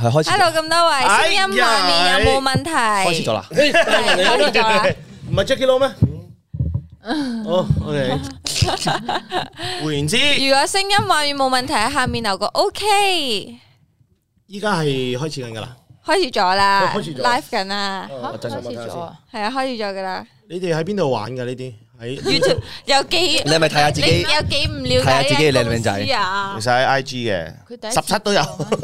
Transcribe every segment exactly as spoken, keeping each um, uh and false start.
係開始。 Hello， 咁多位，聲音畫面有冇問題？ 開始咗啦， 係開始咗啦。 唔係 Jackie Lou 咩？哦 ，OK。換言之， 如果聲音畫面冇問題，喺下面留個 OK。 依家係開始緊噶啦， 開始咗啦開始咗 ，live 緊啦， 開始咗啊！ 係啊，開始咗噶啦。 你哋喺邊度玩噶呢啲？喺 YouTube 有幾？ 你係咪睇下自己？ 有幾唔了解？ 睇下自己靚唔靚仔啊？其實喺 I G 嘅，十七都有。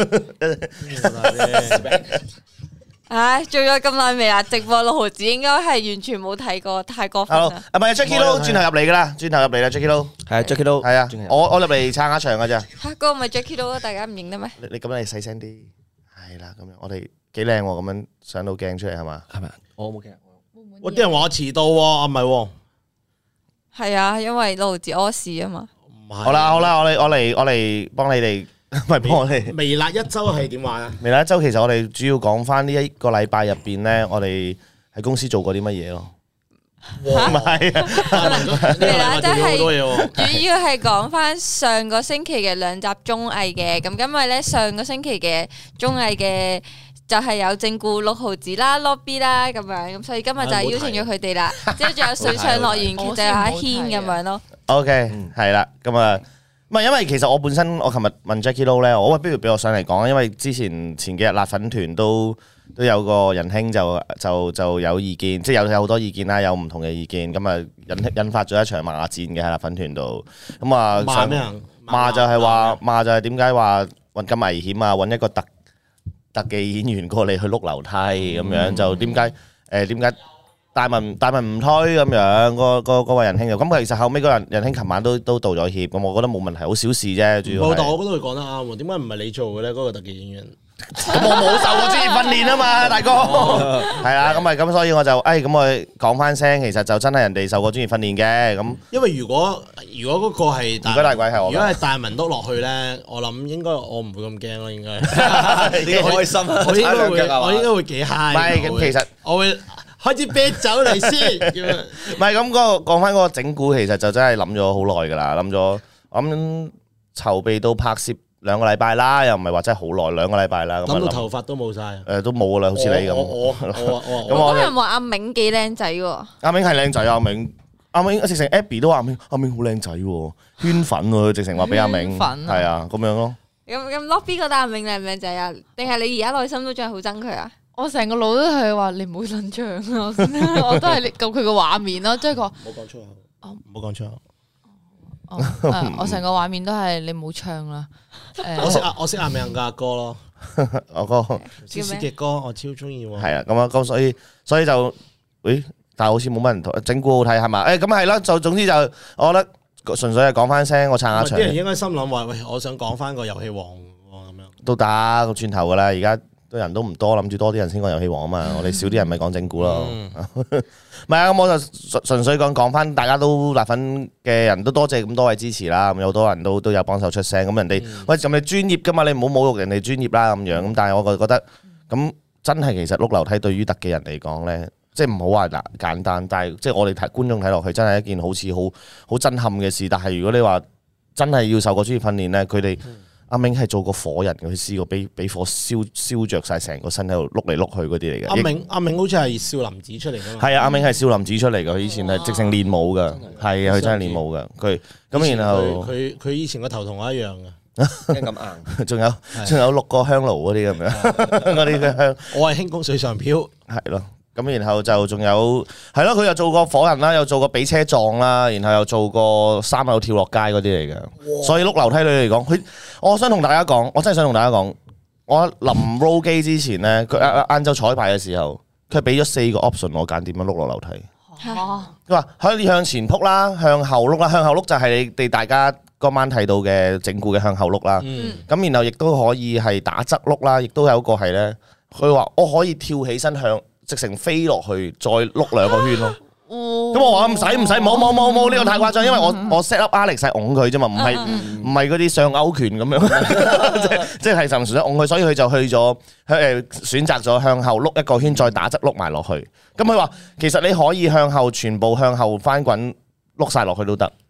唉，做咗咁耐未啊？直播六毫子應該係完全冇睇過，太過分啦。 啊，唔係 Jackie Lou 轉頭入嚟噶啦，轉頭入嚟啦 Jackie Lou。 係啊 Jackie Lou， 係啊，我我入嚟撐下場噶咋。 嚇，嗰個咪 Jackie Lou，大家唔認得咩？ 你你咁你細聲啲，係啦，咁樣我哋幾靚喎，咁樣上到鏡出嚟係嘛？ 係咪？我冇鏡。 我啲人話我遲到喎，啊唔係喎。 係啊，因為六毫子屙屎啊嘛。 好啦好啦，我嚟我嚟我嚟幫你哋。唔係幫我哋微辣一周係點玩啊？微辣一周其實我哋主要講翻呢一個禮拜入邊咧，我哋喺公司做過啲乜嘢咯？唔係啊， 微辣真係主要係講翻上個星期嘅兩集綜藝嘅。咁因為咧上個星期嘅綜藝嘅就係有正顧六毫子啦、Lobby 啦咁樣，咁所以今日就係邀請咗佢哋啦。之後仲有水上樂園，其實有阿軒咁樣咯。 OK，係啦，咁啊。唔係，因為其實我本身我琴日問 Jackie Lou 咧，我喂不如俾我上嚟講，因為之前前幾日辣粉團都都有個仁兄就就就有意見，即係有有好多意見啦，有唔同嘅意見，咁啊引引發咗一場罵戰嘅喺辣粉團度，咁啊罵咩啊？ 罵就係話罵就係點解話揾咁危險啊？揾一個特特技演員過嚟去碌樓梯咁樣，就點解誒點解？大文大文唔推咁樣，個個個位仁兄就咁。其實後尾嗰人仁兄琴晚都都道咗歉，咁我覺得冇問題，好小事啫。主要係， 但我覺得佢講得啱喎。點解唔係你做嘅咧？嗰個特技演員， 咁我冇受過專業訓練啊嘛，大哥。係啊，咁咪咁，所以我就誒咁我講翻聲，其實就真係人哋受過專業訓練嘅。咁因為如果如果嗰個係如果大鬼係我， 如果係大文碌落去咧，我諗應該我唔會咁驚咯，應該。 幾開心啊！ 我應該會，我應該會幾 high。 唔係咁，其實我會。開支啤酒嚟先， 唔係咁嗰個講翻嗰個整蠱，其實就真係諗咗好耐噶啦，諗咗我諗籌備到拍攝兩個禮拜啦，又唔係話真係好耐，兩個禮拜啦。 諗到頭髮都冇晒， 誒都冇噶啦，好似你咁。 我我我咁我有人話阿銘幾靚仔喎， 阿銘係靚仔，阿銘阿銘直情 Abby 都話阿銘阿銘好靚仔喎，圈粉喎，直情話俾阿銘，係啊咁樣咯。 咁咁 Lobby 覺得阿銘靚唔靚仔啊？定係你而家內心都仲係好憎佢啊？ 我成個腦都係話你唔好撚唱啊！我都係咁佢個畫面咯，即係個唔好講粗口，唔好講粗口。 哦，我成個畫面都係你唔好唱啦。 我識阿我識阿銘嘅阿哥咯， 我哥思思嘅歌我超中意喎。 係啊，咁啊，咁所以所以就，誒，但係好似冇乜人同整蠱好睇係嘛？誒，咁係啦，就總之就，我覺得純粹係講翻聲，我撐下場。 啲人應該心諗話，喂，我想講翻個遊戲王咁樣。 都打個轉頭噶啦，而家。啲人都唔多，諗住多啲人先講遊戲王啊嘛，我哋少啲人咪講整蠱咯。唔係啊，咁我就純純粹講講翻，大家都辣粉嘅人都多謝咁多位支持啦。咁有好多人都都有幫手出聲，咁人哋喂咁你專業噶嘛，你唔好侮辱人哋專業啦咁樣。咁但係我覺得咁真係其實碌樓梯對於特技人嚟講咧，即係唔好話嗱簡單，但係即係我哋睇觀眾睇落去真係一件好似好好震撼嘅事。但係如果你話真係要受過專業訓練咧，佢哋。阿銘係做過火人，佢試過俾俾火燒燒著曬成個身喺度碌嚟碌去嗰啲嚟嘅。 阿銘阿銘好似係少林寺出嚟㗎嘛？ 係啊，阿銘係少林寺出嚟㗎，佢以前係直情練武㗎，係啊，佢真係練武㗎。佢咁然後佢佢以前個頭同我一樣㗎， 咁硬。 仲有仲有六個香爐嗰啲咁樣，嗰啲嘅香。 我係輕功水上漂， 係咯。咁然後就仲有係咯，佢又做過火人啦，又做過俾車撞啦，然後又做過三樓跳落街嗰啲嚟嘅。所以碌樓梯女嚟講，佢我想同大家講，我真係想同大家講，我臨 roll 機之前咧，佢晏晏晝彩排嘅時候，佢係俾咗四個 option 我揀點樣碌落樓梯。佢話可以向前撲啦，向後碌啦，向後碌就係你哋大家嗰晚睇到嘅整蠱嘅向後碌啦。咁、嗯、然後亦都可以係打側碌啦，亦都有一個係咧，佢話我可以跳起身向。直成飛落去，再碌兩個圈咯。咁我話唔使唔使，冇冇冇冇，呢個太誇張，因為我我 set up Alex 係擁佢啫嘛，唔係唔係嗰啲上勾拳咁樣，即即係純粹擁佢，所以佢就去咗誒選擇咗向後碌一個圈，再打側碌埋落去。咁佢話其實你可以向後全部向後翻滾碌晒落去都得。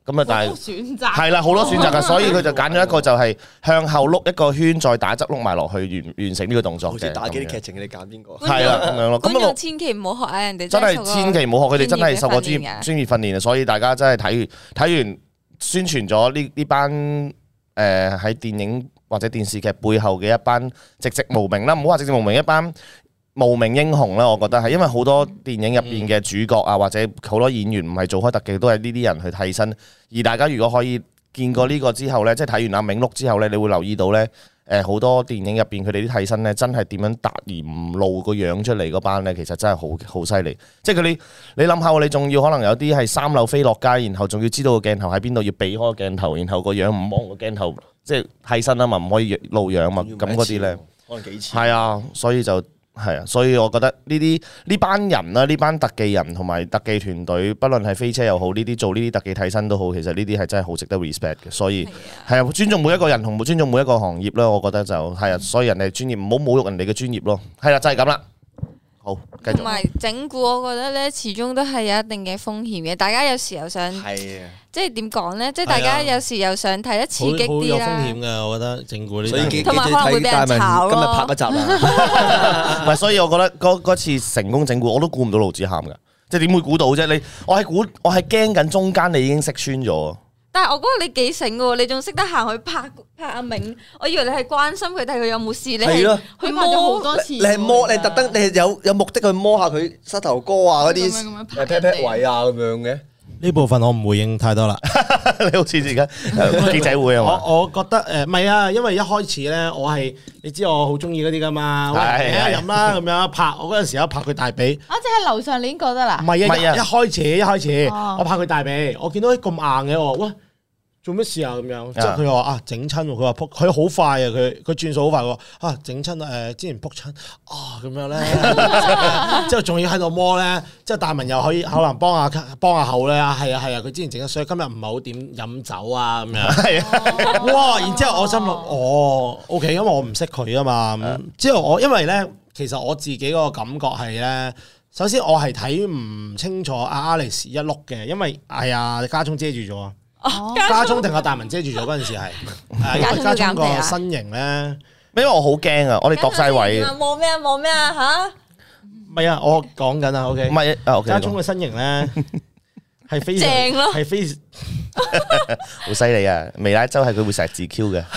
咁啊，但係選擇係啦，好多選擇㗎，所以佢就揀咗一個就係向後碌一個圈，再打側碌埋落去完完成呢個動作嘅。 好似打機啲劇情，你揀邊個？ 係啦，咁樣咯。 觀眾咁千祈唔好學啊！人哋真係千祈唔好學，佢哋真係受過專業專業嘅專業訓練啊！所以大家真係睇完睇完宣傳咗呢呢班誒喺電影或者電視劇背後嘅一班籍籍無名啦，唔好話籍籍無名，一班無名英雄啦，我覺得係因為好多電影入邊嘅主角啊，或者好多演員唔係做開特技，都係呢啲人去替身。而大家如果可以見過呢個之後呢，即係睇完阿銘碌之後呢，你會留意到呢，誒好多電影入邊佢哋啲替身呢，真係點樣突而唔露個樣出嚟嗰班呢，其實真係好好犀利。即係佢哋你諗下，你仲要可能有啲係三樓飛落街，然後仲要知道個鏡頭喺邊度，要避開個鏡頭，然後個樣唔望個鏡頭，即係替身啊嘛，唔可以露樣嘛，咁嗰啲呢， 可能幾次。 係啊，所以就。係啊，所以我覺得呢啲呢班人啦，呢班特技人同埋特技團隊，不論係飛車又好，呢啲做呢啲特技替身都好，其實呢啲係真係好值得 respect 嘅。所以係啊，尊重每一個人同尊重每一個行業啦，我覺得就係啊，所以人哋專業，唔好侮辱人哋嘅專業咯。係啦，就係咁啦。好，繼續。 同埋整蠱，我覺得咧，始終都係有一定嘅風險嘅。大家有時又想， 係啊， 即係點講咧？即係大家有時又想睇得刺激好有風啲啦。 險㗎，我覺得整蠱呢所以記啲。 同埋可能會俾人炒咯今日拍一集啦。 唔係，所以我覺得嗰嗰次成功整蠱，我都估唔到盧子涵㗎，即係點會估到啫？你我係估，我係驚緊中間你已經識穿咗。 但係我覺得你幾醒喎，你仲識得行去拍拍阿銘，我以為你係關心佢睇佢有冇事，你係係咯去佢拍咗好摸多次。 你係摸，你特登，你係有有目的去摸下佢膝頭哥啊嗰啲咁樣咁樣拍誒 pat pat 位啊咁樣嘅。 呢部分我唔回應太多啦。 你好似而家記者會啊嘛？ 我我覺得誒唔係啊，因為一開始咧，我係你知我好中意嗰啲噶嘛，喂係係飲啦咁樣拍，我嗰陣時有拍佢大髀。 啊！即係樓上你已經覺得啦唔。係啊， 唔係啊一一開始一開始哦我拍佢大髀，我見到佢咁硬嘅，我話喂做咩事啊咁樣，之後佢話啊整親喎，佢話撲佢好快啊，佢佢轉數好快喎，啊整親誒之前撲親啊咁樣咧，之後仲要喺度摸咧，之後大文又可以可能幫下幫下口咧，係啊係啊，佢之前整咗，所以今日唔係好點飲酒啊咁樣， 係啊， 哇！然之後我心諗哦 OK，因為我唔識佢啊嘛，咁之後我因為咧，其實我自己個感覺係咧。首先我係睇唔清楚阿 Alex 一碌嘅，因為係啊家聰遮住咗啊， 哦家聰定阿大文遮住咗嗰陣時係，係因為家聰個身形咧， 因為我好驚啊，我哋度晒位。 望咩啊？望咩啊？吓！ 唔係啊，我講緊啊，OK， 唔係啊，OK， 家聰嘅身形咧係非常正咯係非好犀利啊！微拉州係佢會成日自 Q 嘅。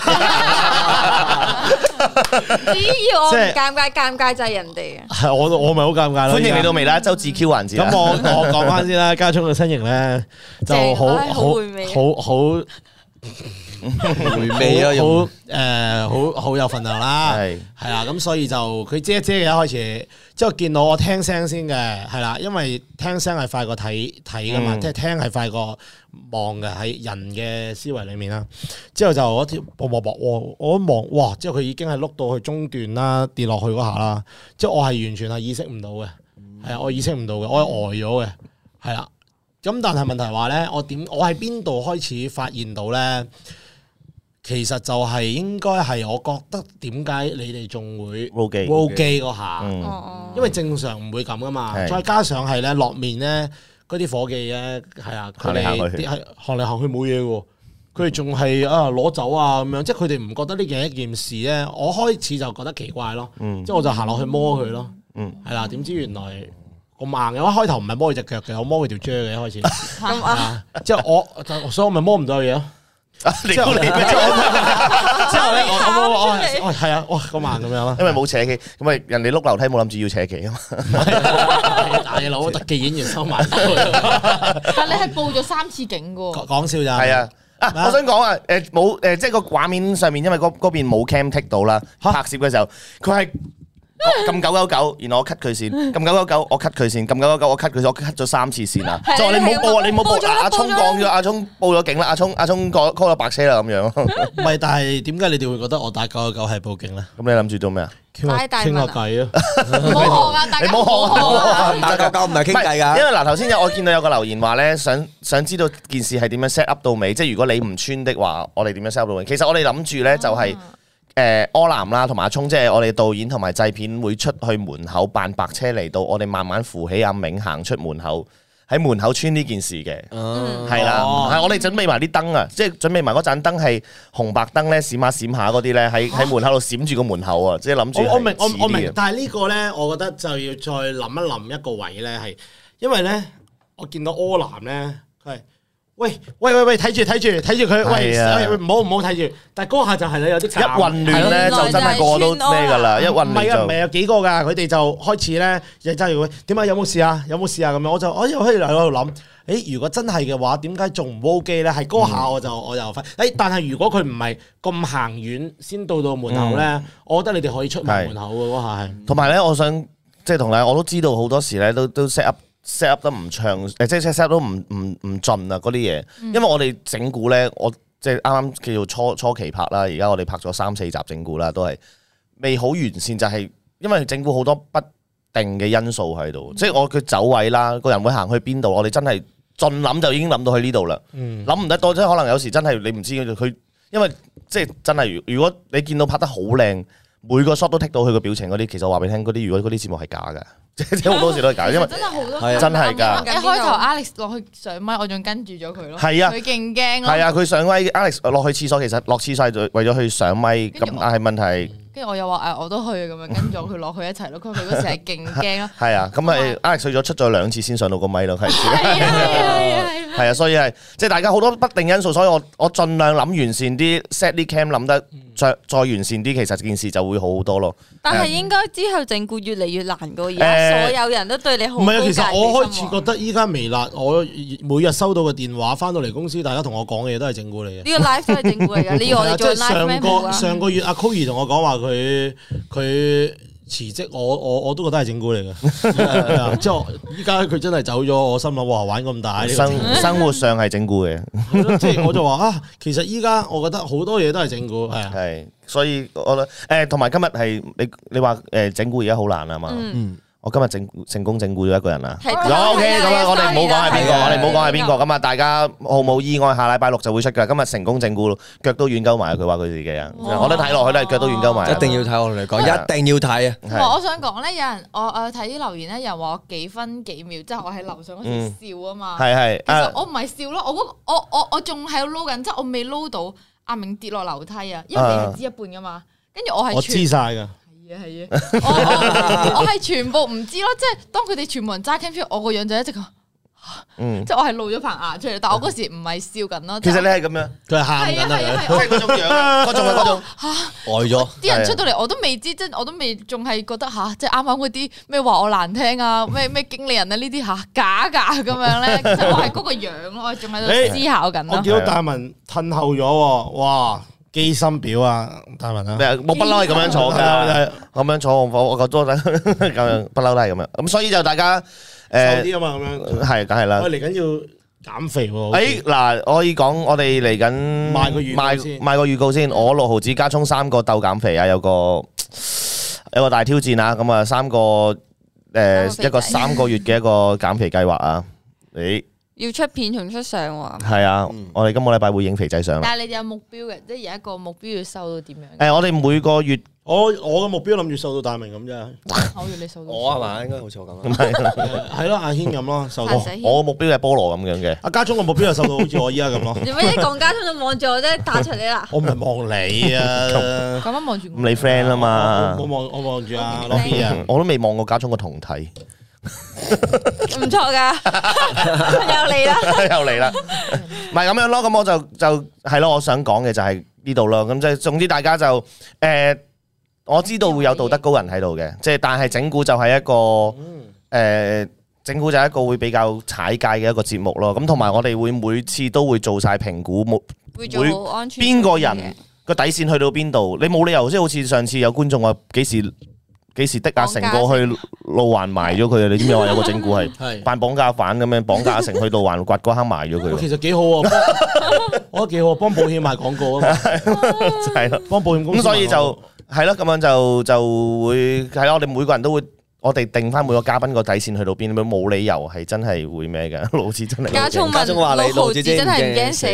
只要我唔尷尬，尷尬就係人哋啊！ 係我我咪好尷尬咯。 歡迎嚟到微拉州自 Q 環節啊。 咁我我講翻先啦，家聰嘅身形咧就好正唉好好回味啊好好。 回味啊， 好用誒，好好有份量啦， 係係啦，咁所以就佢遮一遮嘅一開始，之後見到我聽聲先嘅，係啦，因為聽聲係快過睇睇噶嘛， 嗯即係聽係快過望嘅喺人嘅思維裏面啦。之後就我條啵啵啵，我我一望，哇！之後佢已經係碌到去中段啦，跌落去嗰下啦，即係我係完全係意識唔到嘅，係啊，我意識唔到嘅，我係呆咗嘅，係啦。咁但係問題話咧，我點我喺邊度開始發現到咧？其實就係應該係我覺得點解你哋仲會 roll 機 roll 機嗰下， 嗯哦因為正常唔會咁噶嘛。 係再加上係咧落面咧嗰啲伙計咧係啊，佢哋行嚟行去啲係行嚟行去冇嘢喎，佢哋仲係啊攞走啊咁樣，即係佢哋唔覺得呢件係一件事咧。我開始就覺得奇怪咯， 嗯即係我就行落去摸佢咯， 嗯係啦。點知原來咁硬嘅，我一開頭唔係摸佢隻腳嘅，我摸佢條啫嘅一開始。 咁啊！ 啊！之後我就所以我咪摸唔到嘢咯。 你之後估你咩？ 之後咧，我我我我出嚟我係啊，哇咁慢咁樣咯。 因為冇扯旗，咁咪人哋碌樓梯冇諗住要扯旗啊嘛。 大佬特技演員收埋， 但你係報咗三次警噶喎。 講笑咋？ 係啊。啊！我想講啊，誒冇誒，即係個畫面上面，因為嗰嗰邊冇 cam take 到啦，拍攝嘅時候，佢係撳九九九，然後我 cut 佢線，撳九九九，我 cut 佢線，撳九九九，我 cut 佢線，我 cut 咗三次線啊！ 係就話你唔好報啊，你唔好報啊！ 報咗啦阿聰報咗啦講咗，阿聰報咗警啦，阿聰阿聰 call call 咗白車啦咁樣。 唔係，但係點解你哋會覺得我打九九九係報警咧？ 咁你諗住做咩啊？ 傾下傾大大問啊下偈啊！ 唔好學啊！大家你唔好學學啊！ 打交交唔係傾偈㗎。 因為嗱頭先有我見到有個留言話咧，想想知道件事係點樣 set up 到尾，即係如果你唔穿的話，我哋點樣 set up 到尾？其實我哋諗住咧就係誒柯南啦，同埋阿聰，即係我哋導演同埋製片會出去門口扮白車嚟到，我哋慢慢扶起阿銘行出門口。 喺門口穿呢件事嘅， 嗯係啦， 哦係我哋準備埋啲燈啊，即係準備埋嗰盞燈係紅白燈咧，閃下閃下嗰啲咧，喺喺門口度閃住個門口啊，即係諗住我我明我我明係似啲嘅， 但係呢個咧，我覺得就要再諗一諗一個位咧，係因為咧，我見到柯南咧，佢係喂喂喂喂，睇住睇住睇住佢，喂係啊喂唔好唔好睇住，但係嗰下就係你有啲一混亂咧就真係個個都咩㗎啦，一混亂唔係啊，唔係就有幾個㗎，佢哋就開始咧，就揸住佢點解有冇事啊？有冇事啊？咁樣我就我又喺度喺度諗，誒如果真係嘅話，點解仲唔 O K 咧？係嗰下我就我就發，誒但係如果佢唔係咁行遠先到到門口咧，我覺得你哋可以出埋門口嘅嗰下係。 同埋咧，我想即係同你，我都知道好多時咧都都 set up set up 得唔暢，誒即係 set up 都唔唔唔盡啊嗰啲嘢，因為我哋整蠱咧，我即係啱啱叫做初初期拍啦，而家我哋拍咗三四集整蠱啦，都係未好完善，就係因為整蠱好多不定嘅因素喺度，即係我佢走位啦，個人會行去邊度，我哋真係盡諗就已經諗到去呢度啦，諗唔得多，即係可能有時真係你唔知佢，因為即係真係如果你見到拍得好靚。每個 shot 都剔到佢個表情嗰啲，其實我話俾你聽，嗰啲如果嗰啲節目係假嘅，即係好多時都係假，因為真係好多係啊真係㗎。 一開頭 Alex 落去上咪，我仲跟住咗佢咯。 係啊佢勁驚咯。 係啊，佢上威 Alex 落去廁所，其實落廁所係為咗去上咪，咁但係問題跟住我又話誒，我都去咁樣，跟咗佢落去一齊咯。佢佢嗰時係勁驚咯。 係啊，咁係 Alex 去咗出咗兩次先上到個咪咯，係。 係啊係啊係啊！ 係啊，所以係即係大家好多不定因素，所以我我盡量諗完善啲 set 啲 cam 諗得再再完善啲，其實件事就會好好多咯。 但係應該之後整蠱越嚟越難過，而誒家所有人都對你好高唔係啊，其實我開戒心喎始覺得依家微辣，我每日收到嘅電話翻到嚟公司，大家同我講嘅嘢都係整蠱嚟嘅。 呢個 live 都係整蠱嚟㗎，你要我哋做即係 live 咩？ 上個冇啊！ 上個月阿 Koey 同我講話佢佢辭職，我我我都覺得係整蠱嚟嘅。係啊即係我依家佢真係走咗，我心諗哇玩咁大呢個整生生活上係整蠱嘅， 係咯即係我就話啊，其實依家我覺得好多嘢都係整蠱，係啊。 係，所以我覺得誒同埋今日係你你話誒整蠱而家好難啊嘛。 嗯， 我今日整成功整蠱咗一個人啊！ 係有 OK 咁啊，我哋唔好講係邊個， 係啊我哋唔好講係邊個咁啊！大家毫無意外，下禮拜六就會出㗎。今日成功整蠱，腳都軟鳩埋，佢話佢自己啊， 哇我都睇落去都係腳都軟鳩埋。 一定要睇，我同你講，一定要睇啊！ 係我想講咧，有人我我睇啲留言咧，有人話我幾分幾秒，即係我喺樓上嗰時笑啊嘛。 係係其實啊， 我唔係笑咯，我嗰我我我仲喺度撈緊，即係我未撈到阿明跌落樓梯啊，因為你係知一半噶嘛。跟住我係我全知晒㗎。 係啊係啊，我我我係全部唔知咯，即係當佢哋全部人揸 cam 出嚟，我個樣就一直咁， 嗯， 即係我係露咗棚牙出嚟，但我嗰時唔係笑緊咯。 其實你係咁樣， 佢係喊緊係啊係啊啊！ 係啊， 即係嗰種樣啊，嗰種係嗰種。 呆咗， 啲人出到嚟我都未知，即係我都未仲係覺得吓，即係啱啱嗰啲咩話我難聽啊，咩咩經理人啊呢啲吓假㗎咁樣咧，其實我係嗰個樣咯，我仲喺度思考緊咯。 我見到大文褪後咗喎，哇！機心表啊，大文啊！ 咩啊？我不嬲係咁樣坐㗎，咁樣坐我我覺得咁樣不嬲都係咁樣。咁所以就大家瘦誒啲啊嘛，咁樣。 係梗係啦我。嚟緊要減肥喎。好似誒嗱，我可以講我哋嚟緊賣個預告賣先賣個預告先。我六毫子加葱三個鬥減肥啊，有個有個大挑戰啊。咁啊，三個誒一個三個月嘅一個減肥計劃啊。誒要出片同出相喎。 係啊，我哋今個禮拜會影肥仔相啦。 但係你哋有目標嘅，即係有一個目標要瘦到點樣？ 誒，我哋每個月我我嘅目標諗住瘦到大明咁啫。 我要你瘦到。 我係嘛？應該好似我咁唔啊。 係係咯，阿軒咁咯，瘦到阿。仔我嘅目標係菠蘿咁樣嘅。 阿家聰嘅目標係瘦到好似我依家咁咯。 做乜一講家聰就望住我啫，打出嚟啦！ 我唔係望你啊， 咁樣望住我。 咁你 friend 啊嘛我？望我望住阿 Lobby 啊。 我都未望過家聰個胴體， 唔錯㗎，又嚟啦！ 又嚟啦。唔係咁樣咯，咁我就就係咯，我想講嘅就係呢度咯。咁即係總之大家就誒，我知道會有道德高人喺度嘅，即係但係整蠱就係一個誒，整蠱就係一個會比較踩界嘅一個節目咯。咁同埋我哋會每次都會做晒評估，冇會做好安全。 邊個人個底線去到邊度？你冇理由即係好似上次有觀眾話幾時幾時的阿成過去路環埋咗佢啊？你知唔知話有個整蠱係係。 扮綁架犯咁樣綁架阿成去路環掘嗰坑埋咗佢喎？ 其實幾好啊，幫我覺得幾好啊，幫保險賣廣告啊嘛， 就係咯。 幫保險公司賣廣告。 咁所以就係咯，咁樣就就會係咯。我哋每個人都會，我哋定翻每個嘉賓個底線去到邊，冇理由係真係會咩嘅。老子真係家聰家聰話你問六毫子老子知唔真係唔驚驚死死咧？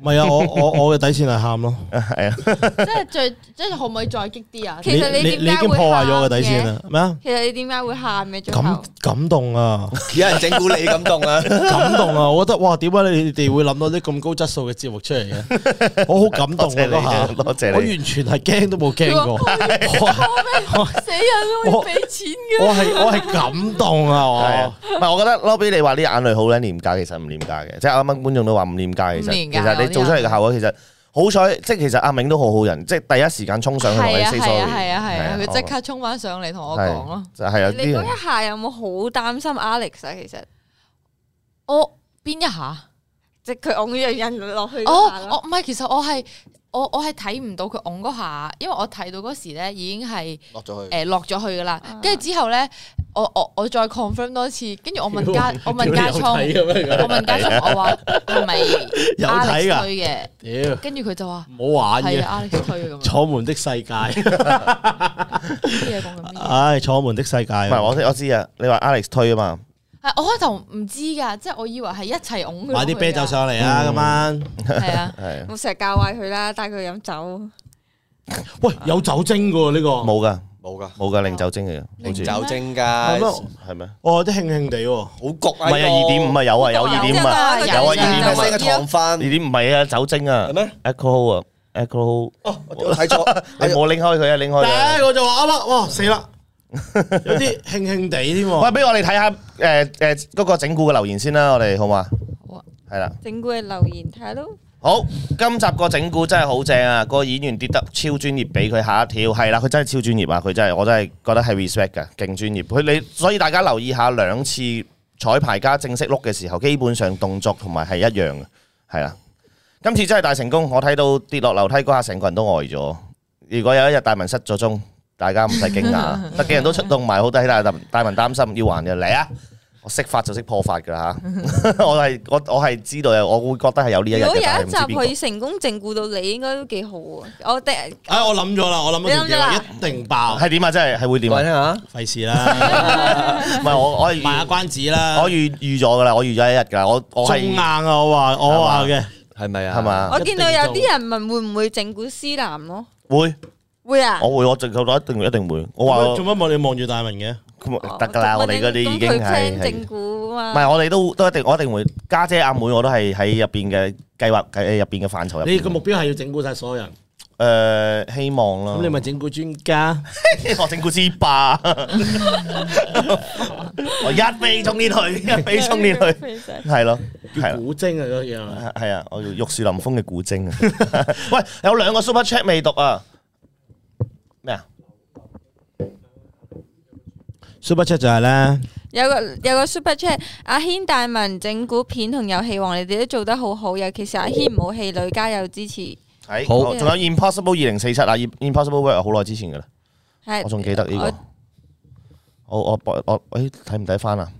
唔係啊，我我我嘅底線係喊咯。 係啊， 即係最即係可唔可以再激啲啊？ 其實你你你已經點解會破壞咗我嘅喊底線嘅？ 啦，咩啊？ 其實你點解會喊嘅？最感後感動啊！ 有人整蠱你感動啊！ 感動啊！我覺得哇，點解你哋會諗到啲咁高質素嘅節目出嚟嘅？我好感動啊！ 多謝你嗰下多謝你我完全係驚都冇驚過。我死人都會俾錢嘅。 我係我係感動啊！ 係啊， 我唔係我覺得 Lobby 你話啲眼淚好撚廉價，其實唔廉價嘅，即係啱啱觀眾都話唔廉價，其實唔廉價其實你做出嚟嘅效果其實好彩，即係其實阿銘都好好人，即係第一時間衝上去同你係啊 say 係 sorry， 啊係啊係啊！佢即我刻衝翻上嚟同我係講咯。 就係啊， 你嗰一下有冇好擔心 Alex 啊？其實我邊一下？ 即係佢拱咗人落去哦嗰下，咯。 我唔係，其實我係我我係睇唔到佢拱嗰下，因為我睇到嗰時咧已經係落咗去。 誒落咗去噶啦。 啊跟住之後咧，我我我再 confirm 多次，跟住我問家我問家聰， 嘅咩？ 我問家聰，我話係咪有睇 Alex 㗎推嘅？ 屌， 跟住佢就話唔好玩嘅。 係啊，Alex 推嘅咁樣。 楚門的世界， 啲嘢講緊咩？ 唉，楚門的世界。 唔係我我知啊，你話 Alex 推啊嘛， 係我開頭唔知㗎，即係我以為係一齊拱佢。 買啲啤酒上嚟啊！今晚， 係啊， 係我成日教壞佢啦，帶佢飲酒。 喂，有酒精㗎喎呢個。 冇噶冇噶， 冇噶零酒精嚟嘅，好似零酒精係㗎， 咩係咩？ 哦，啲興興地喎。 好焗啊！ 唔係啊，二點五啊，有啊，有二點五啊， 有有啊，二點五啊係咪，升嘅糖二分點五唔係啊，酒精啊係咩？ ，alcohol 啊，alcohol， 哦，我睇錯， 你冇拎開佢啊，拎開佢啊。 誒，我就話啱啦，哇死啦，有啲興興地添喂， 喎。 俾我哋睇下誒誒嗰個整蠱嘅留言先啦，我哋好嘛？ 好啊係啦。 整蠱嘅留言睇下咯。 好，今集個整蠱真係好正啊！個演員跌得超專業，俾佢嚇一跳。係啦，佢真係超專業啊！佢真係，我真係覺得係 respect 㗎，勁專業。佢你所以大家留意下兩次彩排加正式碌嘅時候，基本上動作同埋係一樣嘅，係啦。今次真係大成功，我睇到跌落樓梯嗰下，成個人都呆咗。如果有一日大文失咗蹤，大家唔使驚訝，特技人都出動埋，好抵大大文擔心要還嘅嚟啊！我識法就識破法㗎啦嚇，我係我我係知道嘅，我會覺得係有呢一日嘅。 如果有但係一集唔知邊個可以成功整蠱到你，應該都幾好啊！我哋唉，我諗咗啦，我諗咗條你諗咗啦橋，一定爆。 係點啊？真係係會點講聽啊？ 下。 費事啦， 唔係我我係賣下預關子啦。 我預預咗㗎啦，我預咗一日㗎啦，我我係中硬啊！我話我話嘅， 係咪啊？ 係嘛？ 我見到有啲人問會唔會整蠱思南咯？ 會會啊！ 我會我直頭一定一定會。我話做乜冇你望住大文嘅？ 得㗎啦，我哋嗰啲已經係係整蠱唔啊嘛。 係我哋都都一定我一定會家姐阿妹我都係喺入邊嘅計劃喺入邊嘅範疇入邊。 你個目標係要整蠱晒所有人， 誒希望啦。 咁你咪整蠱專家。 我整蠱之霸，我一飛衝天去，一飛衝天去，係咯，係啦。 叫古精啊嗰個嘢係咪？ 係啊，我要玉樹臨風嘅古精啊！喂，有兩個 super chat 未讀啊？咩啊？ Super Chat 就係咧， 有個有個 super chat，阿軒大文整蠱片同遊戲王，你哋都做得好好，尤其是阿軒唔好氣餒，加油支持。 係好仲有 Impossible 二零四七啊，Impossible World 好耐之前噶啦， 係我仲記得呢個。我我我誒睇唔睇翻啊？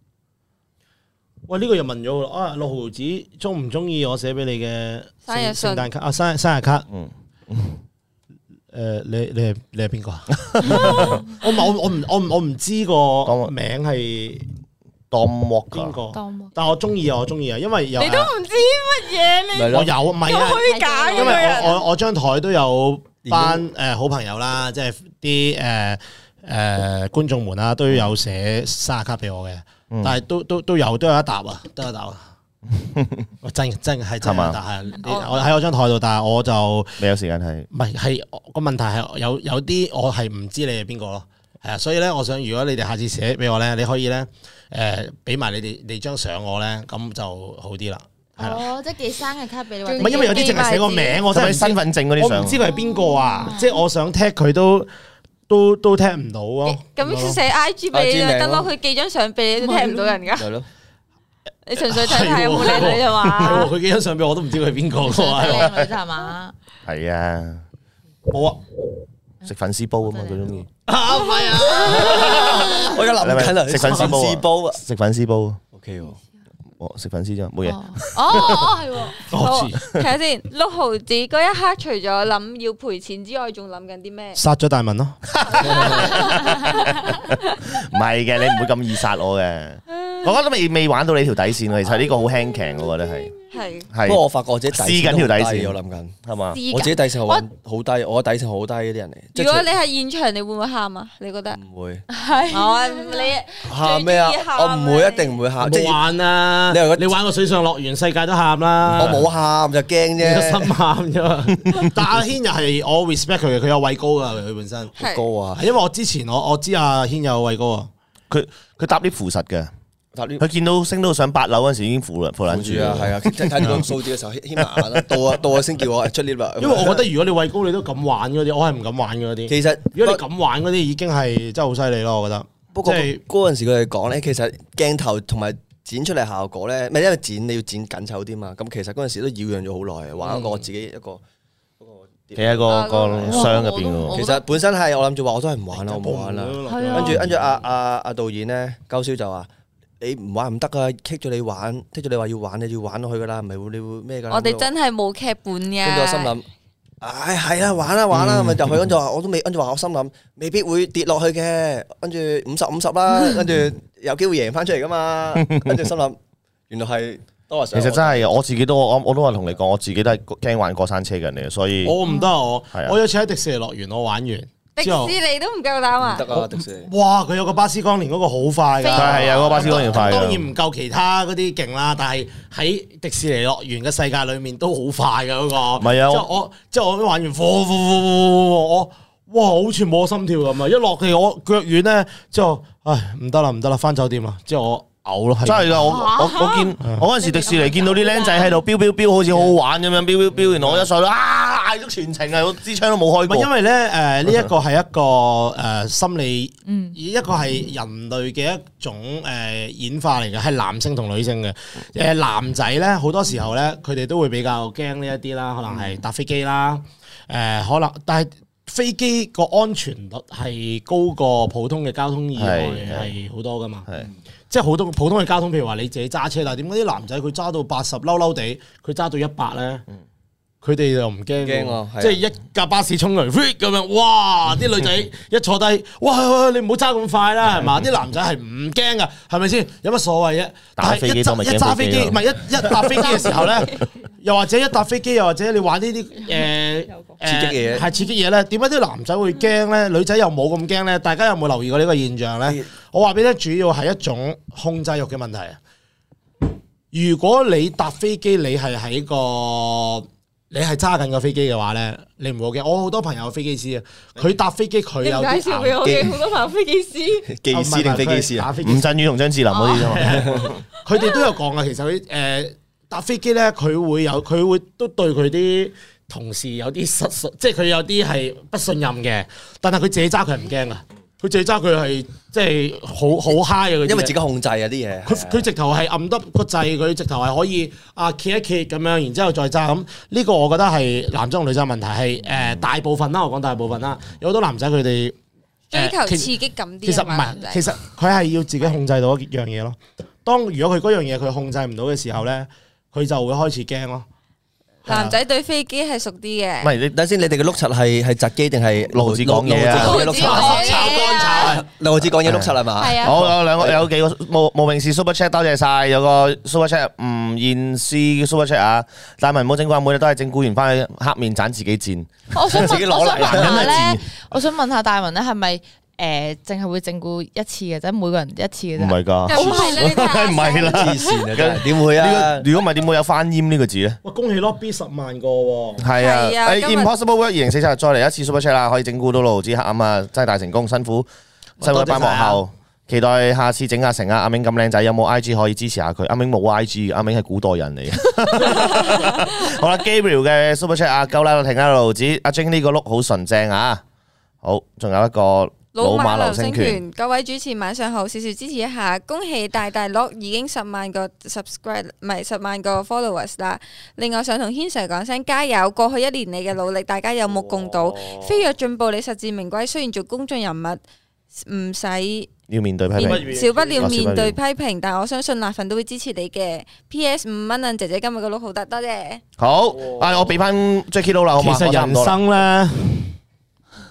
喂呢個又問咗啦，啊六毫子中唔中意我寫俾你嘅生日信聖誕卡啊生生日卡？ 嗯。 誒，你你係你係邊個啊？我唔我我唔我唔我唔知個名係 Dom Walker 邊個， 當但我中意啊，我中意啊，因為有你都唔知乜嘢，你咪咯我有唔係啊， 虛假因為嘅人。 我我我張台都有班誒好朋友啦，即係啲誒誒觀眾們啦，都有寫生日卡俾我嘅， 嗯但係都都都有都有一沓啊，都有一沓啊。我真真係真係嘛係，但係我喺我張台度，但係我就未有時間睇。 唔係係個問題係有有啲我係唔知你係邊個咯，係啊，所以咧，我想如果你哋下次寫俾我咧，你可以咧誒俾埋你哋你張相我咧，咁就好啲啦，係啦。 哦，即係寄生日卡俾你， 唔唔係因為有啲淨係寫個名，我真係唔知使唔使身份證嗰啲相我唔知佢係邊個啊，即係我想踢佢都都都踢唔到咯。 咁寫 I G 俾你就得咯， I G 名咯佢寄張相俾你都聽唔到人噶。 係咯， 你純粹睇下有冇靚女啫係嘛喎，。佢寄張相俾我都唔知佢係邊個嘅喎。 靚女啫係嘛？ 係啊， 冇啊， 食粉絲煲啊嘛，佢中意啊唔係啊， 我而家諗緊啊， 食粉絲煲啊煲啊食粉絲煲。 ，OK 喎， 哦，食粉絲啫，冇嘢。 哦哦係喎， 好， 我知睇下先。六毫子嗰一刻，除咗諗要賠錢之外，仲諗緊啲咩？ 殺咗大文咯。 唔係嘅，你唔會咁易殺我嘅。我覺得未未玩到你條底線喎，其實呢個好輕騎，我覺得係。 係係不過我發覺我自己底試緊條底線我諗緊係嘛？ 我自己底線好好低，我底線好低嗰啲人嚟。 如果你係現場，你會唔會喊啊？你覺得？ 唔會係我你喊咩啊？我唔會，一定唔會喊。即係玩啊！ 你話你玩個水上樂園，世界都喊啦。 我冇喊就驚你個啫。 心喊啫嘛。但阿軒又係我 respect 佢嘅，佢有畏高噶，佢本身。 係高啊！ 因為我之前我我知阿軒有畏高啊， 佢佢搭啲扶實嘅，佢見到升到上八樓嗰陣時已經扶扶撚住住啊，係啊，即係睇到個數字嘅時候，牽埋眼啦，到啊到啊先叫我出 lift 啦。 因為我覺得如果你畏高，你都敢玩嗰啲，我係唔敢玩嗰啲。 其實如果你敢玩嗰啲，已經係真係好犀利咯，我覺得。 不過即係嗰陣時佢哋講咧，其實鏡頭同埋剪出嚟效果咧，唔係因為剪你要剪緊湊啲嘛。咁其實嗰陣時都擾攘咗好耐，玩一個我自己一個嗰個。 企喺個個箱入邊嘅喎。 其實本身係我諗住話我都係唔玩啦，我唔玩啦。跟住跟住阿阿阿導演咧，高超就話。你唔玩唔得噶，棘咗你玩，棘咗你話要玩，你要玩落去噶啦，唔係會你會咩噶？ 我哋真係冇劇本嘅。 跟住我心諗，唉係啊，玩啦玩啦，咪入去跟住話我都未，跟住話我心諗未必會跌落去嘅，跟住五十五十啦，跟住有機會贏翻出嚟噶嘛，跟住心諗原來係多其實真係我自己都我我都話同你講，我自己都係驚玩過山車嘅人嚟，所以我唔得我係啊我有次喺迪士尼樂園我玩完。 迪士尼都唔夠膽啊！ 唔得啊，迪士尼。 哇！佢有個巴斯光年嗰個好快㗎， 係啊，嗰個巴斯光年快㗎。 當然唔夠其他嗰啲勁啦，但係喺迪士尼樂園嘅世界裏面都好快㗎嗰個。 唔係啊， 即係我即係我玩完，我哇好似冇心跳咁啊！一落地我腳軟咧，之後唉唔得啦唔得啦，返酒店啦，之後我。嘔咯， 真係噶！我我我見我嗰陣時迪士尼見到啲僆仔喺度飆飆飆，好似好好玩咁樣飆飆飆，然後我一上到啊嗌咗全程啊，我支槍都冇開過。 因為咧誒呢一個係一個誒心理，一個係人類嘅一種誒演化嚟嘅，係男性同女性嘅。誒男仔咧好多時候咧，佢哋都會比較驚呢一啲啦，可能係搭飛機啦，誒可能但係飛機個安全率係高過普通嘅交通意外係好多噶嘛。即係好多普通嘅交通，譬如話你自己揸車，但係點解啲男仔佢揸到八十嬲嬲地，佢揸到一百咧？佢哋又唔驚喎，即係一架巴士衝嚟咁樣，哇！啲女仔一坐低，哇！你唔好揸咁快啦，係嘛？啲男仔係唔驚噶，係咪先？有乜所謂啫？ 打飛機都咪驚飛機咯。 一揸飛機，唔係一一搭飛機嘅時候咧，又或者一搭飛機，又或者你玩呢啲誒刺激嘢， 係刺激嘢咧？點解啲男仔會驚咧？女仔又冇咁驚咧？大家有冇留意過呢個現象咧？我話俾你聽，主要係一種控制欲嘅問題啊！如果你搭飛機，你係喺個你係揸緊個飛機嘅話咧，你唔會驚。我好多朋友飛機師啊，佢搭飛機佢有介紹俾我嘅好多朋友飛機師， 機師定飛機師啊？ 吳鎮宇同張智霖嗰啲啫嘛。 佢哋都有講啊，其實佢誒搭飛機咧，佢會有佢會都對佢啲同事有啲失信，即係佢有啲係不信任嘅。但係佢自己揸佢係唔驚啊，佢自己揸佢係即係好好 high 啊！ 因為自己控制啊啲嘢。 佢佢直頭係按得個掣，佢直頭係可以啊揭一揭咁樣，然之後再揸咁。呢個我覺得係男仔同女仔問題係誒大部分啦，我講大部分啦，有好多男仔佢哋追求刺激感啲。 其實唔係，其實佢係要自己控制到一樣嘢咯。當如果佢嗰樣嘢佢控制唔到嘅時候咧，佢就會開始驚咯。 男仔對飛機係熟啲嘅。 唔係你等先，你哋嘅碌柒係係窒機定係六毫子講嘢啊？ 碌柒炒乾炒， 六毫子講嘢碌柒係嘛？ 係啊。 好有兩個有幾個無無名氏 super chat， 多謝晒。有個 super chat 吳燕詩 super chat 啊，大文冇整過，每日都係整蠱完翻去黑面斬自己賤。 我想自己攞嚟我想問下男人係咧，我想問下大文咧，係咪誒淨係會整蠱一次嘅啫？每個人一次嘅啫。 唔係㗎， 唔係啦， 唔係啦， 黐線啊！真係點會啊？ 如果唔係點會有翻煙呢個字咧？ 哇！恭喜 lobby 十萬個喎。 係啊， 係啊誒今日 Impossible Work 二零四七再嚟一次 super chat 啦，可以整蠱到六毫子黑暗啊！真係大成功，辛苦辛苦一班幕後，期待下次整阿成啊！阿明咁靚仔，有冇 I G 可以支持下佢？阿明冇 I G， 阿明係古代人嚟嘅。好啦 ，Gabriel 嘅 super chat 啊，夠啦，停啦，六毫子。阿 Jing 呢個碌好純正啊！好，仲有一個。 老馬流星拳，各位主持晚上好，少少支持一下，恭喜大大樂已經十萬個 subscribe， 唔係十萬個 followers 啦。另外想同軒 Sir 講聲加油，過去一年你嘅努力，大家有目共睹。飛躍進步，你實至名歸。雖然做公眾人物唔使要面對批評， 少不了面對批評，但我相信辣粉都會支持你嘅。P S 五蚊啊，姐姐今日嘅碌好得，多謝。 好，啊我俾翻 Jacky 佬啦，好嘛？ 其實人生咧。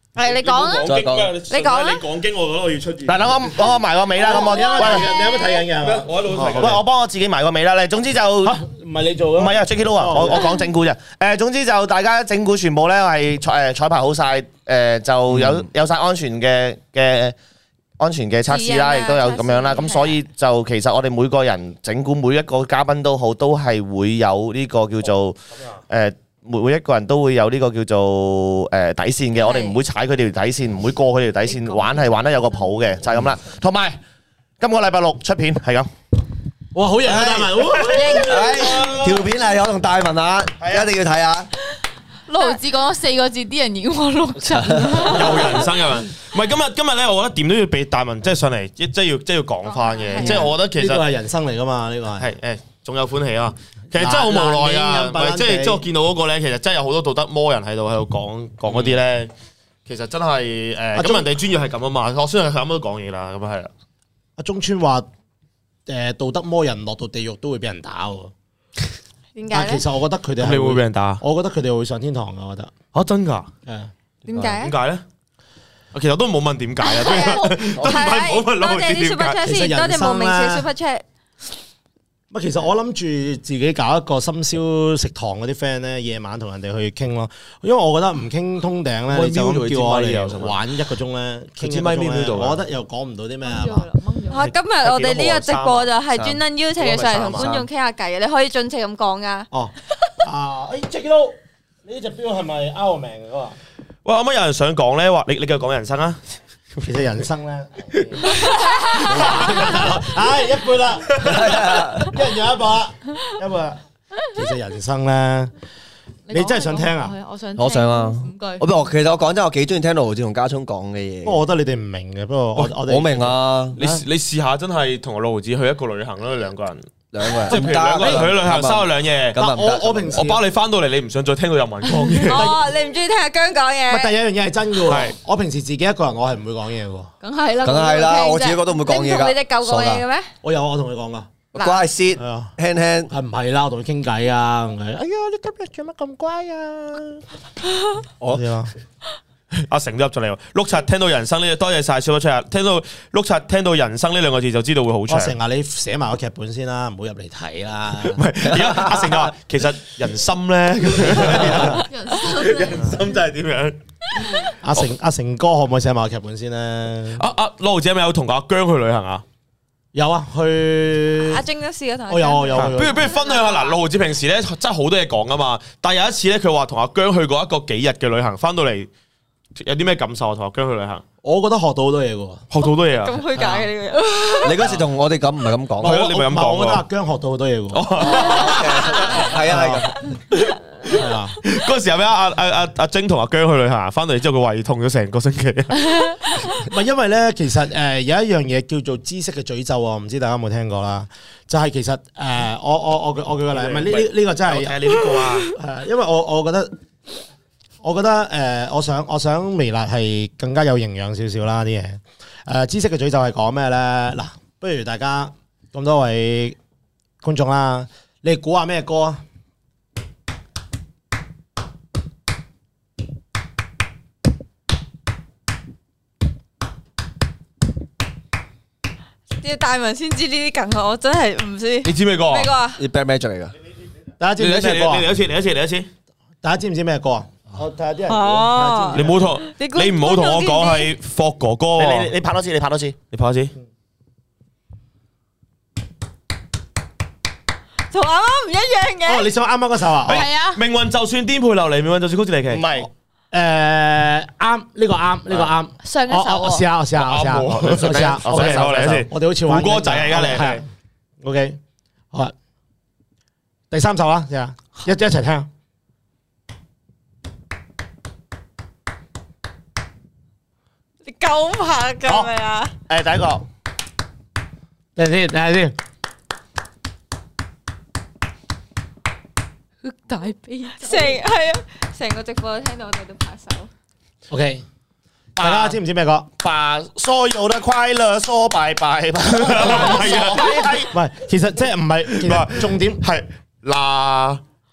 係你講啊， 再講， 你講啊你講經，我覺得我要出現。 嗱，等我等我埋個尾啦，咁我你有冇睇緊？你有冇睇緊嘅？ 我喺度睇緊。 喂，我幫我自己埋個尾啦。你總之就唔唔係你做嘅， 係啊 ，Jacky Lou 啊，我我講整蠱啫。誒，總之就大家整蠱全部咧係誒彩排好晒，誒就有有曬安全嘅嘅安全嘅測試啦，亦都有咁樣啦。咁所以就其實我哋每個人整蠱每一個嘉賓都好，都係會有呢個叫做誒。每每一個人都會有呢個叫做誒底線嘅，我哋唔會踩佢哋條底線，唔會過佢哋條底線，玩係玩得有個譜嘅，就係咁啦。同埋今個禮拜六出片係咁， 哇，好型啊，大文！ 條片係我同大文啊，一定要睇下。 六毫子講咗四個字，啲人已經話六七。 有人生有人，唔係今日今日咧，我覺得點都要俾大文即係上嚟，即係要即係要講翻嘅，即係我覺得其實呢個係人生嚟噶嘛，呢個係係誒，仲有歡喜啊！其實真係好無奈啊！唔係即係即係我見到嗰個咧，其實真係有好多道德魔人喺度喺度講講嗰啲咧，其實真係誒咁人哋專業係咁啊嘛，我相信佢咁都講嘢啦，咁啊係啦。 阿中村話誒道德魔人落到地獄都會俾人打喎。 點解咧？ 其實我覺得佢哋你會俾人打？ 我覺得佢哋會上天堂噶，我覺得。 嚇真㗎？ 誒點解？ 點解咧？其實都冇問點解啊，都唔係冇問老多謝啲 super chat 先，多謝無名氏 super chat。 乜其實我諗住自己搞一個深宵食堂嗰啲 friend 咧，夜晚同人哋去傾咯。因為我覺得唔傾通頂咧，你就咁叫我哋玩一個鐘咧，傾一個鐘咧，我覺得又講唔到啲咩啊嘛。 嚇！今日我哋呢個直播就係專登邀請佢上嚟同觀眾傾下偈嘅，你可以盡情咁講噶。 哦，啊，誒 Jacky Lou，你呢隻錶係咪 out 命嘅嗰個？ 喂，啱啱有人想講咧，話你你繼續講人生啊！ 其實人生咧，唉，一半啦，一人有一半啦，一半啦。其實人生咧，你真係想聽啊？ 我想， 我想啊五句。 我不過其實我講真，我幾中意聽盧志同家聰講嘅嘢。 不過我覺得你哋唔明嘅，不過我我哋我明啊， 你你試下真係同六毫子去一個旅行啦，兩個人， 兩個人， 即係譬如兩個人去旅行，三日兩夜。 咁啊唔得我我平時我包你翻到嚟，你唔想再聽到任何人講嘢。 哦，你唔中意聽阿姜講唔係第嘢？ 一樣嘢係真嘅喎係。 我平時自己一個人，我係唔會講嘢嘅喎。 梗係啦， 梗係啦，我自己覺得唔會講嘢㗎。 你唔同你隻狗講嘢嘅咩？ 我有我同佢講噶， 乖 sit 係啊， 輕輕。 係唔係啦？我同佢傾偈啊，唔係哎呀，你今日做乜咁乖啊？ 我係啊， 阿成都入咗嚟喎，碌柒聽到人生呢，多謝晒 Super Chat，聽到碌柒聽到人生呢兩個字就知道會好長。 我成日你寫埋個劇本先啦，唔好入嚟睇啦。 唔係，而家阿成就話其實人心咧，人心真係點樣？ 阿成阿成哥可唔可以寫埋個劇本先咧？ 阿阿六毫子係咪有同阿姜去旅行啊？ 有啊，去阿晶都試過同我有我有不如不如分享下嗱，六毫子平時咧真係好多嘢講噶嘛，但係有一次咧，佢話同阿姜去過一個幾日嘅旅行，翻到嚟有啲咩感受啊？同阿姜去旅行， 我覺得學到好多嘢嘅喎。 學到好多嘢啊！ 咁虛假嘅呢個人。 你嗰時同我哋咁唔係咁講， 係咯你咪咁講喎我覺得阿姜學到好多嘢嘅喎。 係啊係咁。 係啊， 嗰時候咩阿阿阿阿晶同阿姜去旅行，翻到嚟之後佢胃痛咗成個星期。 唔係因為咧，其實誒有一樣嘢叫做知識嘅詛咒啊，唔知大家有冇聽過啦？就係其實誒，我我我我舉個例，唔係呢呢呢個真係你呢個啊？ 係因為我我覺得，我覺得誒，我想我想微辣係更加有營養少少啦啲嘢。誒，知識嘅詛咒係講咩咧？嗱，不如大家咁多位觀眾啦，你哋估下咩歌啊？ 要大文先知呢啲梗啊！我真係唔知。 你知咩歌啊？ 咩歌啊？ 啲 bad magic 嚟㗎。 大家知你嚟一次，你唔知咩歌啊？ 嚟一次，嚟一次，嚟一次。 大家知唔知咩歌啊？我睇下啲人估。 哦你唔好同你估你唔好同我講係霍哥哥你喎。 你你拍多次，你拍多次。 你拍一次。 同啱啱唔一樣哦， 嘅。 你想啱啱嗰首啊？ 係啊命運就算顛沛流離，命運就算曲折離奇。 唔係， 誒啱呢個啱呢個啱。 上一首我我試喎。 下我試下我試下我試下。 我嚟我嚟一次。 我哋好似玩胡歌仔啊！而家你係 OK 好啊。第三首啦，試下一一齊聽。 你夠拍㗎咪啊？ 誒第一個等陣先，等陣先。 大悲成係啊，成個直播都聽到我哋都拍手。 OK，大家知唔知咩歌？ 把所有的快樂說拜拜吧。 係啊， 唔係，其實即係唔係，其實重點係嗱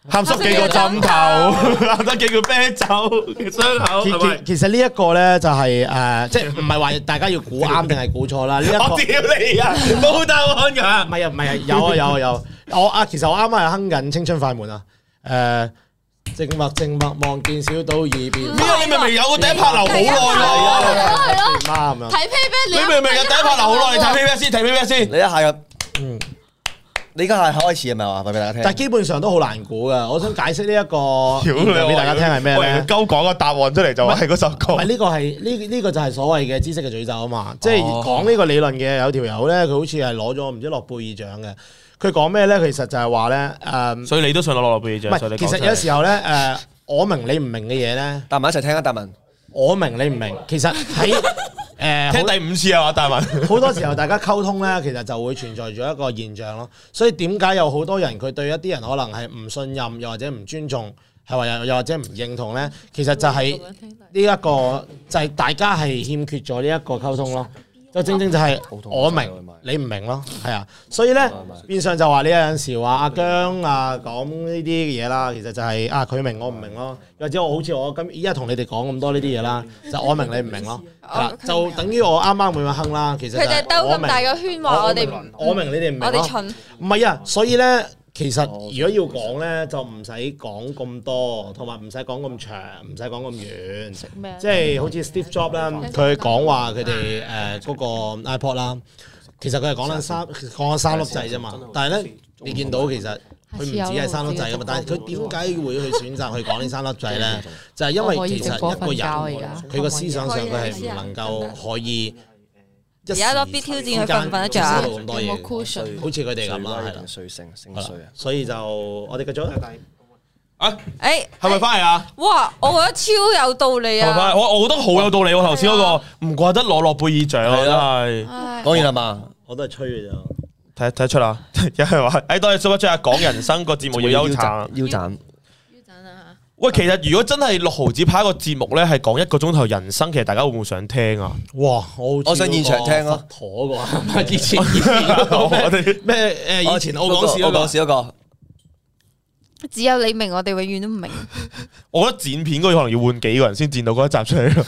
鹹濕幾個枕頭，鹹得幾個啤酒嘅傷口， 其係咪？ 其其實呢一個咧就係誒，即係唔係話大家要估啱定係估錯啦？呢一個我屌你啊，冇答案㗎。 唔係啊，唔係啊，有啊有啊有。我啊，其實我啱啱係哼緊《青春快門》啊。誒，靜默靜默望見小島二邊。 咩啊？你明明有個第一拍留好耐咯。 係咯， 啱啊！ 睇 Payback 你明明有第一拍留好耐，你睇 Payback 先，睇 Payback 先。 你一下咁， 嗯。 你而家係開始係咪話俾大家聽？ 但係基本上都好難估噶。我想解釋呢一個現象俾大家聽係咩咧？ 鳩講個答案出嚟就話係嗰首歌。 唔係呢個係呢呢個就係所謂嘅知識嘅詛咒啊嘛！即係講呢個理論嘅有條友咧，佢好似係攞咗唔知諾貝爾獎嘅。佢講咩咧？其實就係話咧誒， 所以你都想攞諾貝爾獎？ 唔係，其實有時候咧誒，我明你唔明嘅嘢咧， 達文一齊聽啊，達文。 我明你唔明，其實喺誒聽第五次啊嘛，大文。 好多時候大家溝通咧，其實就會存在咗一個現象咯。所以點解有好多人佢對一啲人可能係唔信任，又或者唔尊重，係話又又或者唔認同咧？其實就係呢一個就係大家係欠缺咗呢一個溝通咯。就正正就係我明你唔明咯，係啊。所以咧變相就話你有陣時話阿姜啊講呢啲嘢啦，其實就係啊佢明我唔明咯，或者我好似我今依家同你哋講咁多呢啲嘢啦，就我明你唔明咯，係啦，就等於我啱啱咁樣哼啦。其實佢哋兜咁大個圈話我哋唔， 我明你哋唔明， 我哋蠢。 唔係啊，所以咧。其實如果要講咧，就唔使講咁多，同埋唔使講咁長，唔使講咁遠。即係好似 Steve Jobs 啦，佢講話佢哋誒嗰個 iPod 啦，其實佢係講緊三講緊三粒掣啫嘛。但係咧，你見到其實佢唔止係三粒掣噶嘛。但係佢點解會去選擇去講呢三粒掣咧？就係因為其實一個人佢個思想上佢係唔能夠可以。 而家攞 B 挑戰佢瞓唔瞓得着啊？ 咁多嘢，好似佢哋咁啦，係啦， 歲性星歲啊， 所以就我哋繼續啊， 誒， 係咪翻嚟啊？ 哇，我覺得超有道理啊！ 我我覺得好有道理喎，頭先嗰個唔怪得攞諾貝爾獎啊，真係。 講完啦嘛， 我都係吹嘅咋。 睇睇得出啦，有人話誒，多謝 Super Chat 講人生個節目要休產， 腰斬。 喂，其實如果真係六毫子拍一個節目咧，係講一個鐘頭人生，其實大家會唔會想聽啊？ 哇！我我想現場聽咯， 陀個，以前以前我哋咩誒？以前我講笑嗰個， 講笑嗰個， 只有你明，我哋永遠都唔明。 我覺得剪片嗰個可能要換幾個人先剪到嗰一集出嚟咯。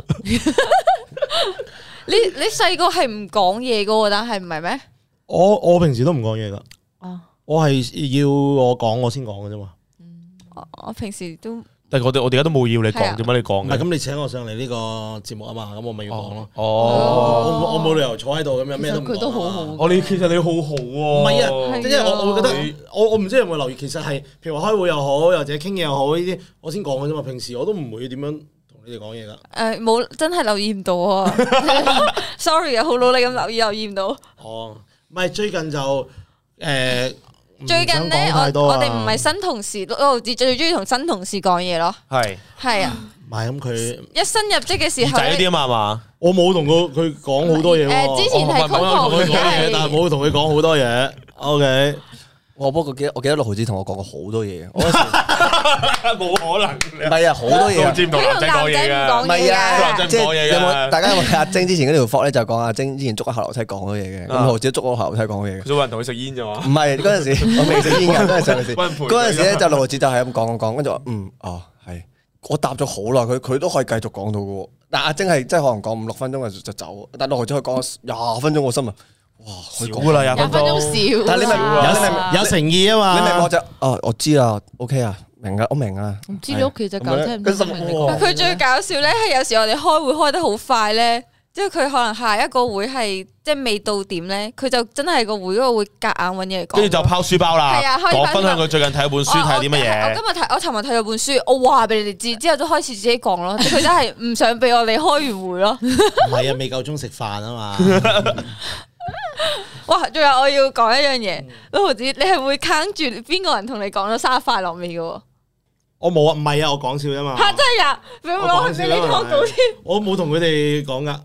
你你細個係唔講嘢噶，但係唔係咩？ 我我平時都唔講嘢噶， 哦， 我係要我講我先講嘅啫嘛。 我平時都， 但係我哋我哋而家都冇要你講，點解你講嘅？ 唔係咁，你請我上嚟呢個節目啊嘛，咁我咪要講咯。 哦， 我我冇理由坐喺度咁樣咩都唔講。 佢都好好。 我你其實你好好喎。 唔係啊，即係我我會覺得，我我唔知有冇留意，其實係譬如話開會又好，或者傾嘢又好呢啲，我先講嘅啫嘛。平時我都唔會點樣同你哋講嘢噶。 誒，冇真係留意唔到啊！Sorry 啊，好努力咁留意，留意唔到。 哦，唔係最近就誒。 最近咧，我我哋唔係新同事，六毫子最中意同新同事講嘢咯。 係係啊， 唔係咁佢一新入職嘅時候仔啲啊嘛嘛， 我冇同佢佢講好多嘢喎。 誒，之前係 Coco 嘅，但係冇同佢講好多嘢。OK， 我不過記得我記得六毫子同我講過好多嘢， 冇可能。 唔係啊，好多嘢。 唔同男仔講嘢㗎， 唔係啊， 即係有冇大家有冇睇阿晶之前嗰條課咧？就講阿晶之前捉喺後樓梯講嗰嘢嘅，咁六毫子捉我後樓梯講嗰嘢嘅。 佢人同佢食煙啫嘛？ 唔係嗰陣時，我未食煙㗎嗰陣時。嗰陣時咧就六毫子就係咁講講講，跟住話嗯哦係，我答咗好耐，佢佢都可以繼續講到嘅喎。但阿晶係真係可能講五六分鐘就走，但六毫子可以講廿分鐘，我心啊！哇， 少㗎啦，廿分鐘少， 但係你咪有有誠意啊嘛， 你明我就哦，我知啦 ，OK 啊，明啊，我明啊。 唔知你屋企隻狗聽唔聽得明你講？ 佢最搞笑咧係有時我哋開會開得好快咧，即係佢可能下一個會係即係未到點咧，佢就真係個會嗰個會夾硬揾嘢講， 跟住就拋書包啦。 係啊， 講分享佢最近睇本書睇啲乜嘢。 我今日睇我尋日睇咗本書，我話俾你哋知，之後都開始自己講咯。佢真係唔想俾我哋開完會咯。 唔係啊，未夠鐘食飯啊嘛。 哇！仲有我要講一樣嘢，六毫子，你係會坑住邊個人同你講咗生日快樂未嘅？ 我冇啊，唔係啊，我講笑啫嘛。 嚇真係呀！俾我俾你拖到添。 我冇同佢哋講噶，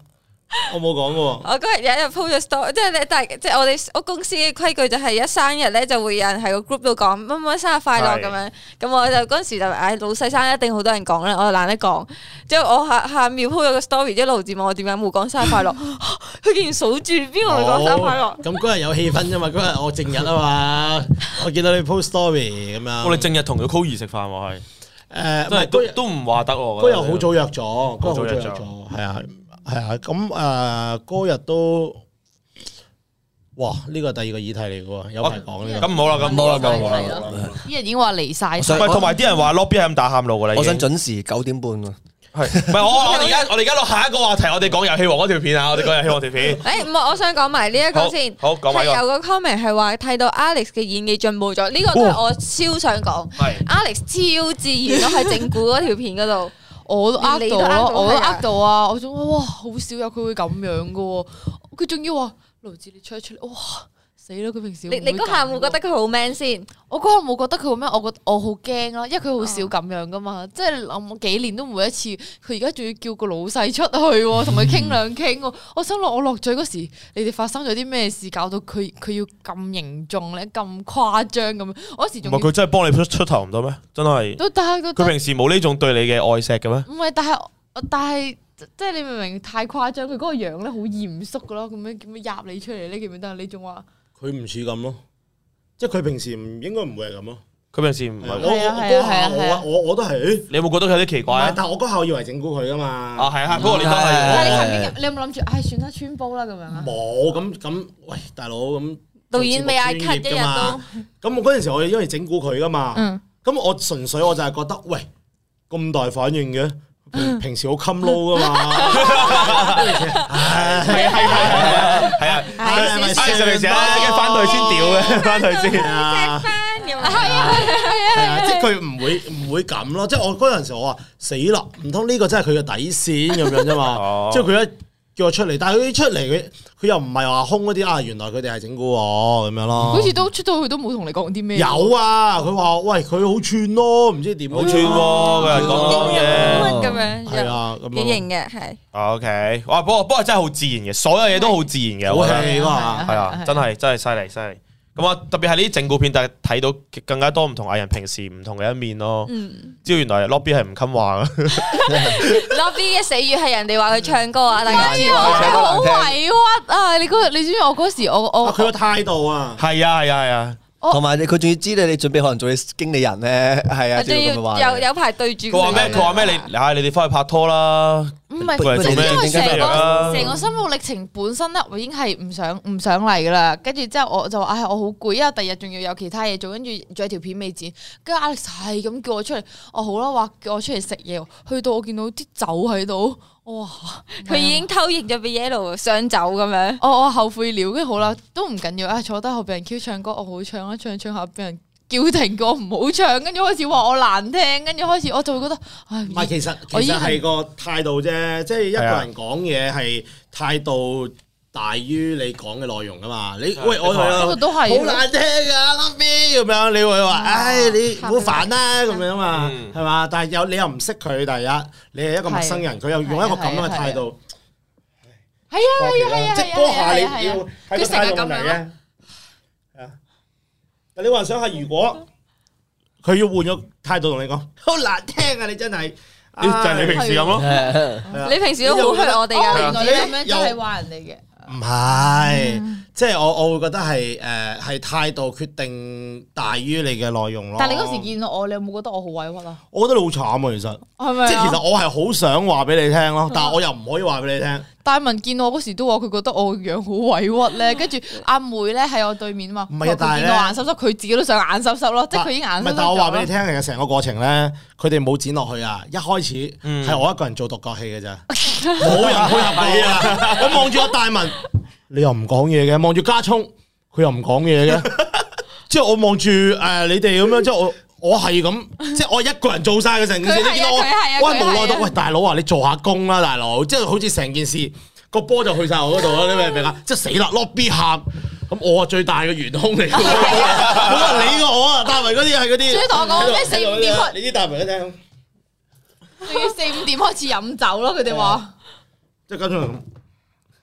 我冇講過。 我嗰日有一日 po 咗 story，即係你但係即係我哋我公司嘅規矩就係一生日咧就會有人喺個 group 度講乜乜生日快樂咁樣，咁我就嗰陣時就唉老細生日一定好多人講啦，我就懶得講。之後我下下秒 po 咗個 story，之後盧志問我點解冇講生日快樂，佢竟然數住邊個嚟講生日快樂。 咁嗰日有氣氛啫嘛，嗰日我正日啊嘛，我見到你 post story 咁樣。 我哋正日同佢 Coir 食飯喎，係誒， 都係都都唔話得喎。 嗰日好早約咗，嗰日好早約好早約咗咗，係啊。係啊，咁誒嗰日都，哇！呢個第二個議題嚟嘅喎，有排講呢個。 咁唔好啦，咁唔好啦，咁唔好啦。 啲人已經話離晒。 想喂，同埋啲人話 lobby 係咁打喊路㗎啦。 我想準時九點半喎。 係，唔係我我哋而家我哋而家落下一個話題，我哋講遊戲王嗰條片啊，我哋講遊戲王條片。 誒唔係，我想講埋呢一個先。 好，講埋係有個 comment 係話睇到 Alex 嘅演技進步咗，呢個都係我超想講。 係 Alex 超自然咯，喺整蠱嗰條片嗰度。 我都呃到你都呃到咯，我都係啊呃到啊！我仲話哇，好少有佢會咁樣噶喎，佢仲要話盧志你出一出嚟，哇死啦！佢平時你你嗰下會覺得佢好 man 先？ 我嗰下冇覺得佢好 man，我覺我好驚啦，因為佢好少咁樣噶嘛，即係諗幾年都每一次，佢而家仲要叫個老細出去喎，同佢傾兩傾喎。我心諗我落嘴嗰時，你哋發生咗啲咩事，搞到佢佢要咁凝重咧，咁誇張咁樣？我嗰時仲唔係佢真係幫你出出頭唔得咩？真係。 都但係佢平時冇呢種對你嘅愛錫嘅咩？ 唔係，但係但係即係你明唔明？太誇張，佢嗰個樣咧好嚴肅噶咯，咁樣咁樣入你出嚟咧，記唔記得？你仲話佢唔似咁咯，即係佢平時唔應該唔會係咁咯。 佢平時唔係。 我我嗰下我我我都係，誒， 你有冇覺得佢有啲奇怪啊？ 但係我嗰下我以為整蠱佢噶嘛。 啊係啊，嗰個你都係。 但係你曾經你有冇諗住唉算啦穿煲啦咁樣啊？ 冇咁咁，喂大佬咁導演未嗌 cut 一日都。 咁我嗰陣時我因為整蠱佢噶嘛， 嗯， 咁我純粹我就係覺得喂咁大反應嘅。平平時好襟撈噶嘛， 係係係係啊，係咪先？平時啊，即刻翻隊先屌嘅，翻隊先啊， 係啊係啊係啊， 即係佢唔會唔會咁咯，即係我嗰陣時我話死啦，唔通呢個真係佢嘅底線咁樣啫嘛，即係佢一叫我出嚟，但係佢出嚟佢佢又唔係話空嗰啲啊，原來佢哋係整蠱我咁樣咯。 好似都出到去都冇同你講啲咩。 有啊，佢話喂佢好串咯，唔知點好串喎，佢講講嘢咁樣。 係啊，咁幾型嘅係。 O K，哇，不過不過真係好自然嘅，所有嘢都好自然嘅， 好我覺得戲嘛， 係啊，真係真係犀利犀利。咁啊，特別係呢啲整蠱片，但係睇到更加多唔同藝人平時唔同嘅一面咯。知道原來 Lobby 係唔襟話嘅。 Lobby 嘅死語係人哋話佢唱歌啊，大家知道。 好委屈啊！你嗰你知唔知我嗰時我我佢個態度啊， 係啊係啊係啊。 同埋你佢仲要知道你準備可能做你經理人咧，係啊， 仲要有有排對住佢話咩？佢話咩？你啊，你哋翻去拍拖啦。 唔係， 做咩因為成個啊成個生活歷程本身咧，我已經係唔想唔想嚟噶啦。跟住之後我就話：唉，我好攰，因為第二日仲要有其他嘢做，跟住仲有條片未剪。跟住 Alex 係咁叫我出嚟，我好啦，話叫我出嚟食嘢。去到我見到啲酒喺度，哇！ 佢已經偷影咗俾 Yellow 上酒咁樣。 我我後悔了，跟住好啦，都唔緊要啊！坐低後俾人 Q 唱歌，我好唱啦，唱唱下俾人叫停過唔好唱，跟住開始話我難聽，跟住開始我就會覺得，唉， 唔係其實其實係個態度啫，即係一個人講嘢係態度大於你講嘅內容噶嘛。你喂我呢個都係好難聽啊，Lobby咁樣，你會話唉你好煩啦咁樣嘛，係嘛？但係有你又唔識佢，第一你係一個陌生人，佢又用一個咁樣嘅態度， 係啊係啊係啊， 即係嗰下你要喺個態度問題嘅。你幻想下，如果佢要換個態度同你講，好難聽啊！你真係， 就係你平時咁咯。 你平時都好虛我哋㗎， 原來你咁樣真係話人哋嘅。 唔係，即係我我會覺得係誒係態度決定大於你嘅內容咯。 但係你嗰時見到我，你有冇覺得我好委屈啊？ 我覺得你好慘啊，其實係咪？ 即係其實我係好想話俾你聽咯，但係我又唔可以話俾你聽。 大文見我嗰時都話佢覺得我個樣好委屈咧，跟住阿妹咧喺我對面啊嘛， 唔係啊，但係見到眼濕濕，佢自己都想眼濕濕咯，即係佢已經眼濕濕。 唔係，但係我話俾你聽，其實成個過程咧，佢哋冇剪落去啊！一開始係我一個人做獨角戲嘅咋，冇人配合你啊！我望住阿大文，你又唔講嘢嘅；望住家聰，佢又唔講嘢嘅。之後我望住誒你哋咁樣，之後我。我係咁，即係我一個人做晒嘅成件事，你見到我，我係無奈到，喂大佬啊，你做下工啦，大佬，即係好似成件事個波就去晒我嗰度啦，你明唔明啊？即係死啦 ，Lobby 喊，咁我係最大嘅元兇嚟嘅，冇人理過我啊！大文嗰啲係嗰啲， 所以同我講咩四五點開， 你啲大文一聽， 仲要四五點開始飲酒咯，佢哋話， 即係跟住咁，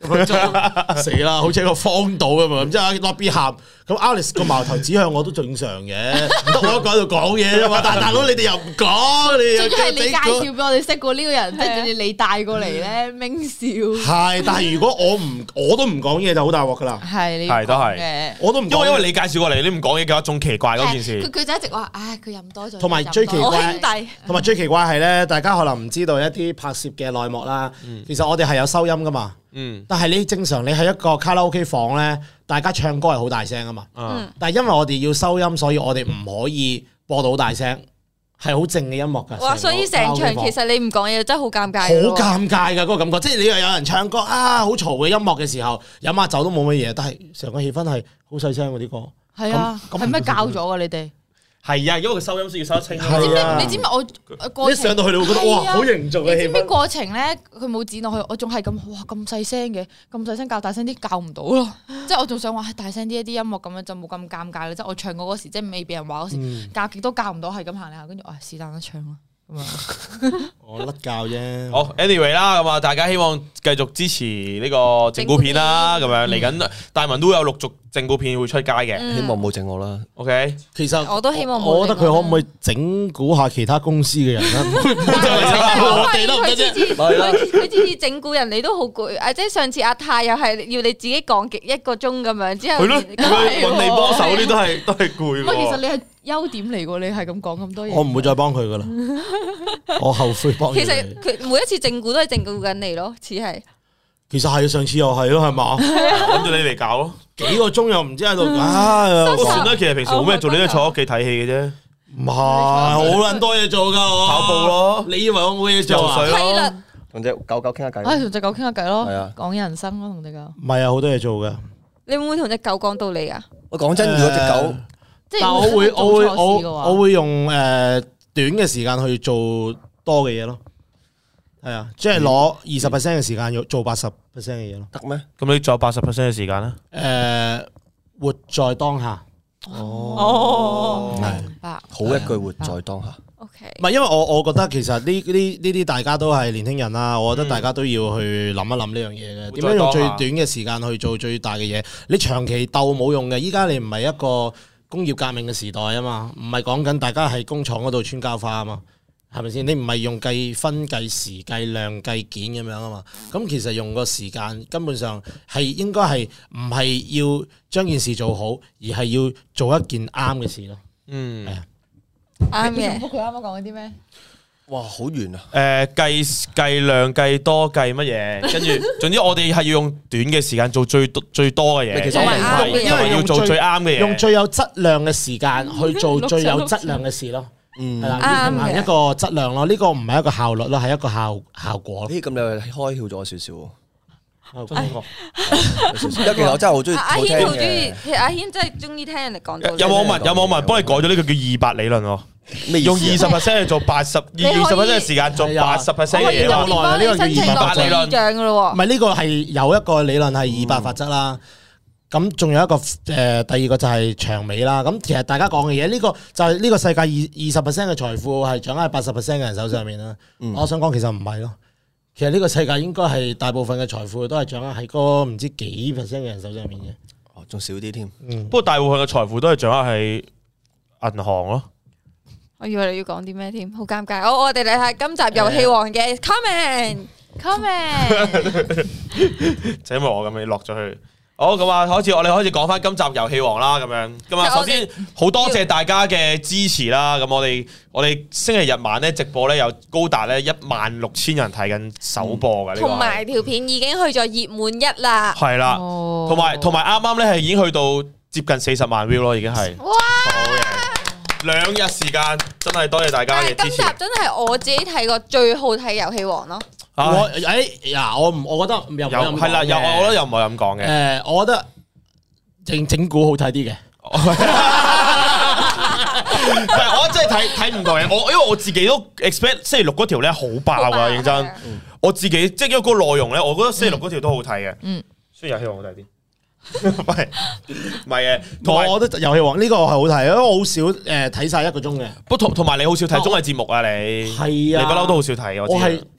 死啦，好似一個荒島咁嘛。咁之後 lobby 喊，咁 Alice 個矛頭指向我都正常嘅，得我一個喺度講嘢啫嘛。但係大佬你哋又唔講，你又最緊係你介紹俾我哋識過呢個人，即係仲要你帶過嚟咧，明笑。 係，但係如果我唔我都唔講嘢就好大鑊噶啦。 係你係都係嘅， 我都唔因為因為你介紹過嚟，你唔講嘢嘅話，仲奇怪嗰件事。 佢佢就一直話，唉，佢飲多咗。 同埋最奇我怪兄弟同埋最奇怪係咧，大家可能唔知道一啲拍攝嘅內幕啦。其實我哋係有收音噶嘛。 嗯， 但係你正常你喺一個卡拉 OK 房咧，大家唱歌係好大聲啊嘛。 嗯但係因為我哋要收音，所以我哋唔可以播到好大聲，係好靜嘅音樂㗎。 哇！所以成場其實你唔講嘢真係好尷尬。 好尷尬㗎嗰個感覺，即係你又有人唱歌啊，好嘈嘅音樂嘅時候，飲下酒都冇乜嘢，但係成個氣氛係好細聲嗰啲歌。 係啊， 咁係咩教咗㗎你哋？ 係啊，因為佢收音先要收得清。 係啊你知唔知我過程一上到去你會覺得哇， 係啊好凝重嘅氣你知唔知氛。 過程咧？佢冇剪落去，我仲係咁哇咁細聲嘅，咁細聲教大聲啲教唔到咯。即係我仲想話大聲啲一啲音樂咁樣就冇咁尷尬啦。即係我唱歌嗰時，即係未俾人話嗰時，教極都教唔到，係咁行嚟行，跟住啊是但啦唱啦咁啊。 我甩教啫。 好，anyway 啦，咁啊，大家希望繼續支持呢個整蠱片啦，咁樣嚟緊大文都有陸續整蠱片會出街嘅希望冇整我啦。 ，OK， 其實我都希望冇我覺得佢可唔可以整蠱下其他公司嘅人咧？我哋都唔得啫。 佢次次佢佢次次整蠱人，你都好攰啊！即係上次阿泰又係要你自己講極一個鐘咁樣，之後係咯，佢揾你幫手啲都係都係攰唔係，其實喎。 你係優點嚟喎，你係咁講咁多嘢。 我唔會再幫佢噶啦，我後悔幫咗其實你。 佢每一次整蠱都係整蠱緊你咯，似係。 其實係上次又係咯，係嘛？ 諗住你嚟搞咯。 幾個鐘又唔知喺度，唉， 不過算啦，其實平時冇咩做，你都係坐屋企睇戲嘅啫， 唔係好撚多嘢做噶，我跑步咯， 你以為我冇嘢做啊？ 游水咯。 係啦， 同只狗狗傾下偈。 唉，同只狗傾下偈咯係啊， 講人生咯，同只狗。 唔係啊，好多嘢做噶。 你會唔會同只狗講道理啊？ 我講真，如果只狗即係但我會做我會錯事嘅話我我會用誒短嘅時間去做多嘅嘢咯。係啊，即係攞二十 percent 嘅時間要做八十 percent 嘅嘢咯。 得咩？ 咁你仲有八十 percent 嘅時間咧？ 誒，活在當下。 哦， 係明白好一句活在當下。 OK， 唔係，因為我我覺得其實呢呢呢啲大家都係年輕人啦，我覺得大家都要去諗一諗呢樣嘢嘅。點樣用最短嘅時間去做最大嘅嘢？你長期鬥冇用嘅。依家你唔係一個工業革命嘅時代啊嘛，唔係講緊大家喺工廠嗰度穿膠花啊嘛，係咪先？你唔係用計分、計時、計量、計件咁樣啊嘛。咁其實用個時間根本上係應該係唔係要將件事做好，而係要做一件啱嘅事咯。 嗯， 係啊。 啱你重嘅。 複佢啱啱講嗰啲咩？ 哇，好遠啊！ 誒計計量計多計乜嘢，跟住總之我哋係要用短嘅時間做最多最多嘅嘢， 其實我明白同埋同埋要做最啱嘅嘢， 用最有質量嘅時間去做最有質量嘅事咯。 嗯係，啦，要平衡一個質量咯。呢個唔係一個效率咯，係一個效效果咯。 咦，咁你又開竅咗少少喎。 效果有少少因為其實我真係好中意阿阿好聽軒好中意嘅。， 其實阿軒真係中意聽人哋講道理。 有網民有網民幫你改咗呢個叫二百理論喎， 咩意思啊用二十 percent 去做八十，二十 percent 嘅時間做八十 percent 我可以今嘅嘢咯。 年幫你申請呢個叫落二百理論獎章噶咯唔係呢個係有一個理論係二百法則啦。咁仲有一個誒、呃，第二個就係長尾啦。咁其實大家講嘅嘢，呢、個就係呢個世界二二十 percent 嘅財富係掌握喺八十 percent 嘅人手上面啦。 嗯我想講其實唔係咯，其實呢個世界應該係大部分嘅財富都係掌握喺嗰唔知幾 percent 嘅人手上面嘅。 哦，仲少啲添。 嗯不，過大部分嘅財富都係掌握喺銀行咯。 我以為你要講啲咩添，好尷尬。好，我哋嚟睇今集遊戲王嘅 comment。 ，comment 就因為我咁樣落咗去。好，咁啊，開始我哋開始講翻今集遊戲王啦，咁樣。咁啊， 其實我哋首先好多謝大家嘅支持啦。咁我哋我哋星期日晚咧直播咧有高達咧一萬六千人睇緊首播嘅呢個係。 同埋條片已經去咗熱門一啦。 係啦， 哦同埋同埋啱啱咧係已經去到接近四十萬 view 咯，已經係。 哇！ 好嘅，兩日時間真係多謝大家但係今集嘅支持。 真係我自己睇過最好睇遊戲王咯。 唉我誒嗱，我唔，我覺得又唔有係啦，有我覺得又唔係咁講嘅。 誒，我覺得整整蠱好睇啲嘅。 唔係，我真係睇睇唔同嘅。我因為我自己都 expect 星期六嗰條咧好爆好爆啊，認真係啊。 我自己即係因為嗰個內容咧，我覺得星期六嗰條都好睇嘅。 嗯， 雖然遊戲王好睇啲，唔係唔係嘅。同埋我覺得遊戲王呢個係好睇，因為我好少誒睇晒一個鐘嘅。 不同同埋你好少睇綜藝節目啊，你係啊你不嬲都好少睇。我知我係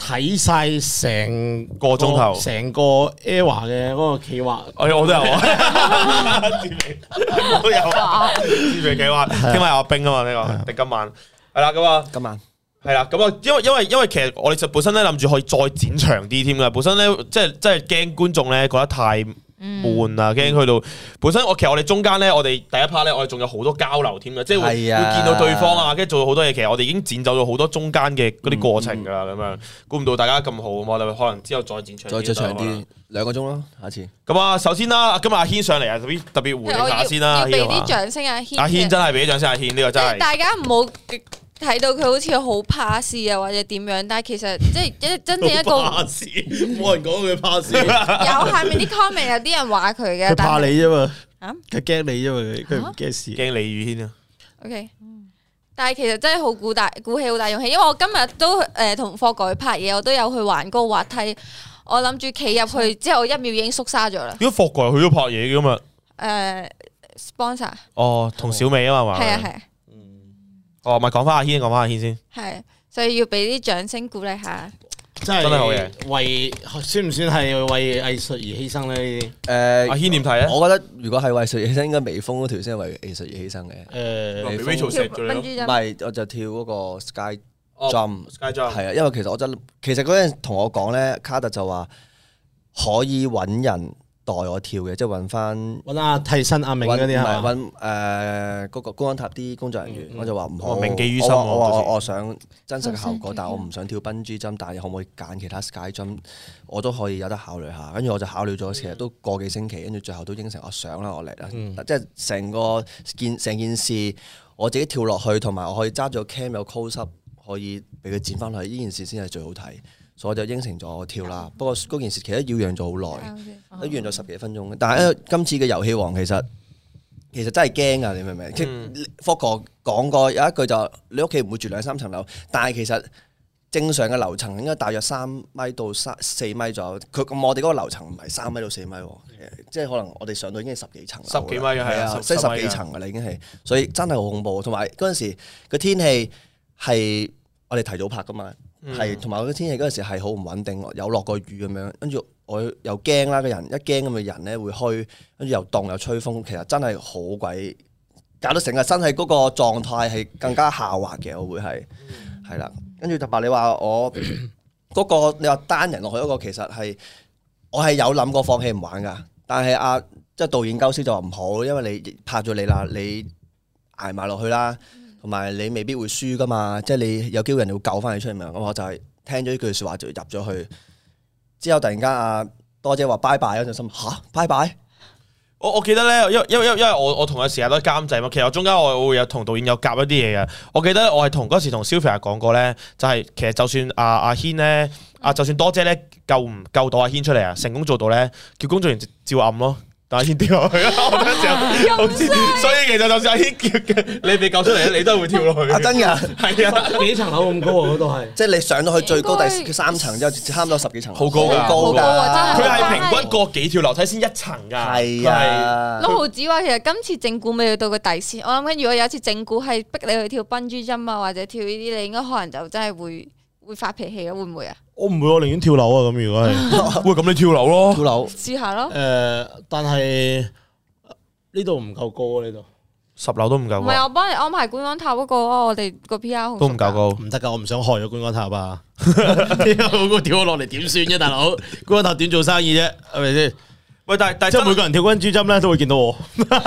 睇晒成個鐘頭成個 Era 嘅嗰個企劃， 我我都有啊，我都有啊，自肥企劃，聽晚有阿冰啊嘛呢個，定今晚係啦咁啊， 今晚係啦咁啊，因為因為因為其實我哋就本身咧諗住可以再剪長啲添㗎，本身咧即係即係驚觀眾咧覺得太悶啊，驚去到本身我其實我哋中間咧，我哋第一 part 咧，我哋仲有好多交流添嘅，即係會會見到對方啊，跟住做咗好多嘢。其實我哋已經剪走咗好多中間嘅嗰啲過程㗎啦，咁樣估唔到大家咁好，我哋可能之後再剪長， 再再長啲兩個鐘咯，下次。 咁啊，首先啦，今日阿軒上嚟啊，特別特別回應下先啦， 要俾啲掌聲阿軒。 阿軒真係俾啲掌聲，阿軒呢個真係。 大家唔好睇到佢好似好怕事啊，或者點樣，但係其實即係一真正一個怕事，冇人講佢怕事。 有下面啲 comment 有啲人話佢嘅， 佢怕你啫嘛， 啊， 佢驚你啫嘛，佢唔驚事， 驚李宇軒啊。 OK，但係其實真係好鼓大鼓起好大勇氣，因為我今日都誒同霍哥去拍嘢，我都有去玩嗰個滑梯，我諗住企入去之後一秒已經縮沙咗啦。 點解霍哥又去咗拍嘢嘅嘛？ 誒 sponsor 哦，同小美啊嘛， 係啊係啊。 哦，咪講翻阿軒，講翻阿軒先。 係，所以要俾啲掌聲鼓勵下。 真係真係好嘢。 為算唔算係為藝術而犧牲咧？ 誒， 阿軒點睇啊？ 我覺得如果係為藝術而犧牲，應該微風嗰條先係為藝術而犧牲嘅。 誒， Rachel 食咗你咯。 唔係，我就跳嗰個 Sky Jump。Sky Jump 係啊，因為其實我真其實嗰陣同我講咧，卡特就話可以揾人代我跳嘅，即係揾翻揾阿替身阿明嗰啲係嘛？ 揾誒嗰個公安塔啲工作人員，我就話唔好， 銘記於心。 我我我我想真實嘅效果，但係我唔想跳笨豬針，但係可唔可以揀其他 Sky Jump，我都可以有得考慮下。跟住我就考慮咗，其實都個幾星期，跟住最後都應承我上啦，我嚟啦。即係成個件成件事，我自己跳落去，同埋我可以揸咗 cam 有 close up，可以俾佢剪翻去，呢件事先係最好睇。所以我就應承咗我跳啦。不過嗰件事其實擾攘咗好耐，都擾攘咗十幾分鐘。但係咧，今次嘅遊戲王其實其實真係驚㗎，你明唔明？即係霍哥講過有一句就你屋企唔會住兩三層樓，但係其實正常嘅樓層應該大約三米到三四米左右。佢咁我哋嗰個樓層唔係三米到四米喎，即係可能我哋上到已經係十幾層， 十幾米係啊， 即係十幾層㗎啦已經係，所以真係好恐怖。同埋嗰陣時個天氣係我哋提早拍㗎嘛。係，同埋嗰個天氣嗰陣時係好唔穩定，有落過雨咁樣，跟住我又驚啦，個人一驚咁嘅人咧會虛，跟住又凍又吹風，其實真係好鬼，搞到成個身體嗰個狀態係更加下滑嘅，我會係係啦。跟住特別你話我嗰個你話單人落去嗰個，其實係我係有諗過放棄唔玩㗎，但係阿即係導演鳩師就話唔好，因為你拍咗你啦，你捱埋落去啦。同埋你未必會輸噶嘛，即係你有機會人哋會救翻你出嚟嘛。咁我就係聽咗呢句説話就入咗去，之後突然間阿多姐話拜拜嗰陣心嚇拜拜。 我我記得咧，因為因為因為我我同佢時間都監製嘛，其實我中間我會有同導演有夾一啲嘢嘅。我記得我係同嗰時同 Sylvia 講過咧，就係、是、其實就算阿阿軒咧，啊就算多姐咧救唔救到阿軒出嚟啊，成功做到咧，叫工作人員照暗咯。但阿軒跳落去啦，我嗰陣時候，所以其實就算阿軒叫你被救出嚟咧，你都係會跳落去。啊真㗎，係啊， 幾層樓咁高啊？嗰度係， 即係你上到去最高第三層之後，差唔多十幾層， 好高㗎， 好高㗎， 佢係平均過幾條樓梯先一層㗎。 係啊， 六毫子話其實今次正股未去到個底線，我諗緊如果有一次正股係逼你去跳笨豬針啊，或者跳呢啲，你應該可能就真係會會發脾氣嘅，會唔會啊？ 我唔會，我寧願跳樓啊！咁如果係， 喂，咁你跳樓咯， 跳樓試下咯。 誒，但係呢度唔夠高啊！呢度十樓都唔夠。 唔係，我幫你安排觀光塔嗰個咯，我哋個 P R 都唔夠高， 唔得㗎！我唔想害咗觀光塔啊！嗰個跳落嚟點算啫，大佬？觀光塔點做生意啫？係咪先？ 喂，但係但係即係每個人跳緊豬針咧，都會見到我。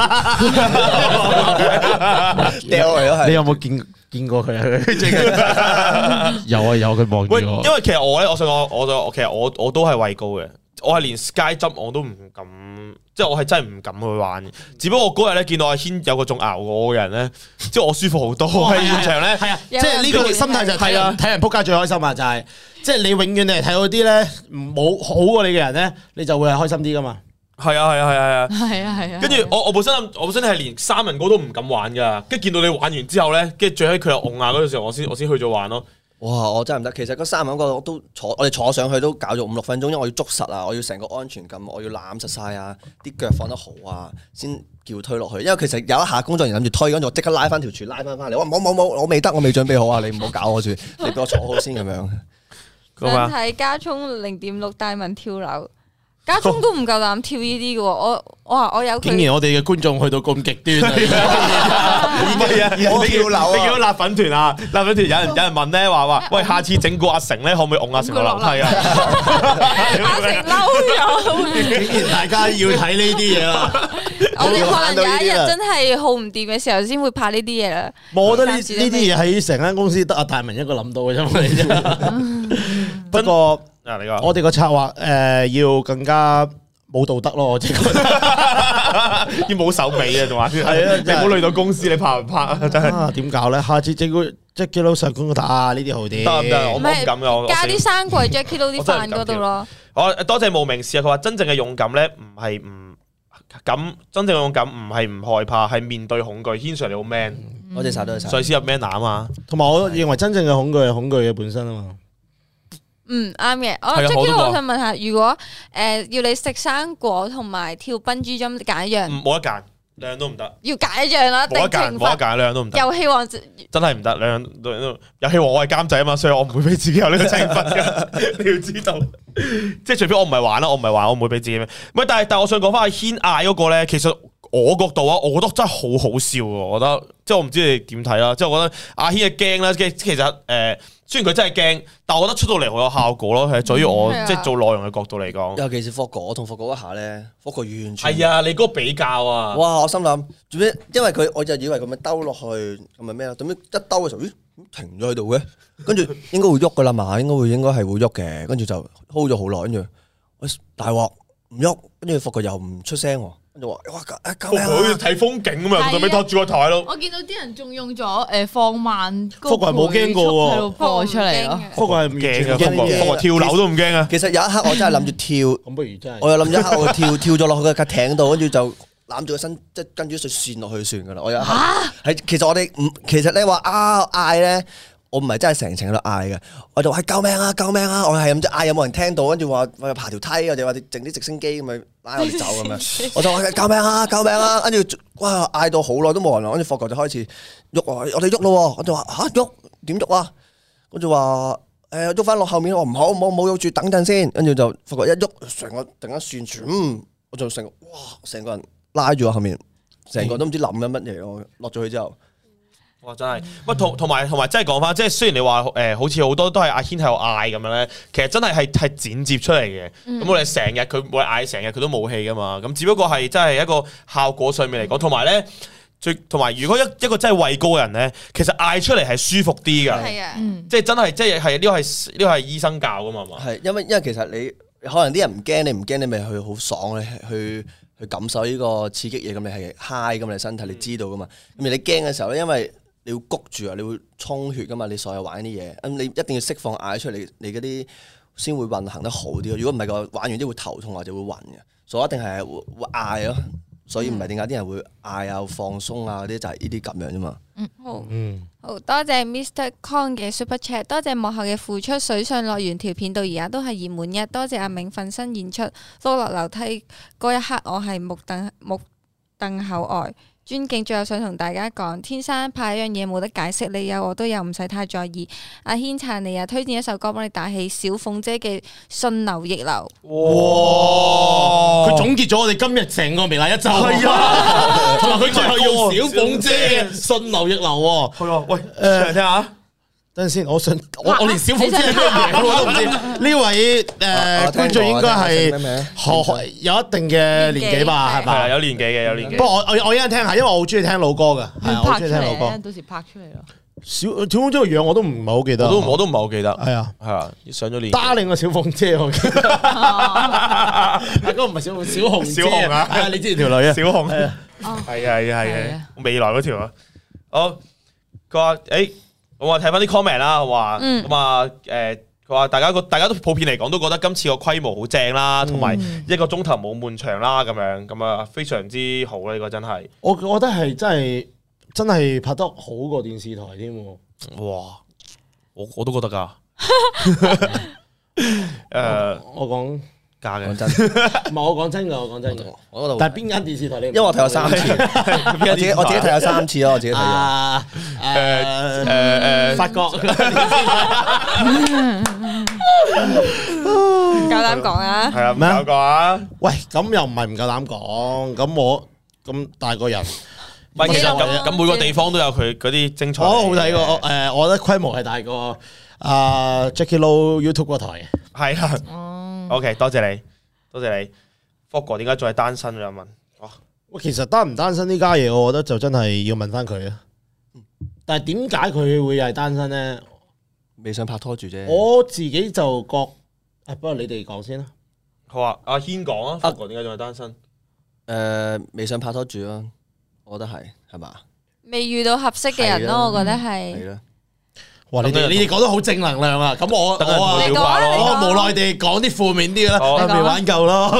你有冇見見過佢啊？有啊有，佢望住我。 因為其實我咧，我想講，我就其實我我都係畏高嘅，我係連 Sky Jump 我都唔敢，即係我係真係唔敢去玩嘅。只不過我嗰日咧見到阿軒有個仲熬我嘅人咧，即係我舒服好多。喺現場咧， 係啊，即係呢個心態就係睇人睇人撲街最開心啊！就係即係你永遠你係睇到啲咧冇好過你嘅人咧，你就會係開心啲噶嘛。 係啊係啊係啊係啊係啊， 跟住我我本身我本身係連三人歌都唔敢玩噶，跟住見到你玩完之後咧，跟住最尾佢又戇啊嗰陣時候，我先我先去咗玩咯。 哇！我真係唔得，其實嗰三人歌我都坐，我哋坐上去都搞咗五六分鐘，因為我要捉實啊，我要成個安全感，我要攬實晒啊，啲腳放得好啊，先叫推落去。因為其實有一下工作人員諗住推，跟住我即刻拉翻條柱拉翻翻嚟，我冇冇冇，我未得，我未準備好啊，你唔好搞我住，你俾我坐好先咁樣。 想睇加聰零點六大文跳樓。家聰都唔夠膽跳呢啲嘅喎，我我話我有佢。 竟然我哋嘅觀眾去到咁極端啊！ 唔係啊，你跳樓啊！你見到辣粉團啊？辣粉團有人有人問咧話話，喂，下次整個阿成咧，可唔可以擁阿成落樓梯啊？ 阿成嬲咗， 竟然大家要睇呢啲嘢啦！ 我哋可能有一日真係好唔掂嘅時候，先會拍呢啲嘢啦。 我覺得呢呢啲嘢喺成間公司得阿大文一個諗到嘅啫。不過。我哋個策劃誒要更加冇道德咯，我覺得要冇手尾啊，仲話係啊，你唔好累到公司，你拍唔拍啊？真係點搞咧？下次整個 Jackie Lou 上公打啊，呢啲好啲。 得唔得？我唔敢嘅， 加啲生果 Jackie Lou 啲飯嗰度咯。 我多謝無名氏啊！佢話真正嘅勇敢咧，唔係唔敢，真正嘅勇敢唔係唔害怕，係面對恐懼。軒 Sir 你好 man， 我哋晒都係晒。 上次入 man 啊嘛， 同埋我認為真正嘅恐懼係恐懼嘅本身啊嘛。 嗯，啱嘅。我 Jackie，我想問下，如果誒要你食生果同埋跳笨豬跳，揀一樣， 冇得揀，兩樣都唔得。 要揀一樣啦， 冇得揀，冇得揀，兩樣都唔得。遊戲王真係唔得，兩樣都遊戲王我係監製啊嘛，所以我唔會俾自己有呢個懲罰嘅。你要知道，即係除非我唔係玩啦，我唔係玩，我唔會俾自己咩。唔係，但係但係我想講翻阿軒嗌嗰個咧，其實我角度啊，我覺得真係好好笑喎。我覺得即係我唔知你點睇啦，即係我覺得阿軒嘅驚啦，其其實誒。呃雖然佢真係驚，但係我覺得出到嚟好有效果咯。係，在於我即係做內容嘅角度嚟講， 尤其是霍哥，我同霍哥一下咧，霍哥完全係啊！你嗰個比較啊， 哇！我心諗做咩？因為佢我就以為佢咪兜落去咁咪咩咯？點知一兜嘅時候，咦停咗喺度嘅？跟住應該會喐噶啦嘛，應該會應該係會喐嘅。跟住就 hold 咗好耐，跟住我大鑊唔喐，跟住霍哥又唔出聲喎。就話哇！救命啊！ 好似睇風景咁啊，最尾拖住個台咯。 我見到啲人仲用咗誒放慢高倍冇驚過喎， 喺度播出嚟咯。 福哥係唔驚嘅，福哥跳樓都唔驚啊！ 其實有一刻我真係諗住跳， 咁不如真係我又諗咗一刻我跳跳咗落去架艇度，跟住就攬住個身，即係跟住一條線落去算噶啦。我有一刻係其實我哋唔其實你話啊嗌咧。我唔係真係成程喺度嗌嘅，我就話救命啊救命啊！我係咁即嗌，有冇人聽到？跟住話話爬條梯，或者話整啲直升機咁咪拉我哋走咁樣。我就話救命啊救命啊！跟住哇嗌到好耐都冇人，跟住霍哥就開始喐啊！我哋喐咯，我就話吓喐點喐啊？跟住話誒喐翻落後面，我唔好唔好唔好喐住，等陣先。跟住就霍哥一喐，成個突然間旋轉，嗯，我就成哇成個人拉住我後面，成個都唔知諗緊乜嘢。我落咗去之後。 哇！真係，喂，同同埋同埋，真係講翻，即係雖然你話誒、呃，好似好多都係阿軒喺度嗌咁樣咧，其實真係係係剪接出嚟嘅。咁、嗯、我哋成日佢每嗌成日佢都冇氣噶嘛，咁只不過係真係一個效果上面嚟講，同埋咧最同埋，如果一一個真係畏高嘅人咧，其實嗌出嚟係舒服啲噶。係啊，即係真係，即係係呢個係呢個係醫生教噶嘛嘛。係，因為因為其實你可能啲人唔驚，你唔驚，你咪去好爽，你去去感受呢個刺激嘢，咁你係 high 咁，你身體你知道噶嘛。咁而你驚嘅時候咧，因為你要谷住啊！你會充血噶嘛？你所有玩啲嘢，咁你一定要釋放嗌出嚟，你嗰啲先會運行得好啲。如果唔係個玩完啲會頭痛或者會暈嘅，所以一定係會會嗌咯。所以唔係點解啲人會嗌啊、放鬆啊嗰啲就係呢啲咁樣啫嘛。 嗯，好，嗯，好多謝 Mister Kong 嘅 Super Chat， 多謝幕後嘅付出。水上樂園條片到而家都係熱門一，多謝阿明瞓身演出。碌落樓梯嗰一刻，我係目瞪目瞪口呆。尊敬，最後想同大家講，天生怕一樣嘢冇得解釋，你有我都有，唔使太在意。阿軒撐你啊，推薦一首歌幫你打氣，小鳳姐嘅《順流逆流》。 哇！佢總結咗我哋今日成個微辣一周，係啊，同埋佢最後用小鳳姐嘅《順流逆流》喎。係啊，喂，誒，聽下。等陣先，我想我我連小鳳姐係咩名我都唔知。呢位誒觀眾應該係有一定嘅年紀吧，係嘛？ 有年紀嘅，有年紀。 不過我我我一陣聽下，因為我好中意聽老歌㗎，係啊，我中意聽老歌。 到時拍出嚟咯。 小小鳳姐個樣我都唔係好記得， 我都我都唔係好記得。係啊係啊，上咗年。 Darling 個小鳳姐我記得，啊嗰個唔係小鳳小紅小紅啊，係啊，你知條女啊，小紅係啊係啊係啊，未來嗰條啊。好，佢話誒。我話睇翻啲 comment 啦，話咁啊，誒、嗯，佢話大家個大家都普遍嚟講都覺得今次個規模好正啦，同埋、嗯、一個鐘頭冇悶場啦，咁樣咁啊，非常之好啦，呢、這個真係。我我覺得係真係真係拍得好過電視台添。哇！我我都覺得噶。誒，我講假嘅，講真，唔係我講真噶，我講真嘅，我嗰度。但係邊間電視台你？因為我睇咗三次，我自己我自己睇咗三次咯，我自己睇咗。誒誒誒，法國。 唔夠膽講啊！ 係啊，唔咩夠講啊！ 喂，咁又唔係唔夠膽講，咁我咁大個人， 唔係，其實咁咁每個地方都有佢嗰啲精彩。 我好睇過，誒，我覺得規模係大過阿 Jackie Lou YouTube 嗰台嘅。 係啊，OK，多謝你，多謝你。福哥點解仲係單身？有人問。 喂，其實單唔單身呢家嘢，我覺得就真係要問翻佢啊。但係點解佢會係單身咧？ 未想拍拖住啫。 我自己就覺，誒，不過你哋講先啦。 好啊，阿軒講啊，福哥點解仲係單身？ 誒，未想拍拖住咯，我覺得係係嘛？ 未遇到合適嘅人咯，我覺得係。 係啦。 哇！你哋你哋講得好正能量啊！咁我我啊， 你講啊你講我無奈地講啲負面啲嘅啦， 好未玩夠咯。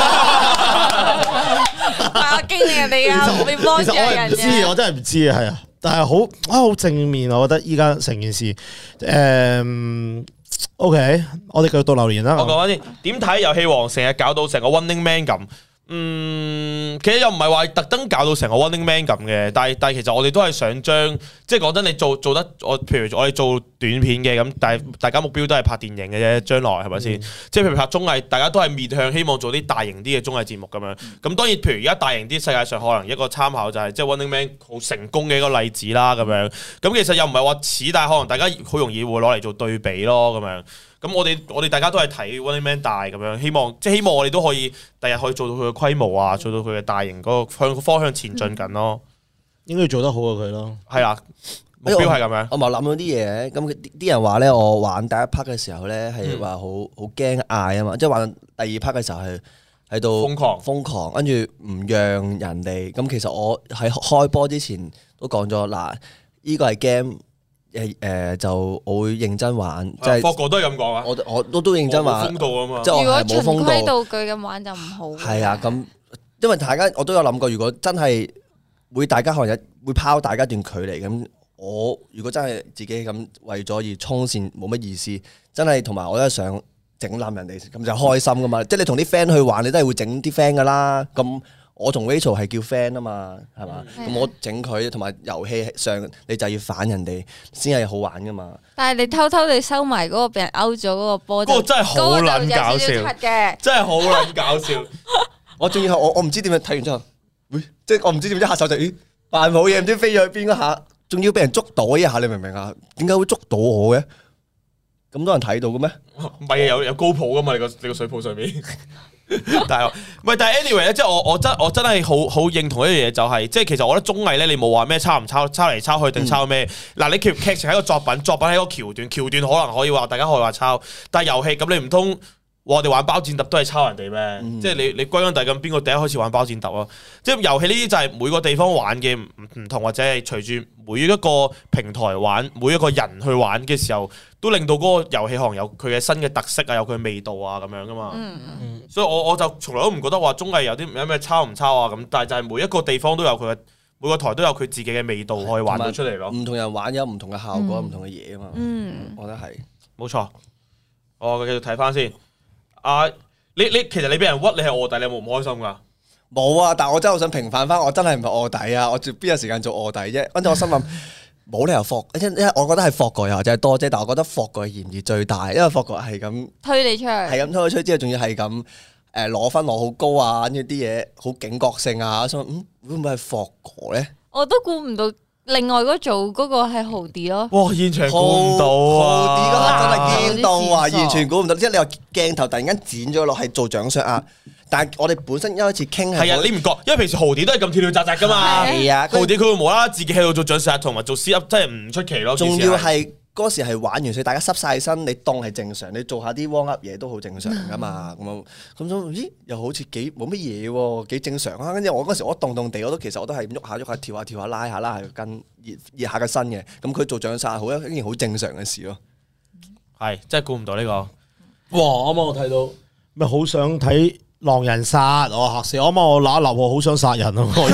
我經歷人哋啊，未幫其實我係助人唔知，我真係唔知啊，係啊，但係好啊，好正面啊！我覺得依家成件事，誒，OK，我哋繼續讀留言啦。 我講翻先，點睇遊戲王成日搞到成個 Running Man 咁？嗯，其實又唔係話特登搞到成個 Running Man 咁嘅，但係但係其實我哋都係想將，即係講真，你做做得我，譬如我哋做短片嘅咁，但係大家目標都係拍電影嘅啫，將來係咪先？即係譬如拍綜藝，大家都係面向希望做啲大型啲嘅綜藝節目咁樣。咁當然，譬如而家大型啲，世界上可能一個參考就係即係 Running Man 好成功嘅一個例子啦咁樣。咁其實又唔係話似，但係可能大家好容易會攞嚟做對比咯咁樣。咁我哋我哋大家都係睇 Running Man 大咁樣，希望即係希望我哋都可以第日可以做到佢嘅規模啊，做到佢嘅大型嗰個向方向前進緊咯。 應該要做得好過佢咯。 係啊，目標係咁樣。 我咪諗到啲嘢，咁啲啲人話咧，我玩第一 part 嘅時候咧係話好好驚嗌啊嘛，即係玩第二 part 嘅時候係喺度瘋狂瘋狂，跟住唔讓人哋。咁其實我喺開波之前都講咗，嗱，呢個係 game。誒誒就我會認真玩，即係個個都係咁講啊！ 我我都都認真玩， 風度啊嘛。 即係我如果循係冇風規度。 蹈矩咁玩就唔好。 係啊，咁因為大家我都有諗過，如果真係會大家可能會拋大家一段距離咁，我如果真係自己咁為咗而衝線，冇乜意思。真係同埋我都係想整冧人哋，咁就開心噶嘛。即係你同啲 friend 去玩，你都係會整啲 friend 噶啦。咁我同 Rachel 係叫 friend 啊嘛，係嘛？咁、嗯、我整佢，同埋遊戲上你就要反人哋先係好玩噶嘛。 但係你偷偷地收埋嗰個俾人勾咗嗰個波， 嗰個真係好撚搞笑嘅， 真係好撚搞笑。 我仲要我我唔知點樣睇完之後，喂、哎，即係我唔知點樣一下手就咦扮冇嘢，唔知飛咗去邊嗰下，仲要俾人捉到一下，你明唔明啊？點解會捉到我嘅？咁多人睇到嘅咩？ 唔係有有高普噶嘛？你個你個水泡上面。但係唔係，但係 anyway 咧，即係我我真我真係好好認同一樣嘢，就係即係其實我覺得綜藝咧，你冇話咩抄唔抄，抄嚟抄去定抄咩？嗱、嗯，你劇劇情係一個作品，作品係一個橋段，橋段可能可以話大家可以話抄，但係遊戲咁你唔通我哋玩包戰揼都係抄人哋咩？嗯、即係你你歸根底咁邊個第一開始玩包戰揼啊？即係遊戲呢啲就係每個地方玩嘅唔唔同，或者係隨住每一個平台玩，每一個人去玩嘅時候，都令到嗰個遊戲可能有佢嘅新嘅特色啊，有佢嘅味道啊咁樣噶嘛。嗯嗯、所以我我就從來都唔覺得話綜藝有啲有咩抄唔抄啊咁，但係就係每一個地方都有佢嘅，每個台都有佢自己嘅味道可以玩到出嚟咯。唔同人玩有唔同嘅效果，唔、嗯、同嘅嘢啊嘛。嗯，我覺得係冇錯。我繼續睇翻先。啊，你你其實你俾人屈，你係臥底，你有冇唔開心噶？冇啊，但係我真係好想平反翻，我真係唔係臥底啊！我邊有時間做臥底啫？跟住我心諗。冇理由霍，因因為我覺得係霍哥又或者係多姐，但係我覺得霍哥嘅嫌疑最大，因為霍哥係咁推你出去，係咁推你出去之後，仲要係咁誒攞分攞好高啊，跟住啲嘢好警覺性啊，所以嗯會唔會係霍哥咧？我都估唔到，另外嗰組嗰個係豪迪咯。哇！現場估唔到啊！豪迪嗰個真係驚到啊！完全估唔到，即係你話鏡頭突然間剪咗落係做掌上壓。但係我哋本身一開始傾係啊，你唔覺，因為平時豪迪都係咁跳跳扎扎噶嘛。係啊，豪迪佢會無啦啦自己喺度做掌上壓同埋做 sit up，真係唔出奇咯。仲要係嗰時係玩完，所以大家濕晒身，你當係正常，你做下啲 warm up 嘢都好正常噶嘛。咁樣咁咁，咦？又好似幾冇乜嘢喎，幾正常啊。跟住我嗰時我凍凍地，我都其實我都係喐下喐下，跳下跳下，拉下拉下個筋，熱熱下個身嘅。咁佢做掌上壓好一件好正常嘅事咯。係真係估唔到呢個。哇！啱啱我睇到咩好想睇。狼人殺，我嚇死我！啱啱我揦一揦，我好想殺人啊！我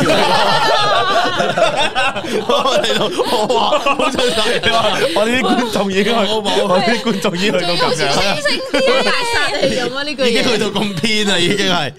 睇到我話好想殺人，我哋啲觀眾已經係，我哋啲觀眾已經去到咁樣，清醒啲大殺嚟用啊！呢句嘢已經去到咁偏啦，已經係。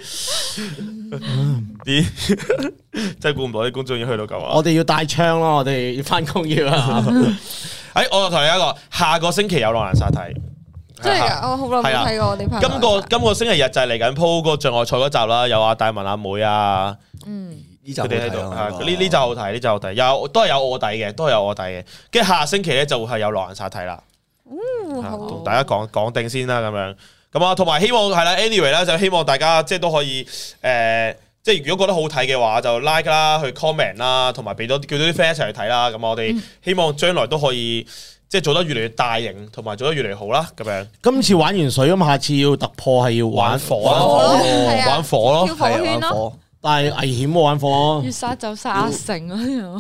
啲真係估唔到啲觀眾已經去到咁啊！我哋要帶槍咯，我哋要翻工要啊！誒，我就同你一個，下個星期有狼人殺睇。 真係㗎，我好耐冇睇過我哋拍。 今個今個星期日就係嚟緊鋪個障礙賽嗰集啦，有阿大文阿妹啊， 嗯， 呢集佢哋喺度， 呢呢呢集好睇，呢集好睇，有都係有卧底嘅，都係有卧底嘅。跟住下星期咧就會係有狼人殺睇啦，同大家講講定先啦，咁樣咁啊，同埋希望係啦 ，anyway 啦，就希望大家即係都可以誒。即係如果覺得好睇嘅話，就 like 啦，去 comment 啦，同埋俾多叫多啲 friend 一齊去睇啦。咁我哋希望將來都可以即係做得越嚟越大型，同埋做得越嚟越好啦。咁樣今次玩完水咁，下次要突破係要玩玩火咯，玩火咯， 跳火圈咯， 但係危險喎玩火。 越殺就殺阿成啊！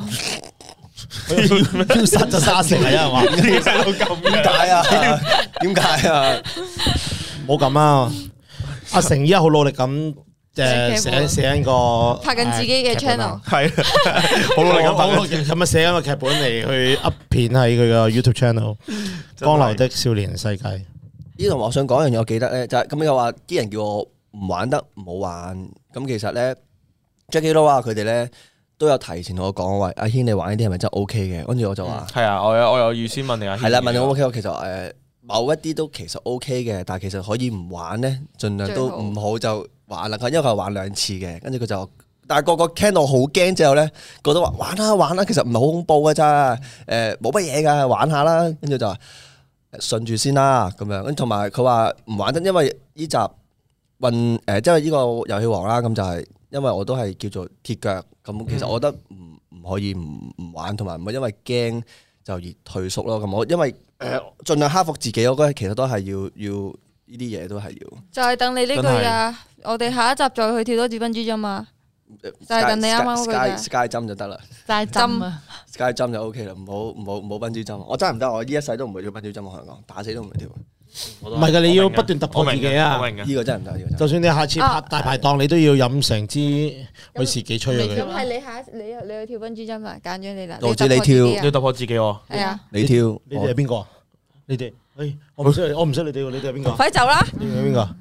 要殺就殺成係啊嘛？ 點解啊？點解啊？ 冇咁啊！阿成依家好努力咁。誒寫寫緊個拍緊自己嘅 channel， 係好努力咁拍緊，咁啊寫緊個劇本嚟去 up 片喺佢個 YouTube channel《光流的少年世界》。 呢度我想講一樣嘢，我記得咧就係咁又話啲人叫我唔玩得唔好玩，咁其實咧 Jackie Lou 啊佢哋咧都有提前同我講，喂阿軒你玩呢啲係咪真係 OK 嘅？跟住我就話係啊，我有我有預先問你阿軒， 係啦，問你 O K， 其實誒某一啲都其實 OK 嘅，但係其實可以唔玩咧，盡量都唔好就。玩啦，因為佢係玩兩次嘅，跟住佢就，但係個個聽到好驚之後咧，覺得話玩啦玩啦，其實唔係好恐怖嘅咋，誒冇乜嘢㗎，玩下啦，跟住就話順住先啦咁樣，跟同埋佢話唔玩得，因為呢集運誒即係呢個遊戲王啦，咁就係因為我都係叫做鐵腳，咁其實我覺得唔唔可以唔唔玩，同埋唔係因為驚就而退縮咯，咁我因為誒、呃、盡量克服自己，我覺得其實都係要要。呢啲嘢都係要， 就係等你呢句啊！我哋下一集再去跳多次分珠針嘛，就係等你啱啱嗰句啫。 Sky 針就得啦 ，Sky 針啊 ，Sky 針就 OK 啦，唔好唔好唔好分珠針，我真係唔得，我呢一世都唔會跳分珠針，我同你講，打死都唔會跳。 唔係㗎，你要不斷突破自己啊！ 呢個真係唔得，呢個就算你下次拍大排檔，你都要飲成支威士忌吹咗佢。 咁係你下你你去跳分珠針啊？揀咗你啦， 導致你跳， 你突破自己喎。 係啊， 你跳， 你哋係邊個？你哋，誒，我唔識，我唔識你哋喎，你哋係邊個？ 快走啦！ 你哋係邊個？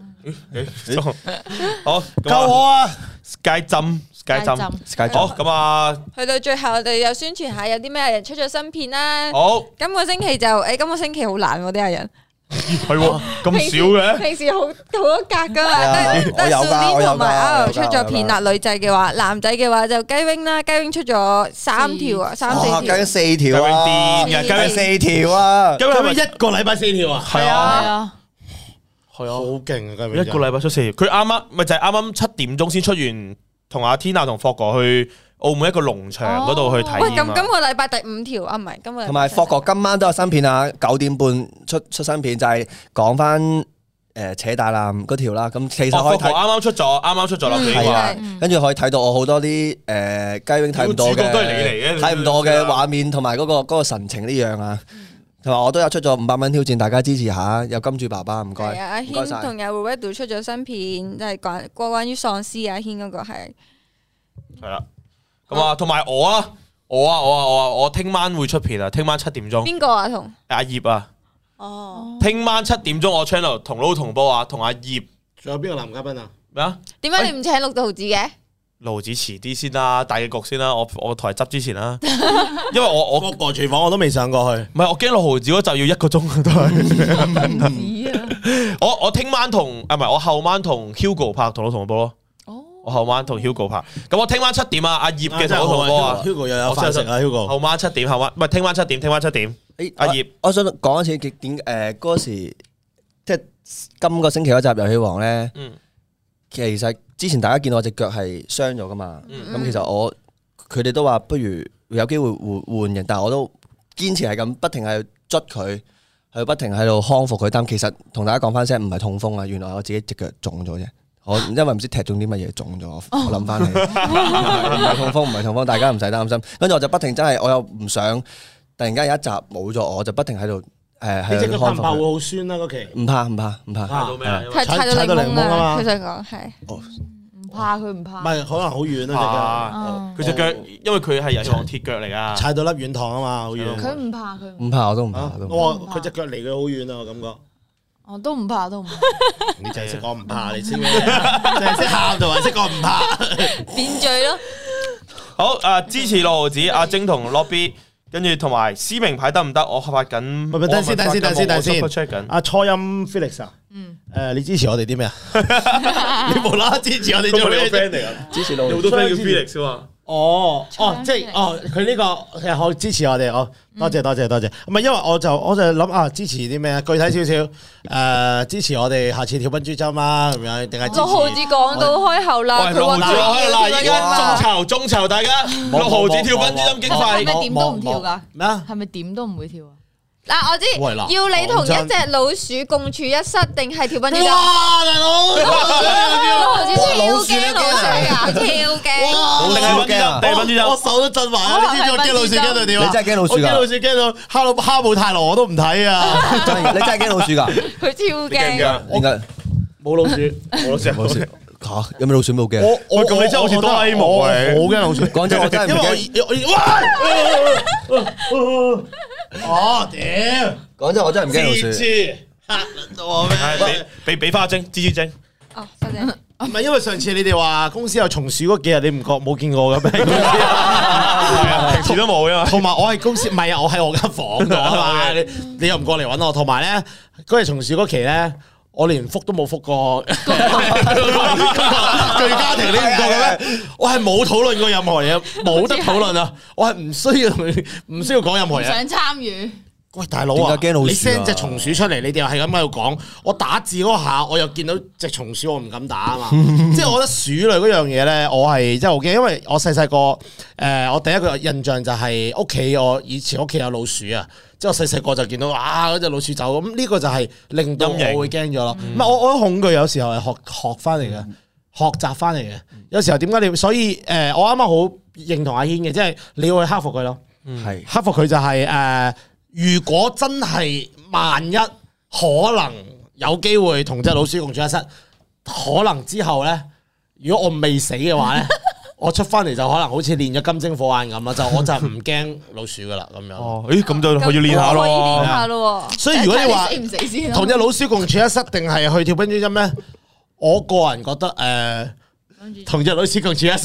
好， 救我啊 ！Sky 針，Sky 針，Sky 針。好，咁啊， 去到最後，我哋又宣傳下有啲咩人出咗新片啦。 好， 今個星期就誒，今個星期好難喎啲藝人。 係喎，咁少嘅。 平時好好多格噶嘛， 我有㗎，我有同埋阿牛出咗片啦。女仔嘅話，男仔嘅話就雞 wing 啦，雞 wing 出咗三條啊，三四條。 雞 wing 四條啊， 雞 wing 雞 wing 四條啊， 雞 wing 係咪一個禮拜四條啊？ 係啊，係啊， 好勁啊！雞 wing 一個禮拜出四條，佢啱啱咪就係啱啱七點鐘先出完，同阿 Tina 同霍哥去澳門一個農場嗰度去睇。 喂，咁今個禮拜第五條啊，唔係今個。 同埋霍哥今晚都有新片啊，九點半出出新片，就係講翻誒扯大纜嗰條啦。咁其實可以睇， 啱啱出咗，啱啱出咗啦。 係啊，跟住可以睇到我好多啲誒雞 wing 睇唔到嘅， 主角都係你嚟嘅， 睇唔到嘅畫面同埋嗰個嗰個神情呢樣啊。同埋我都有出咗五百蚊挑戰，大家支持下。有金主爸爸，唔該。 係啊，阿軒同有 Roberto 出咗新片，就係關關關於喪屍阿軒嗰個係。 係啦。咁啊，同埋我啊，我啊，我啊，我啊，我聽晚會出片啊，聽晚七點鐘。 邊個啊？同阿葉啊。 哦。 聽晚七點鐘我 channel 同撈同波啊，同阿葉。 仲有邊個男嘉賓啊？ 咩啊？ 點解你唔請六道子嘅？ 盧子遲啲先啦，大嘅局先啦，我我台執之前啦，因為我我個個廚房我都未上過去， 唔係我驚六毫子嗰集要一個鐘都係。我我聽晚同啊唔係我後晚同 Hugo 拍同撈同波咯。我後晚同 Hugo 拍，咁我聽晚七點啊，阿葉嘅同我同波啊 ，Hugo 又有飯食啊 ，Hugo。 後晚七點，後晚唔係聽晚七點，聽晚七點。誒，阿葉， 我想講一次點誒嗰時，即係今個星期嗰集遊戲王咧。嗯。其實之前大家見到我隻腳係傷咗噶嘛，咁其實我佢哋都話不如有機會換換人，但係我都堅持係咁，不停係捽佢，係不停喺度康復佢。但其實同大家講翻聲，唔係痛風啊，原來我自己隻腳腫咗啫。我因為唔知踢中啲乜嘢腫咗，我諗翻起唔係痛風，唔係痛風，大家唔使擔心。跟住我就不停真係，我又唔想突然間有一集冇咗，我就不停喺度誒喺度康復。怕唔怕會好酸啊？嗰期唔怕唔怕唔怕。 踩到咩？踩到檸檬啊！佢想講係。 唔怕佢唔怕。唔係可能好遠啊隻腳，佢隻腳因為佢係遊戲王鐵腳嚟噶， 踩到粒軟糖啊嘛，好遠。 佢唔怕佢。 唔怕我都唔怕。 我話佢隻腳離佢好遠啊，我感覺。 我都唔怕，都唔怕。 你就係識講唔怕，你知咩？就係識喊同埋識講唔怕， 變罪咯。 好啊！支持六毫子阿晶同 Lobby， 跟住同埋撕名牌得唔得？我發緊， 唔係等先，等先，等先，等先。 我 check 緊。 阿初音 Felix 啊，誒，你支持我哋啲咩啊？你無啦啦支持我哋做咩 friend 嚟啊？ 支持到有好多 friend 叫 Felix 啊嘛。 哦，哦，即係哦，佢呢個其實好支持我哋，哦，多謝多謝多謝。唔係因為我就我就諗啊，支持啲咩啊？具體少少，誒，支持我哋下次跳笨豬跳啊，咁樣定係支持？ 六毫子講到開口啦， 喂，六毫子開口啦，而家眾籌眾籌，大家六毫子跳笨豬跳經係費。 咪點都唔跳㗎？ 咩啊？ 係咪點都唔會跳啊？ 嗱，我知喂嗱要你同講真一隻老鼠共處一室，定係跳笨豬跳？ 哇，大佬， 六毫子超哇老鼠驚你老鼠啊，超驚！ 哇定係笨豬跳，定係笨豬跳我。手都震埋啊！你知唔知我驚老鼠驚到點啊？ 你真係驚老鼠㗎我驚老鼠驚到哈魯哈姆太郎我都唔睇啊！ 真係你真係驚老鼠㗎？ 佢超驚。 點解冇老鼠， 冇老鼠， 冇事嚇？有咩老鼠冇驚？ 我我咁你真係好似哆啦 A 夢啊你我好驚老鼠。 講真，我真係唔因為驚。 我我喂，哦屌！ 講真，我真係唔驚老蜘蛛鼠。 嚇撚到我咩？ 係俾俾俾花精、蜘蛛精。 哦，多謝。 唔係因為上次你哋話公司有松鼠嗰幾日，你唔覺冇見過嘅咩？ 係啊，平時都冇啊嘛。 同埋我係公司，唔係啊，我喺我間房度啊嘛。你你又唔過嚟揾我，同埋咧嗰日松鼠嗰期咧，我連覆都冇覆過。巨家庭你唔覺嘅咩？我係冇討論過任何嘢，冇得討論啊！我係唔需要唔需要講任何嘢。 想參與。 喂，大佬啊， 點解驚老鼠啊你 send 隻松鼠出嚟，你哋又係咁喺度講，我打字嗰下，我又見到隻松鼠，我唔敢打啊嘛。即係我覺得鼠類嗰樣嘢咧，我係真係好驚，因為我細細個誒，我第一個印象就係屋企，我以前屋企有老鼠啊。即係我細細個就見到啊嗰隻老鼠走，咁呢個就係令到我會驚咗咯。唔係我我恐懼有時候係學學翻嚟嘅，學習翻嚟嘅。有時候點解你所以誒，我啱啱好認同阿軒嘅，即係你要去克服佢咯。 係克服佢就係誒。如果真係萬一可能有機會同隻老鼠共處一室，可能之後咧，如果我未死嘅話咧，我出翻嚟就可能好似練咗金睛火眼咁啦，就我就唔驚老鼠噶啦咁樣。 哦，咦，咁就可以練下可以練咯。 下咯。 所以如果你話死唔死先咯？ 同隻老鼠共處一室，定係去跳冰珠針咧？我個人覺得誒，同隻老鼠共處一室。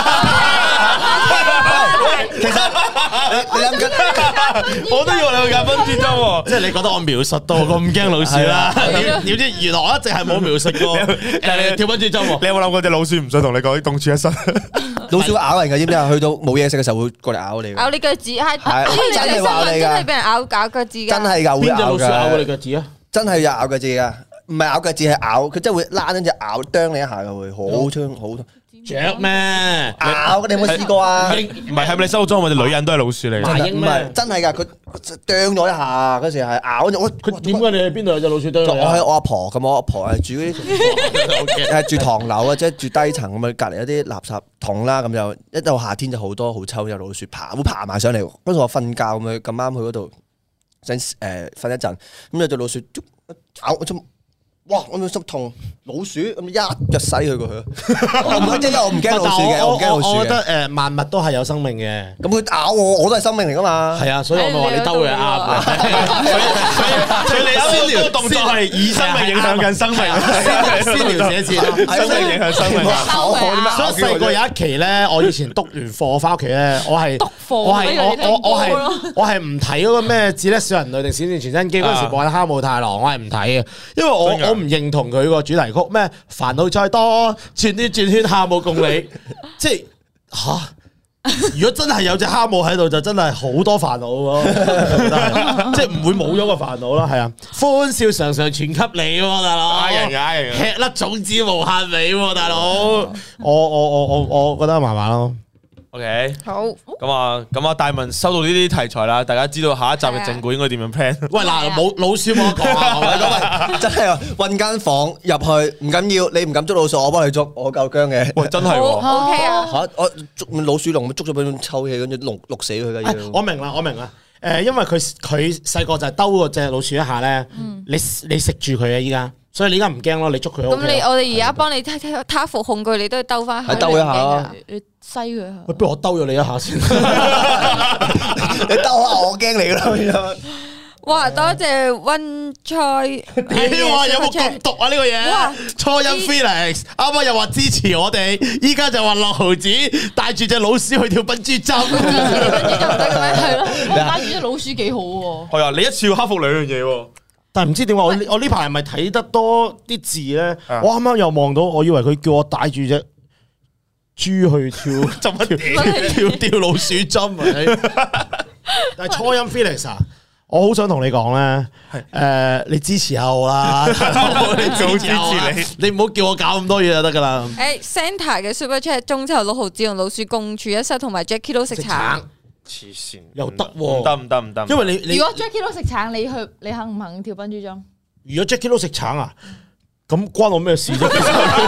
其實你你諗緊， 我都以為你去揀分豬針喎。 即係你覺得我描述到咁驚老鼠啦？點點知原來我一直係冇描述過誒跳冰珠針喎。 你有冇諗過隻老鼠唔想同你講共處一室？ 老鼠會咬人㗎，知唔知啊？去到冇嘢食嘅時候會過嚟咬你㗎。 咬你腳趾係， 係之前有啲新真係話你㗎聞真係俾人咬咬腳趾㗎。 真係㗎，會邊隻咬老鼠咬過你㗎。 腳趾啊？ 真係有咬腳趾㗎，唔係咬腳趾係咬，佢真係會拉緊隻咬啄你一下㗎，會好thương好痛。 雀咩？ 咬你有冇試過啊？ 唔係，係咪你生活中我哋女人都係老鼠嚟？ 麻鷹咩唔係真係㗎，佢啄咗一下嗰時係咬咗我。 佢點解你喺邊度有隻老鼠啄你啊？ 我喺我阿婆咁，我阿婆係住嗰啲係住唐樓啊，即係住低層咁啊，隔離一啲垃圾桶啦，咁就一到夏天就好多好臭有老鼠爬，會爬埋上嚟。嗰時我瞓覺咁樣，咁啱去嗰度想誒瞓一陣，咁有隻老鼠咬我出。哇！我咪心痛，老鼠咁一腳洗佢過去。唔係即係我唔驚老鼠嘅，我唔驚老鼠我覺嘅。 得誒萬物都係有生命嘅。 咁佢咬我，我都係生命嚟噶嘛。 係啊，所以我咪話你兜佢啱嘅。 所以你啱先個動作係以生命影響緊生命， 先聊寫字咯， 生命影響生命。 所以細個有一期咧，我以前督完課翻屋企咧，我係督課我係我我我呢個係我係唔睇嗰個咩《自叻小人類》定《閃電傳真機》嗰陣時播緊《哈姆太郎》，我係唔睇嘅，因為我真㗎我唔認同佢個主題曲咩煩惱再多，轉圈轉圈哈姆共你，即係吓。如果真係有隻哈姆喺度，就真係好多煩惱咯，即係唔會冇咗個煩惱啦，係啊，歡笑常常傳給你喎，大佬， 呃人嘅呃人嘅吃粒種子無限美喎，大佬，我我我我我覺得麻麻咯。 OK， 好， 咁啊，咁啊，大文收到呢啲題材啦，大家知道下一集嘅正故應該點樣 plan？ 喂嗱，冇老鼠冇得講啊！ 真係啊！揾間房入去唔緊要，你唔敢捉老鼠，我幫你捉，我夠姜嘅。 喂，真係好喎， OK 啊。 嚇！我捉老鼠籠，捉咗俾佢抽氣，跟住籠淥死佢嘅哎要。 我明啦，我明啦。誒，因為佢佢細個就係兜嗰隻老鼠一下咧，你你食住佢啊！依家，所以你依家唔驚咯，你捉佢 O K 咁你我哋而家幫你睇睇他服控具，你都要兜翻係兜一下啊你西佢下。 喂，不如我兜咗你一下先。 你兜下我驚你咯。 哇！多謝溫菜， 你話有冇咁毒啊？呢個嘢，初音 Felix 啱啱又話支持我哋，依家就話六毫子帶住隻老鼠去跳笨豬跳， 笨豬跳唔得嘅咩？係咯，帶住隻老鼠幾好喎。 係啊，你一次要克服兩樣嘢喎。 但係唔知點解我我呢排係咪睇得多啲字咧？我啱啱又望到，我以為佢叫我帶住隻豬去跳跳跳跳老鼠針啊！但係初音 Felix 啊！我好想同你講咧，誒，你支持下我啦，你早支持你，你唔好叫我搞咁多嘢就得噶啦。 誒 Santa 嘅 Super Chat 中秋六毫子同老鼠共處一室，同埋 Jackie 都食橙， 黐線又得喎， 唔得唔得唔得， 因為你你如果 Jackie 都食橙，你去你肯唔肯跳笨豬跳？ 如果 Jackie 都食橙啊？咁關我咩事啫 ？Jackie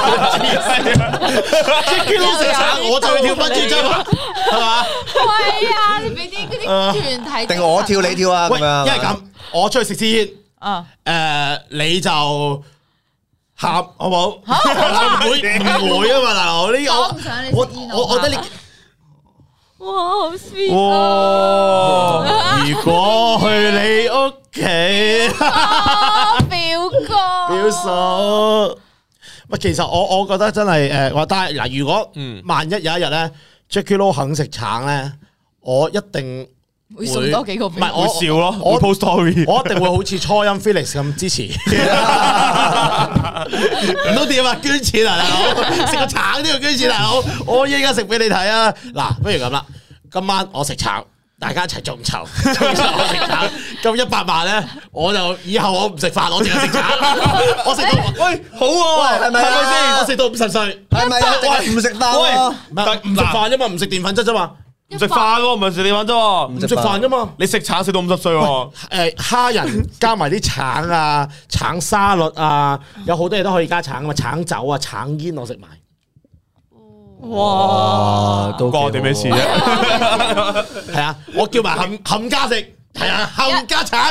都食橙，我就去跳笨豬跳，係嘛？ 係啊，你俾啲嗰啲團體定我跳你跳啊？ 喂， 咁樣因為咁，我出去食支煙， 啊， 誒，你就喊好唔好？唔會唔會啊嘛，大佬呢個我唔想你食煙， 我我覺得你。 哇，好 sweet 哇！如果去你屋企， 表哥表嫂，喂，其實我我覺得真係誒，話但係嗱，如果萬一有一日咧 ，Jackie Lou 肯食橙咧，我一定會送多幾個俾唔係我會笑咯， 我會 post story， 我一定會好似初音 Felix 咁支持，唔通點啊？捐錢啊，大佬！食個橙都要捐錢，大佬！我依家食俾你睇啊！嗱，不如咁啦，今晚我食橙，大家一齊眾籌，眾籌我食橙，咁一百萬咧，我就以後我唔食飯，我淨係食橙，我食到喂好喎， 係咪係咪先？我食到五十歲， 係咪啊？喂，唔食飯喎， 唔係唔食飯啫嘛，唔食澱粉質啫嘛， 唔食飯喎，唔係食你玩啫喎， 唔食飯啫嘛。 你食橙食到五十歲喎， 誒蝦仁加埋啲橙啊、橙沙律啊，有好多嘢都可以加橙啊嘛，橙酒啊、橙煙我食埋。 哇，都關我哋咩事啫？ 係啊，我叫埋冚冚家食，係啊，冚家橙。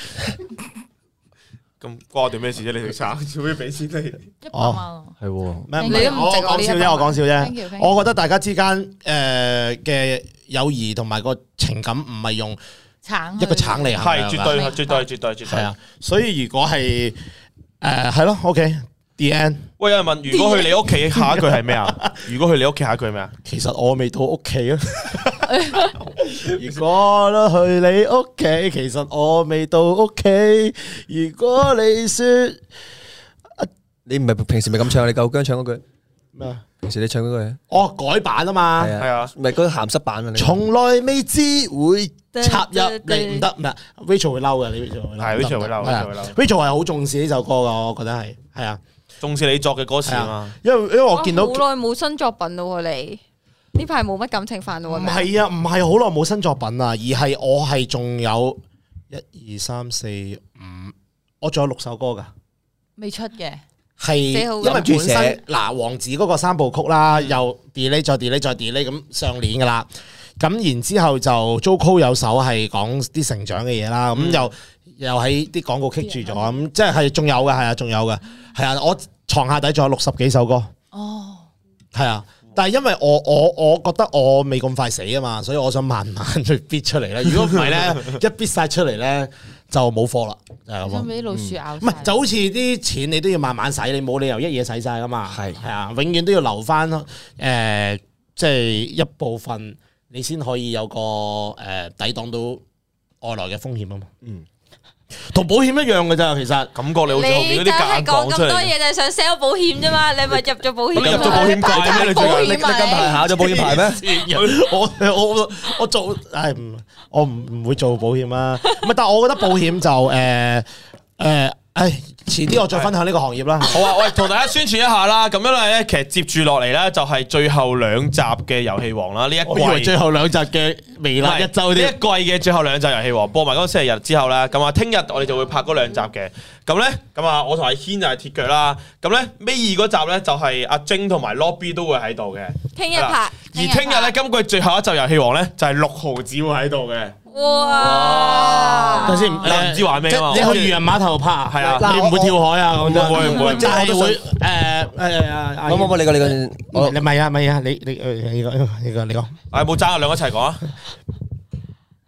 咁關我哋咩事啫？你食橙，做咩俾錢你？ 一百萬， 係喎， 咩？ 你都唔我值我呢一百講笑啫，我講笑 Thank you, 啫 thank。you 我覺得大家之間誒嘅友誼同埋個情感唔係用橙一個橙嚟衡係量㗎絕對係絕對絕對絕對係啊，所以如果係誒係咯，OK，the end。 喂，有人問，如果去你屋企，下一句係咩啊？如果去你屋企，下一句係咩啊？ 其實我未到屋企啊。如果都去你屋企，其實我未到屋企。如果你說你唔係平時咪咁唱，你夠姜唱嗰句咩啊？ 平時你唱嗰句， 哦，改版啊嘛， 係係啊， 咪嗰個鹹濕版啊？你從來未知會插入你唔得唔得 ，Rachel 會嬲嘅，你 Rachel 會嬲， 係 Rachel 會嬲係啊 Rachel 會嬲 ，Rachel 係好重視呢首歌噶，我覺得係係啊， 重視你作嘅歌詞係啊啊嘛。， 因為因為我見到好耐冇新作品咯喎，你呢排冇乜感情煩惱唔喎。 係啊，唔係好耐冇新作品啊，而係我係仲有一二三四五，我仲有六首歌噶。 未出嘅， 係寫好因為本諗住寫身嗱王子嗰個三部曲啦，又 delay 再 delay 再 delay 咁上年噶啦，咁然之後就 Jojo 有首係講啲成長嘅嘢啦，咁又又喺啲廣告棘住咗，咁即係係仲有嘅，係啊，仲有嘅，係啊，我床下底仲有六十幾首歌， 哦， 係啊。但係因為我我我覺得我未咁快死啊嘛，所以我想慢慢去逼出嚟咧。如果唔係咧，一逼晒出嚟咧就冇貨啦，就係咁咯。 想俾啲老鼠咬晒。 唔係就好似啲錢你都要慢慢使，你冇理由一嘢使晒噶嘛。 係係啊，永遠都要留翻誒、呃，即係一部分，你先可以有個誒、呃、抵擋到外來嘅風險啊嘛。嗯，同保險一樣嘅咋，其實感覺你好似後面嗰啲你梗係夾硬講出嚟。 講咁多嘢，就係想 sell 保險啫嘛？你咪入咗保險， 你入咗保險界咩？你保最近你你近排考咗保險牌咩？ 我我我我做唉唔，我唔唔會做保險啊。唔係，但係我覺得保險就誒誒。呃呃唉，遲啲我再分享呢個行業啦。 好啊，喂，同大家宣傳一下啦。咁樣咧，其實接住落嚟咧，就係最後兩集嘅遊戲王啦。呢一我以為季最後兩集嘅微辣一周呢一啲。 季嘅最後兩集遊戲王播埋嗰個星期日之後咧，咁啊，聽日我哋就會拍嗰兩集嘅。咁咧，咁啊，我同阿軒就係鐵腳啦。咁咧，尾二嗰集咧就係阿晶同埋 Lobby 都會喺度嘅。 聽日拍。 而聽日咧，今季最後一集遊戲王咧就係六毫子會喺度嘅。 哇！ 等先， 你唔知玩咩啊嘛你去漁人碼頭拍啊？ 係啊你唔會跳海啊？咁唔會唔會就係會誒誒啊！ 冇冇冇，你個你個，我你唔係啊，唔係啊，你你誒你個你個你個， 唉，冇爭啊，兩個一齊講啊！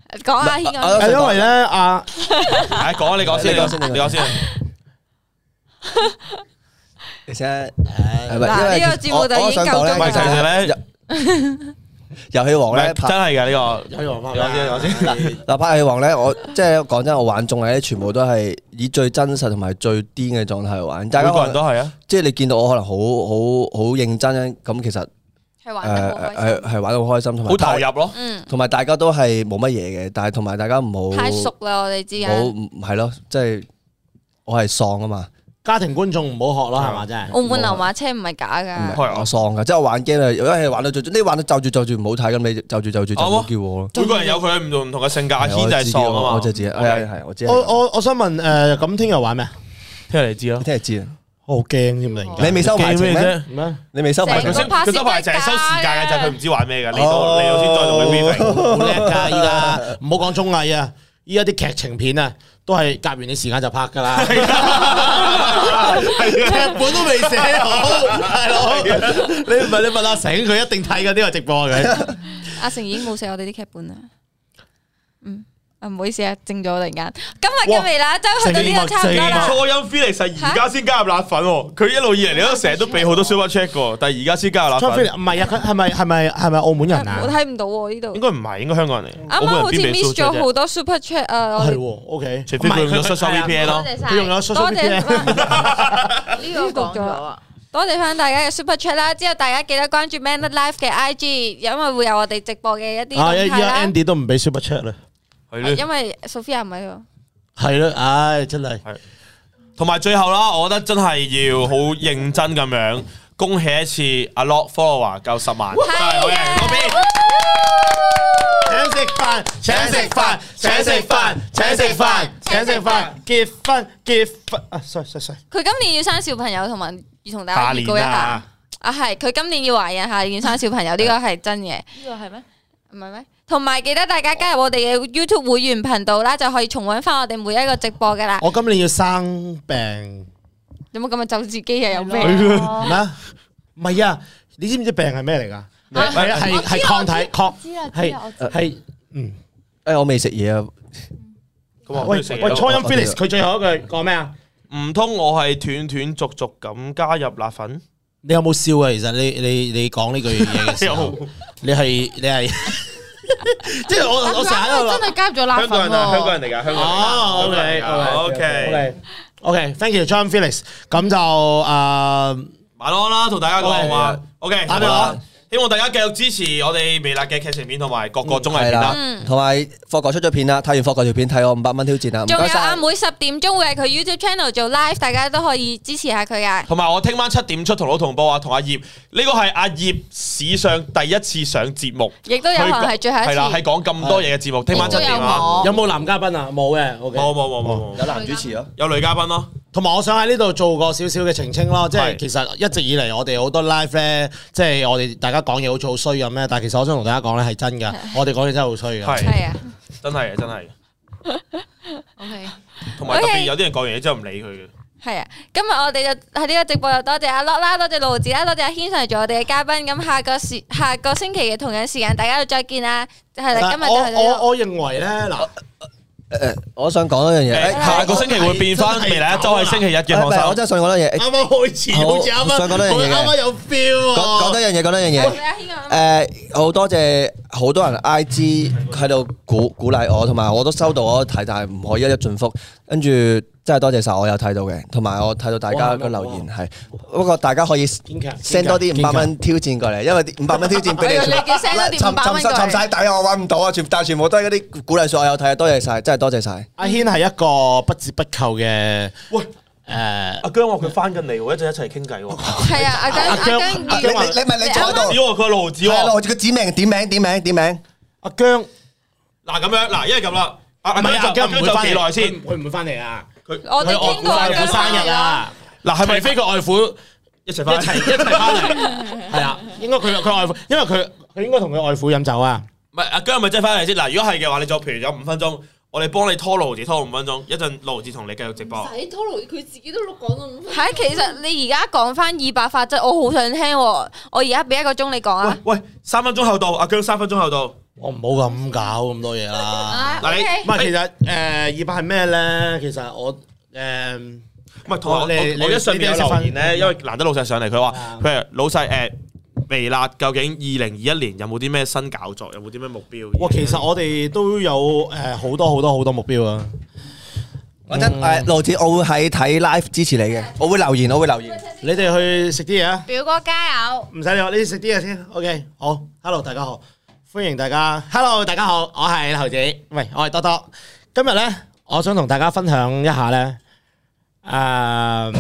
講下軒我係因為咧阿係講你講先，你講先，你講先。 其實嗱呢個節目就已經夠鐘唔係，其實咧， 遊戲王咧真係㗎呢個。 有王翻， 講先，講先。 嗱，拍遊戲王咧，我即係講真，我玩綜藝咧，全部都係以最真實同埋最癲嘅狀態去玩。大家每個人都係啊。 即係你見到我可能好好好認真咁，其實係玩得好開誒係係玩到好開心，同埋好投入咯。 嗯， 同埋大家都係冇乜嘢嘅，但係同埋大家唔好太熟啦，我哋之間。 冇唔係咯，即係我係喪啊嘛。 家庭觀眾唔好學咯，係嘛？真係。 澳門流馬車唔係假唔㗎。 係我喪噶，即係我玩 game 啊！如果係玩到最，你玩到就住就住唔好睇咁，你就住就住就唔好叫我咯。 每個人有佢唔同唔同嘅性格，阿軒就係喪啊嘛。 我就知，係係係，我知。 我我我想問誒，咁聽日玩咩？ 聽日你知咯。 聽日知啊！ 我好驚添，突然間。 你未收排程咩？ 啫？ 咩？ 你未收排程成？ 佢收佢收排就係收時間嘅，就係佢唔知玩咩嘅。嚟到哦嚟到先再同佢 briefing。 好叻㗎！依家唔好講綜藝啊，依家啲劇情片啊，都係夾完啲時間就拍㗎啦。劇本都未寫好，大佬。你唔係你問阿成，佢一定睇緊呢個直播嘅。 阿成已經冇寫我哋啲劇本啦。嗯，啊唔好意思啊，正咗突然間。今日嘅微辣周去到呢個差唔多啦。 初音 Felix 而家先加入辣粉喎，佢一路以嚟你都成日都俾好多 super check 嘅，但係而家先加入辣粉。 唔係啊，佢係咪係咪係咪澳門人啊？ 我睇唔到喎呢度。 應該唔係，應該香港人嚟。 啱啱好似 miss 咗好多 super chat 啊！我哋係喎，OK。 除非佢用咗 social V P N 咯。 多謝晒， 佢用咗 social 多 V P N 謝呢個講咗啊。 多謝翻大家嘅 super chat 啦，之後大家記得關注 Man Life 嘅 I G，因為會有我哋直播嘅一啲動啊！依家態啦。 Andy 都唔俾 super chat 啦， 係咧。 因為 Sophia 唔喺度。 係咯，唉，真係。 同埋最後啦，我覺得真係要好認真咁樣恭喜一次阿 Lock follower 夠十萬，真係好嘅，嗰邊。 請食飯，請食飯，請食飯，請食飯，請食飯，結婚結婚啊！sorry sorry sorry， 佢今年要生小朋友，同埋要同大家下預告一下年啊。 啊，係佢今年要懷孕，下年要生小朋友，呢個係真嘅。 呢個係咩？ 唔係咩？同埋記得大家加入我哋嘅 YouTube 會員頻道啦，就可以重溫翻我哋每一個直播噶啦。 我今年要生病， 有冇咁嘅咒自己啊？有咩？ 咩啊？唔係啊！你知唔知病係咩嚟㗎？係啊，係係抗體抗， 知啊知係啊，我係嗯。 誒，我未食嘢啊！ 喂喂初音 Felix 佢最後一句講咩啊？ 唔通我係斷斷續續咁加入辣粉？ 你有冇笑啊？其實你你你講呢句嘢嘅時候，你係你係，即係我我成日喺度諗真係加入咗辣粉香港人啊，香港喎。 人嚟㗎，香港人。 哦，OK OK OK OK，thank you John Felix，咁就誒晚安啦，同大家講話。OK， 打俾我啊。 希望大家繼續支持我哋微辣嘅劇情片同埋各個綜藝片啦。 嗯， 同埋霍哥出咗片啦，睇完霍哥條片睇我五百蚊挑戰啊！唔仲有該晒。 阿妹十點鐘會喺佢 YouTube channel 做 live，大家都可以支持下佢噶。 同埋我聽晚七點出同老同播啊，同阿葉呢個係阿葉史上第一次上節目， 亦都有可能係最後一次。 係啦，係講咁多嘢嘅節目。聽晚七點亦都有啊， 我有冇男嘉賓啊？冇嘅，OK。 冇冇冇冇冇， 有男主持咯， 有女嘉賓咯。 同埋我想喺呢度做個少少嘅澄清咯，即係係其實一直以嚟我哋好多 live 咧，即係我哋大家講嘢好似好衰咁咧，但係其實我想同大家講咧係真㗎，我哋講嘢真係好衰㗎。 係係啊真係真係。 OK， 同埋特別 OK 有啲人講完嘢之後唔理佢嘅。 係啊，今日我哋就喺呢個直播又多謝阿 Lock 啦，多謝盧子啦，多謝阿軒上嚟做我哋嘅嘉賓。咁下個時下個星期嘅同樣時間，大家就再見啦。係啦，今日就我係呢我我認為咧嗱。 誒，我想講一樣嘢。 誒下個星期會變翻未來一周係星期日嘅放手。 誒唔係我真係想講一樣嘢。 啱啱開始好似啱啱， 想講多樣嘢嘅啱啱有 feel 講講喎。 多樣嘢，講多樣嘢。 阿軒啊誒，好多謝好多人 I G 喺度鼓鼓勵我，同埋我都收到，我都睇，但係唔可以一一盡覆。跟住真係多謝晒，我有睇到嘅，同埋我睇到大家嘅留言係。不過大家可以 send 多啲五百蚊挑戰過嚟，因為啲五百蚊挑戰俾你。 你叫 send 多啲尋五百蚊過嚟尋尋晒底啊！我揾唔到啊！全但係全部都係嗰啲鼓勵數，我有睇，多謝晒，真係多謝晒。 阿軒係一個不折不扣嘅喂， 誒。 阿姜話佢翻緊嚟喎，一陣一齊傾偈喎。 係啊，阿姜阿姜你你你咪你坐喺度。 子喎，佢係盧子係喎。 咯，佢指名點名點名點名。 阿姜嗱咁樣，嗱，因為咁啦，阿阿唔係阿姜就阿姜就姜唔會翻幾耐先？ 佢唔會翻嚟啊！ 佢我哋傾過外父生日啊！ 嗱係咪除非佢外父一齊翻？ 一齊一齊翻嚟，係啦，應該佢佢外父，因為佢佢應該同佢外父飲酒啊。 唔係阿姜係咪真係翻嚟先？嗱，如果係嘅話，你就譬如有五分鐘，我哋幫你拖盧字拖五分鐘，一陣盧字同你繼續直播。 使拖路佢自己都講到五分鐘。 係，其實你而家講翻二百法則，我好想聽喎。我而家俾一個鐘你講啊。 喂喂，三分鐘後到，阿姜三分鐘後到。 我唔好咁搞咁多嘢啦。 嗱你唔係其實誒二百係咩咧？其實我誒唔係同埋我你我我一上面有留言咧， 你因為難得老細上嚟，佢話啊佢係老細誒微辣，究竟二零二一年有冇啲咩新搞作，有冇啲咩目標？ 哇，其實我哋都有誒好多好多好多目標啊！ 我真誒盧子，我會喺睇 live 支持你嘅，我會留言，我會留言。 你哋去食啲嘢啊！ 表哥加油！ 唔使理我，你食啲嘢先。OK，好，Hello，大家好，歡迎大家。Hello，大家好，我係猴子，喂，我係多多。今日咧，我想同大家分享一下咧，誒，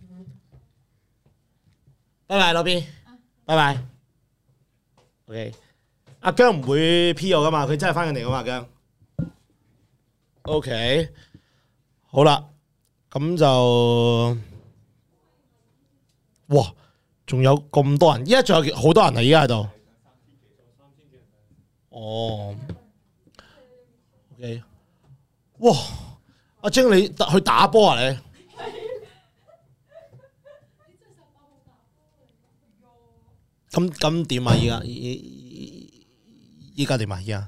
拜拜，羅邊，拜拜。OK，阿姜唔會 P 我噶嘛，佢真係翻緊嚟噶嘛，姜。OK，好啦，咁就，哇！仲有咁多人，依家仲有好多人啊！依家喺度。哦，OK，哇！阿晶你去打波啊你？咁咁點啊？依家依依家點啊？依家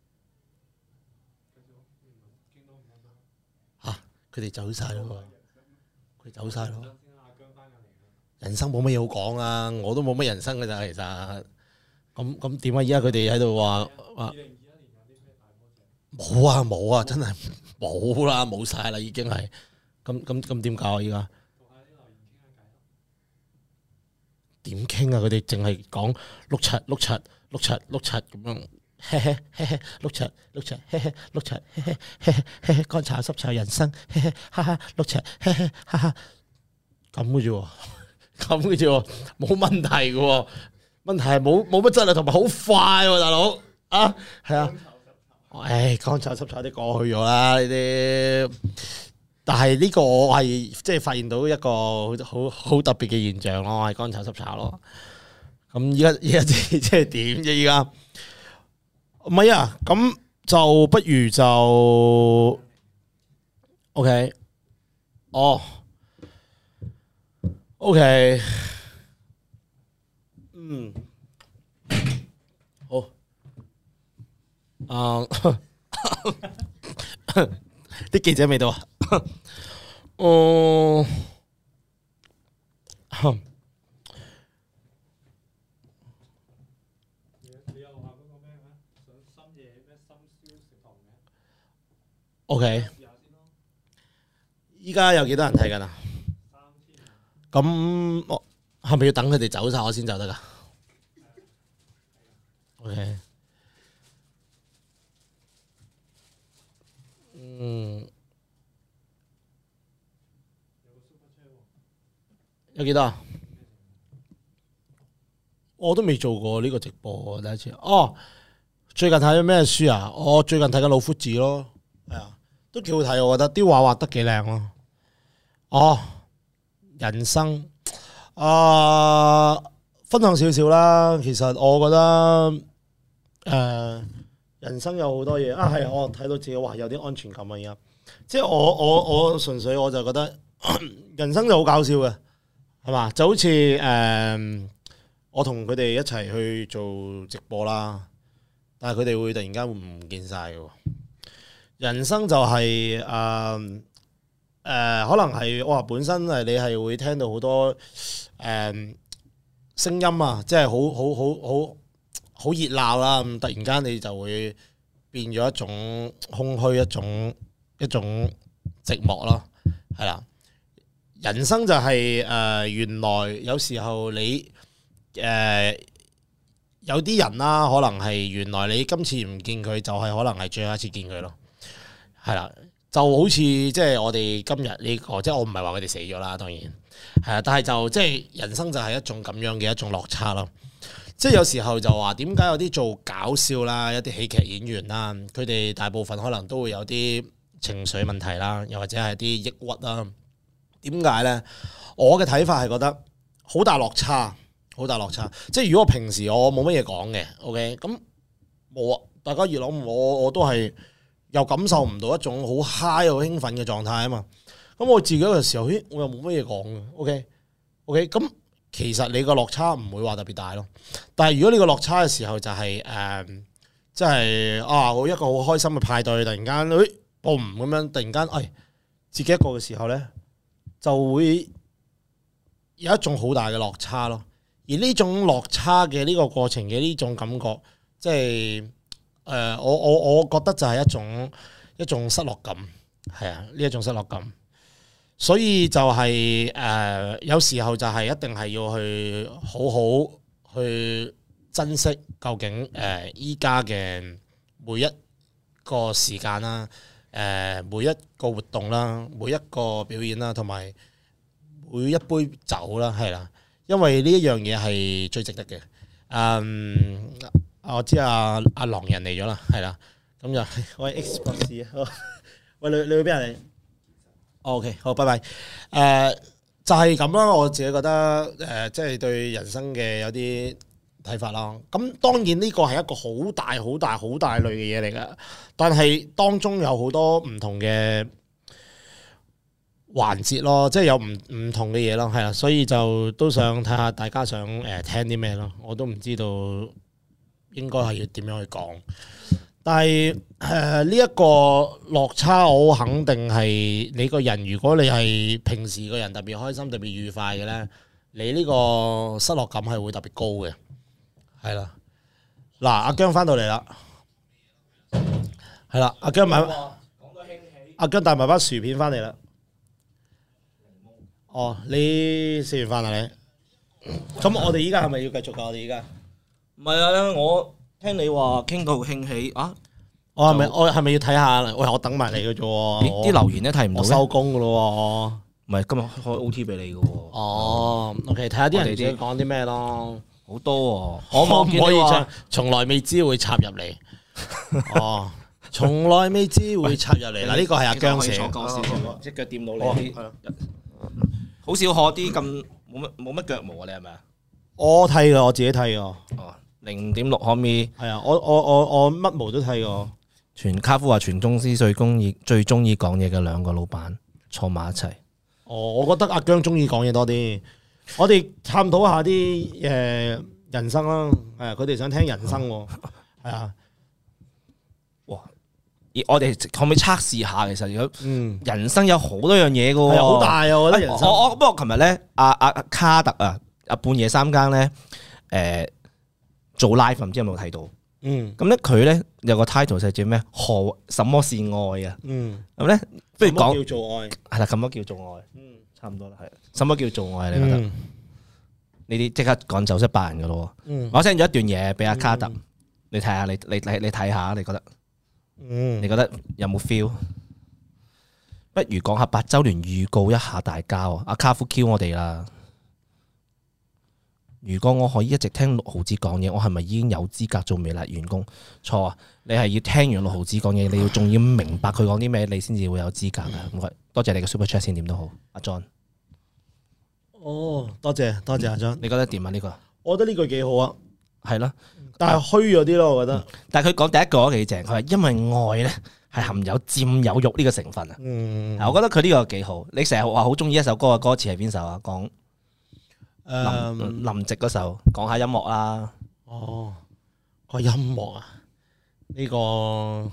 嚇佢哋走晒咯，佢走晒咯。人生冇乜嘢好講啊，我都冇乜人生㗎咋，其實咁咁點啊？依家佢哋喺度話話冇啊冇啊，真係冇啦，冇晒啦，已經係咁咁咁點搞啊？依家點傾啊？佢哋淨係講碌柒碌柒碌柒碌柒咁樣，嘿嘿嘿嘿碌柒碌柒嘿嘿碌柒嘿嘿嘿嘿嘿乾炒濕炒人生，嘿嘿哈哈碌柒嘿嘿哈哈咁嘅啫喎。咁嘅啫喎，冇問題嘅喎，問題係冇冇乜質量同埋好快喎，大佬啊，係啊，唉，乾炒濕炒啲過去咗啦呢啲，但係呢個我係即係發現到一個好好特別嘅現象咯，係乾炒濕炒咯。咁依家依家即即係點啫？依家唔係啊，咁就不如就 OK， 哦。OK， 嗯，好，啊，啲記者未到啊，哦，OK， 依家有幾多人睇緊啊？咁我係咪要等佢哋走晒我先走得噶 ？OK， 嗯，有幾多啊？我都未做過呢個直播，第一次。哦，最近睇咗咩書啊？我最近睇緊《老夫子》咯，係啊，都幾好睇，我覺得啲畫畫得幾靚咯。哦。人生啊、呃，分享少少啦。其實我覺得誒、呃，人生有好多嘢啊。係我睇到自己哇，有啲安全感啊。而家即係我我我純粹我就覺得人生就好搞笑嘅，係嘛？就好似誒、呃，我同佢哋一齊去做直播啦，但係佢哋會突然間會唔見晒嘅。人生就係、是、誒。呃誒、呃，可能係我話本身係你係會聽到好多誒聲音啊，即係好好好好好熱鬧啦。咁突然間你就會變咗一種空虛，一種一種寂寞咯，係啦。人生就係、是、誒、呃，原來有時候你誒、呃、有啲人啦，可能係原來你今次唔見佢，就係可能係最後一次見佢咯，係啦。就好似即係我哋今日呢個，即係我唔係話佢哋死咗啦，當然係啊，但係就即係人生就係一種咁樣嘅一種落差咯。即係有時候就話點解有啲做搞笑啦，一啲喜劇演員啦，佢哋大部分可能都會有啲情緒問題啦，又或者係啲抑鬱啦。點解呢？我嘅睇法係覺得好大落差，好大落差。即係如果我平時我冇乜嘢講嘅 ，OK， 咁冇啊，大家越諗我我都係。又感受唔到一種好 high 好興奮嘅狀態啊嘛，咁我自己嘅時候，咦，我又冇乜嘢講嘅 ，OK，OK，、OK? OK? 咁其實你個落差唔會話特別大咯。但係如果你個落差嘅時候就係、是、誒， 即係啊，我一個好開心嘅派對，突然間誒 boom 咁樣，突然間誒自己一個嘅時候咧，就會有一種好大嘅落差咯。而呢種落差嘅呢個過程嘅呢種感覺，即係誒、呃、我我我覺得就係一種一種失落感，係啊，呢一種失落感。所以就係、是、誒、呃、有時候就係一定係要去好好去珍惜究竟誒依家嘅每一個時間啦，誒、呃、每一個活動啦，每一個表演啦，同埋每一杯酒啦，係啦，因為呢一樣嘢係最值得嘅。嗯，我知阿阿狼人嚟咗啦，係啦，咁就喂 X 博士啊，喂你你去邊啊你？OK， 好，拜拜。誒、呃，就係咁啦，我自己覺得誒，即、呃、係、就是、對人生嘅有啲睇法啦。咁當然呢個係一個好大、好大、好大類嘅嘢嚟㗎，但係當中有好多唔同嘅環節咯，即係有唔唔同嘅嘢咯，係啦，所以就都想睇下大家想誒、呃、聽啲咩咯，我都唔知道應該係要點樣去講。但係誒呢一個落差，我肯定係你個人。如果你係平時個人特別開心、特別愉快嘅咧，你呢個失落感係會特別高嘅。係啦，嗱，阿姜翻到嚟啦，係啦，阿姜買，阿姜帶埋包薯片翻嚟啦。哦，你食完飯啦你？咁我哋依家係咪要繼續㗎？我哋依家唔係啊，我。聽你話傾到興起啊！ 我係咪我係咪要睇下？喂，我等埋你嘅啫喎。 啲留言都睇唔到， 我收工噶咯喎。唔係今日開 O T 俾你嘅喎。 哦 ，OK， 睇下啲人哋講啲咩咯。 好多喎，可唔可以將從來未知會插入嚟？哦，從來未知會插入嚟。嗱，呢個係阿姜寫。 隻腳掂到你啲。好少可啲咁冇乜冇乜腳毛啊！你係咪啊？ 我剃㗎，我自己剃㗎。 哦。零點六可唔可以？ 係啊，我我我我乜毛都睇過。 全卡夫話全公司最中意最中意講嘢嘅兩個老闆坐埋一齊。 哦，我覺得阿姜中意講嘢多啲。我哋探討下啲誒人生啦，係啊，佢哋想聽人生喎，係啊。 哇！我哋可唔可以測試下？其實如果人生有好多樣嘢嘅喎， 好大啊！我覺得人生。 我我不過琴日咧，阿阿卡特啊，阿半夜三更咧，誒。做 live 唔知有冇睇到？嗯，咁咧佢咧有個 title 就叫咩？何什麼是愛啊？嗯，咁咧不如講叫做愛係啦，咁乜叫做愛？嗯，差唔多啦，係。什麼叫做愛？你覺得？呢啲即刻趕走一百人噶咯。嗯，我 send 咗一段嘢俾阿卡特，你睇下，你你你你睇下，你覺得？嗯，你覺得有冇 feel？不如講下八週年預告一下大家喎。阿卡夫 Q 我哋啦。如果我可以一直聽六毫子講嘢，我係咪已經有資格做微辣員工？錯啊！你係要聽完六毫子講嘢，你要仲要明白佢講啲咩，你先至會有資格啊！唔該，多謝你嘅 super chat 先點都好，阿 John。 哦，多謝多謝阿 John， 你覺得點啊？呢個我覺得呢句幾好啊， 係咯， 但係虛咗啲咯，我覺得。 但係佢講第一句都幾正，佢話因為愛咧係含有佔有欲呢個成分啊。嗯，我覺得佢呢個幾好。你成日話好中意一首歌嘅歌詞係邊首啊？講。林林夕嗰首講下音樂啦。 哦，個音樂啊，呢、這個誒、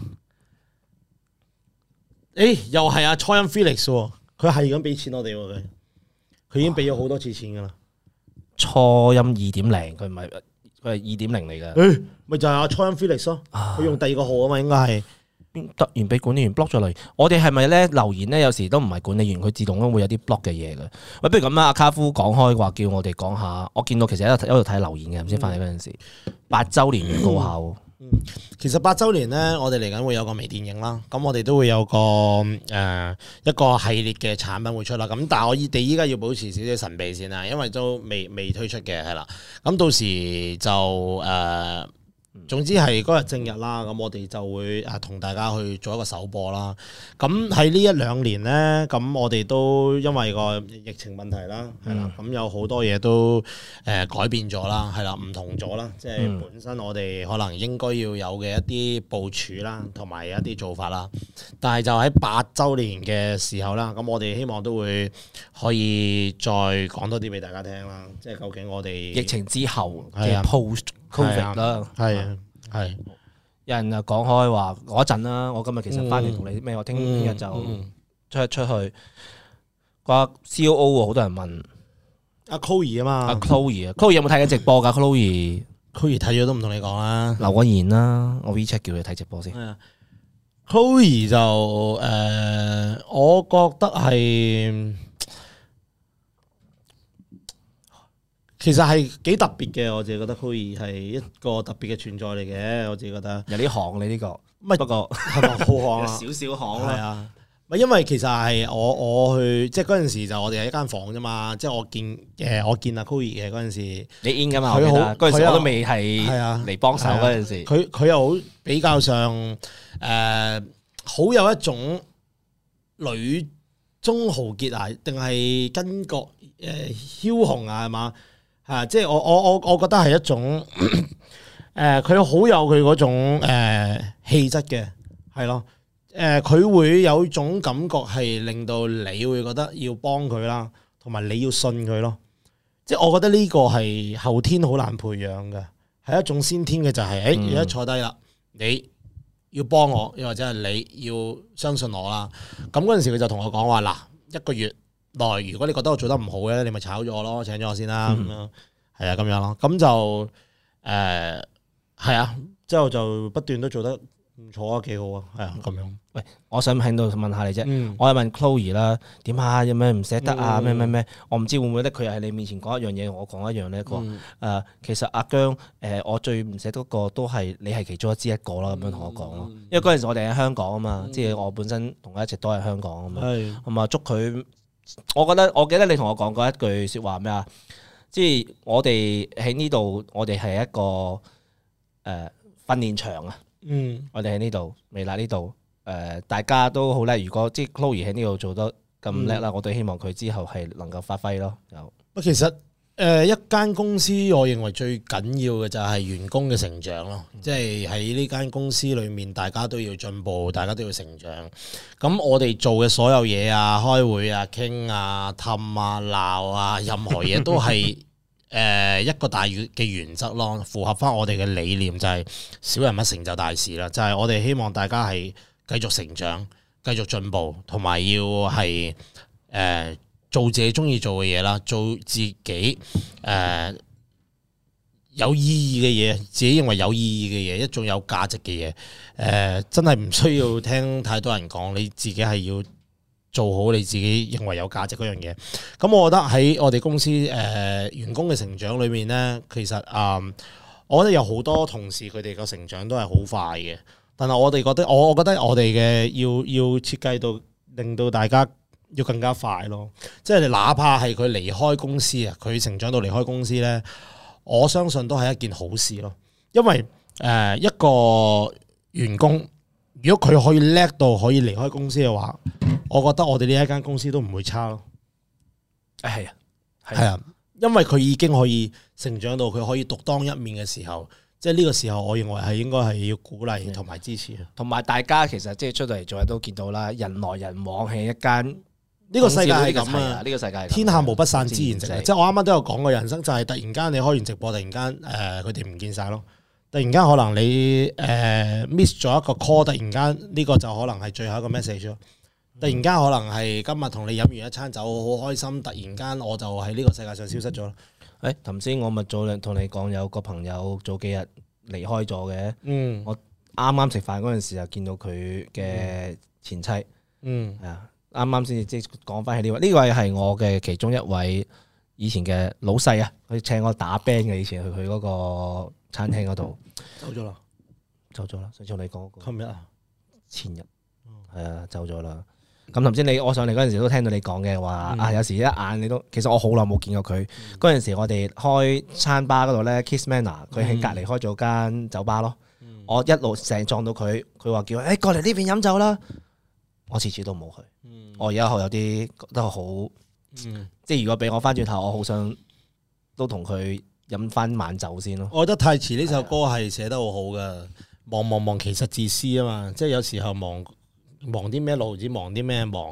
欸、又係阿初音 Felix 喎，佢係咁俾錢我哋喎，佢佢已經俾咗好多次錢噶啦。 初音二點零，佢唔係佢係二點零嚟嘅。 誒，咪就係阿初音 Felix 咯，佢用第二個號啊嘛，應該係。 突然俾管理員 block 咗嚟，我哋係咪咧留言咧？有時都唔係管理員，佢自動都會有啲 block 嘅嘢嘅。喂，不如咁啦，阿卡夫講開話叫我哋講下，我見到其實喺度喺度睇留言嘅，唔知翻嚟嗰陣時八週年預告下。 嗯，其實八週年咧，我哋嚟緊會有個微電影啦，咁我哋都會有個誒、呃、一個系列嘅產品會出啦。咁但係我哋依家要保持少少神秘先啦，因為都未未推出嘅係啦。咁到時就誒。呃總之係嗰日正日啦，咁我哋就會啊同大家去做一個首播啦。咁喺呢一兩年呢，咁我哋都因為個疫情問題啦，係啦、嗯，咁有好多嘢都誒改變咗啦，係啦，唔同咗啦，即係本身我哋可能應該要有嘅一啲部署啦，同埋一啲做法啦。但係就喺八週年嘅時候啦，咁我哋希望都會可以再講多啲俾大家聽啦。即係究竟我哋疫情之後嘅 post。Covid 啦， 係啊，係有人就講開話嗰陣啦，我今日其實翻嚟同你咩，我聽聽日就出出去。個 C O O 好多人問阿 Chloe 啊嘛， 阿 Chloe 啊，Chloe 有冇睇緊直播㗎 ？Chloe Chloe 睇咗都唔同你講啦， 留個言啦，我 WeChat 叫你睇直播先。 Chloe 就誒、呃，我覺得係其實係幾特別嘅，我自己覺得 Chloe 係一個特別嘅存在嚟嘅，我自己覺得有啲行你呢個， 唔係不過係咪好行啊？ 少少行啦。 係啊，咪因為其實係我我去即係嗰陣時就我哋喺一間房啫嘛，即係我見誒我見阿 Chloe 嘅嗰陣時， 你 in 噶嘛？ 佢好我記得嗰陣時佢又我都未係係啊嚟幫手嗰陣時， 佢佢又好比較上誒好有一種女中豪傑啊，定係巾幗誒梟雄啊，係嘛？啊！即係我我我我覺得係一種誒，佢好有佢嗰種誒氣質嘅，係咯。誒，佢會有種感覺係令到你會覺得要幫佢啦，同埋你要信佢咯。即係我覺得呢個係後天好難培養嘅，係一種先天嘅就係、是，誒而家坐低啦，你要幫我，又或者係你要相信我啦。咁嗰陣時佢就同我講話嗱，一個月內如果你覺得我做得唔好嘅，你咪炒咗我咯，請咗我先啦，咁、嗯、樣係啊，咁樣咯。咁就誒係啊，之後就不斷都做得唔錯啊，幾好啊，係啊，咁樣。 喂，我想喺度問下你啫， 嗯、 我係問 Chloe 啦，點啊？有咩唔捨得啊？咩咩咩？ 嗯、 我唔知會唔會咧，佢又喺你面前講一樣嘢，我講一樣咧。佢話誒，其實阿姜誒、呃，我最唔捨得個都係你係其中一支一個啦，咁樣同我講咯。因為嗰陣時我哋喺香港啊嘛，嗯、即係我本身同佢一直都喺香港啊嘛，咁啊祝佢。我覺得我記得你同我講過一句説話咩啊？即係我哋喺呢度，我哋係一個誒、呃、訓練場啊。 嗯， 我哋喺呢度，微辣呢度，誒、呃，大家都好叻。如果即係 Chloe 喺呢度做得咁叻啦，嗯、我都希望佢之後係能夠發揮咯。有， 不過其實誒、呃、一間公司，我認為最緊要嘅就係員工嘅成長咯。嗯、即係喺呢間公司裏面，大家都要進步，大家都要成長。咁我哋做嘅所有嘢啊，開會啊、傾啊、氹啊、鬧啊，任何嘢都係。誒一個大嘅原則咯，符合翻我哋嘅理念就係小人物成就大事啦，就係、是、我哋希望大家係繼續成長、繼續進步，同埋要係誒、呃、做自己中意做嘅嘢啦，做自己誒、呃、有意義嘅嘢，自己認為有意義嘅嘢，一種有價值嘅嘢，誒、呃、真係唔需要聽太多人講，你自己係要做好你自己認為有價值嗰樣嘢，咁我覺得喺我哋公司誒、呃、員工嘅成長裏面呢，其實啊、呃，我覺得有好多同事佢哋個成長都係好快嘅，但係我哋覺得，我我覺得我哋嘅要要設計到令到大家要更加快咯，即係哪怕係佢離開公司啊，佢成長到離開公司呢，我相信都係一件好事咯，因為誒、呃、一個員工如果佢可以叻到可以離開公司嘅話，我覺得我哋呢一間公司都唔會差咯。 係啊， 係啊，因為佢已經可以成長到佢可以獨當一面嘅時候，即係呢個時候，我認為係應該係要鼓勵同埋支持。 同埋大家其實即係出到嚟做嘢都見到啦，人來人往係一間呢個世界係咁啊！ 呢個世界天下無不散之筵席，即係我啱啱都有講過，人生就係突然間你開完直播，突然間誒佢哋唔見晒咯。突然間可能你誒、呃、miss 咗一個 call，突然間呢個就可能係最後一個 message 咯。突然間可能係今日同你飲完一餐酒好開心，突然間我就喺呢個世界上消失咗咯。 誒頭先我咪早同你講有個朋友早幾日離開咗嘅， 嗯， 我啱啱食飯嗰陣時就見到佢嘅前妻， 嗯， 係啊，啱啱先至即係講翻起呢位，呢位係我嘅其中一位以前嘅老細啊，佢請我打 band 嘅，以前去佢嗰個餐廳嗰度走咗啦， 走咗啦，上次同你講過， 琴日啊， 前日，係啊，走咗啦。咁頭先你我上嚟嗰陣時都聽到你講嘅話，嗯、啊有時一眼你都，其實我好耐冇見過佢。嗰陣、嗯、時我哋開餐吧嗰度咧 Kiss Manor，佢喺隔離開咗間酒吧咯。嗯、我一路成日撞到佢，佢話叫誒、欸、過嚟呢邊飲酒啦。我次次都冇去。嗯、我而家有啲覺得好，嗯、即係如果俾我翻轉頭，我好想都同佢飲翻晚酒先咯。 我覺得太遲呢首歌係寫得好好噶，忙忙忙其實自私啊嘛，即係有時候忙。忙啲咩路子，忙啲咩忙，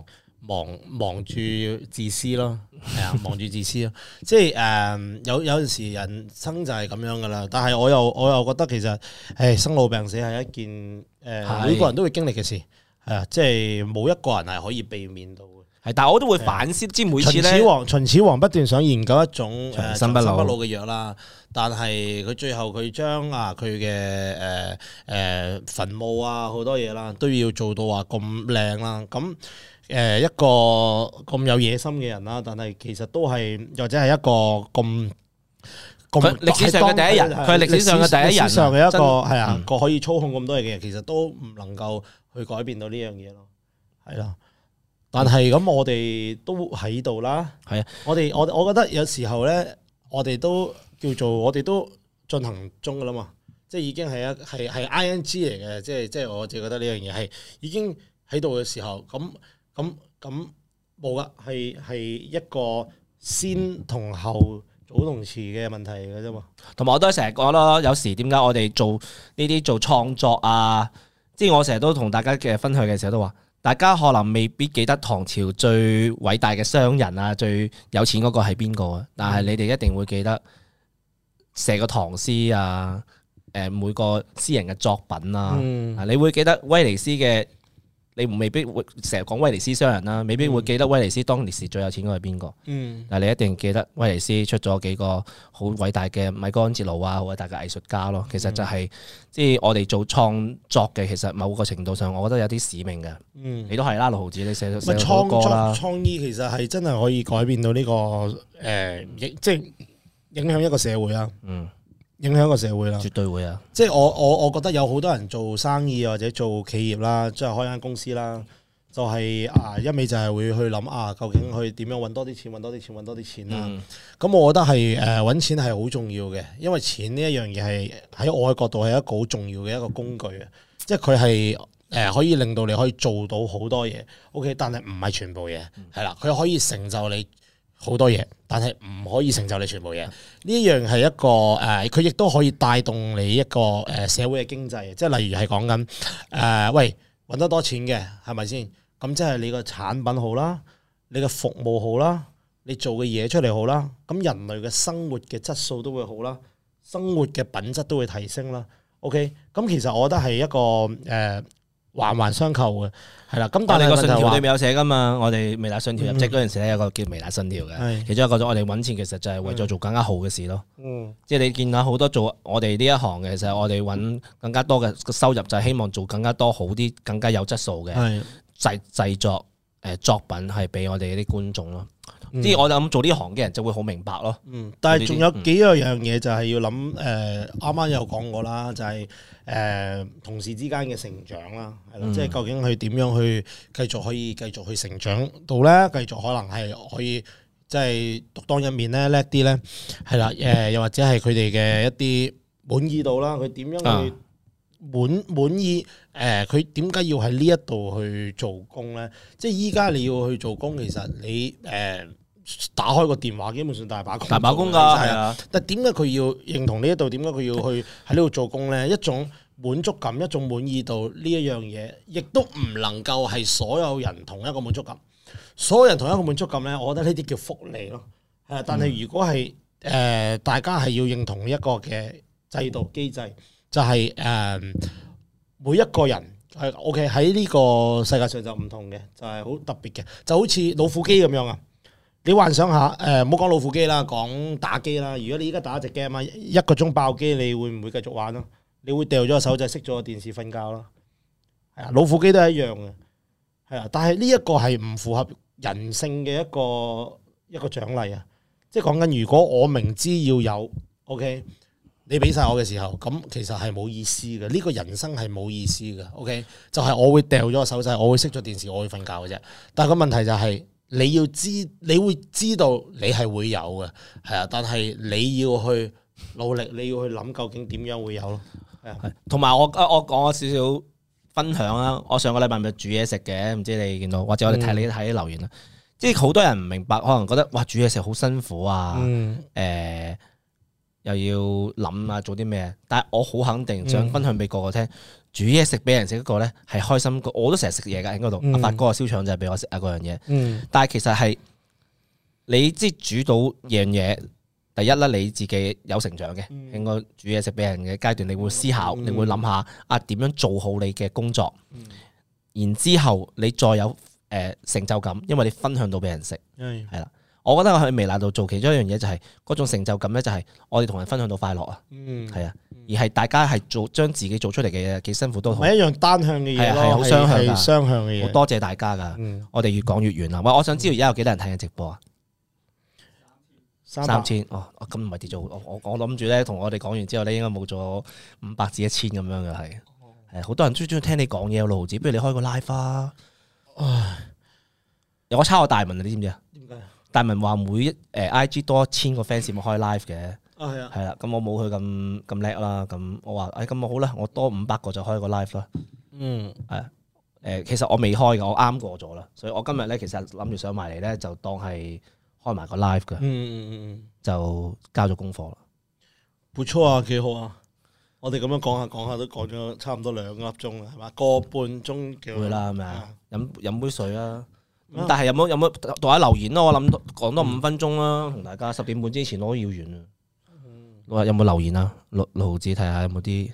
忙忙住自私咯，係啊，忙住自私咯，即係誒、呃、有有陣時人生就係咁樣噶啦。但係我又我又覺得其實誒生老病死係一件誒、呃、每個人都會經歷嘅事，係啊，即係冇一個人係可以避免到嘅。 係，但係我都會反思，即係每次咧。 秦始皇秦始皇不斷想研究一種長生不老嘅藥啦，但係佢最後佢將啊佢嘅誒誒墳墓啊好多嘢啦，都要做到話咁靚啦。咁誒一個咁有野心嘅人啦，但係其實都係或者係一個咁咁歷史上嘅第一人，佢係歷史上嘅第一人， 歷史上嘅一個係啊嗯個可以操控咁多嘢嘅人，其實都唔能夠去改變到呢樣嘢咯，係啦。但係咁，我哋都喺度啦。 係啊， 我哋我我覺得有時候咧，我哋都叫做我哋都進行中噶啦嘛，即係已經係一係係 I N G 嚟嘅，即係即係我自己覺得呢樣嘢係已經喺度嘅時候，咁咁咁冇噶，係係一個先同後早同遲嘅問題嚟嘅啫嘛。 同埋我都成日講咯，有時點解我哋做呢啲做創作啊，即係我成日都同大家嘅分享嘅時候都話。大家可能未必記得唐朝最偉大嘅商人啊，最有錢嗰個係邊個啊？但係你哋一定會記得寫個唐詩啊，誒每個詩人嘅作品啊，嗯、你會記得威尼斯嘅，你未必會成日講威尼斯商人啦，未必會記得威尼斯當年時最有錢嗰個係邊個。嗯、但係你一定記得威尼斯出咗幾個好偉大嘅米高安哲羅啊，好偉大嘅藝術家咯。其實就係、是。即係我哋做創作嘅，其實某個程度上，我覺得有啲使命嘅。嗯，你都係啦，六毫子，你寫咗寫咗好多歌啦。 創意其實係真係可以改變到呢、這個誒、呃，即係影響一個社會啦。嗯，影響一個社會啦， 絕對會啊！ 即係我我我覺得有好多人做生意或者做企業啦，即係開間公司啦，就係、是、啊一味就係會去諗啊，究竟去點樣揾多啲錢，揾多啲錢，揾多啲錢啦。咁、嗯、我覺得係誒揾錢係好重要嘅，因為錢呢一樣嘢係喺我嘅角度係一個好重要嘅一個工具啊！即係佢係誒可以令到你可以做到好多嘢，OK， 但係唔係全部嘢，係啦、嗯，佢可以成就你好多嘢，但係唔可以成就你全部嘢。呢一樣係一個誒，佢亦都可以帶動你一個誒社會嘅經濟，即係例如係講緊誒，喂揾得多錢嘅係咪先？咁即係你個產品好啦，你嘅服務好啦，你做嘅嘢出嚟好啦，咁人類嘅生活嘅質素都會好啦，生活嘅品質都會提升啦。OK，咁其實我覺得係一個誒、呃、環環相扣嘅，係啦。咁但係個信條裏面有寫噶嘛？我哋微辣信條入職嗰陣時咧，有個叫微辣信條嘅，嗯、其中一個我哋揾錢其實就係為咗做更加好嘅事咯。嗯，即係你見到好多做我哋呢一行嘅，其實我哋揾更加多嘅收入，就係希望做更加多好啲、更加有質素嘅。係。製製作誒作品係俾我哋啲觀眾咯，即係、嗯、我諗做呢行嘅人就會好明白咯。嗯， 但係仲有幾樣樣嘢就係要諗誒，啱啱有講過啦，就係、是、誒、呃、同事之間嘅成長啦，係咯，嗯、即係究竟佢點樣去繼續可以繼續去成長到咧？繼續可能係可以即係獨當一面咧，叻啲咧，係啦，誒又或者係佢哋嘅一啲滿意度啦，佢點樣去、啊？滿滿意誒，佢點解要喺呢一度去做工咧？即係依家你要去做工，其實你誒、呃、打開個電話，基本上大把工， 大把工㗎，係啊。 但係點解佢要認同呢一度？點解佢要去喺呢度做工咧？一種滿足感，一種滿意度呢一樣嘢，亦都唔能夠係所有人同一個滿足感。所有人同一個滿足感咧，我覺得呢啲叫福利咯。係，但係如果係誒、呃、大家係要認同一個嘅制度機制。就係、是、誒、呃、每一個人係 OK 喺呢個世界上就唔同嘅，就係、是、好特別嘅，就好似老虎機咁樣啊！你幻想下誒，唔好講老虎機啦，講打機啦。如果你依家打一隻 game 啊，一個鐘爆機，你會唔會繼續玩咯？你會掉咗個手掣，熄咗個電視瞓覺咯？係啊，老虎機都係一樣嘅，係啊。但係呢一個係唔符合人性嘅一個一個獎勵啊！即係講緊，如果我明知要有 OK。你俾晒我嘅時候，咁其實係冇意思嘅。呢、這個人生係冇意思嘅。OK，就係我會掉咗個手掣，我會熄咗電視，我會瞓覺嘅啫。但係個問題就係、是、你要知，你會知道你係會有嘅，係啊。但係你要去努力，你要去諗究竟點樣會有咯。係啊， 同埋我我講少少分享啦。我上個禮拜咪煮嘢食嘅，唔知你見到或者我哋睇你睇啲留言啦。嗯、即係好多人唔明白，可能覺得哇煮嘢食好辛苦啊。誒、嗯。呃又要諗啊做啲咩，但係我好肯定想分享俾個個聽，煮嘢食俾人食嗰個咧係開心過，我都成日食嘢㗎喺嗰度。阿發哥燒腸就係俾我食啊嗰樣嘢，但係其實係你即係煮到樣嘢。第一啦，你自己有成長嘅，應該煮嘢食俾人嘅階段，你會思考，你會諗下啊點樣做好你嘅工作，然之後你再有誒成就感，因為你分享到俾人食，係啦。我覺得我喺微辣度做其中一樣嘢就係嗰種成就感咧，就係我哋同人分享到快樂啊，係啊，而係大家係做將自己做出嚟嘅嘢幾辛苦都好， 唔係一樣單向嘅嘢咯， 係好雙向㗎， 雙向嘅嘢。 好多謝大家㗎，我哋越講越遠啦。喂，我想知道而家有幾多人睇緊直播啊？三千哦，咁唔係跌咗，我我我諗住咧，同我哋講完之後咧，應該冇咗五百至一千咁樣嘅係，係好多人中中意聽你講嘢，六毫子，不如你開個 live 啊！唉，我抄我大文啊，你知唔知啊？點解？大文話每一誒 I G 多一千個 fans 咪開 live 嘅，啊係啊，係啦，咁我冇佢咁咁叻啦，咁我話誒咁我好啦，我多五百個就開個 live 啦，嗯，係誒，其實我未開嘅，我啱過咗啦，所以我今日咧其實諗住上埋嚟咧，就當係。開埋個 live 噶，嗯嗯嗯就交咗功課啦。 唔錯啊，幾好啊！我哋咁樣講下講下都講咗差唔多兩粒鐘啦，係嘛？個半鐘叫會啦，係咪啊？飲飲杯水啦。咁但係有冇有冇讀下留言咯？我諗講多五分鐘啦，同大家十點半之前我都要完啊。話有冇留言啊？六六毫子睇下有冇啲。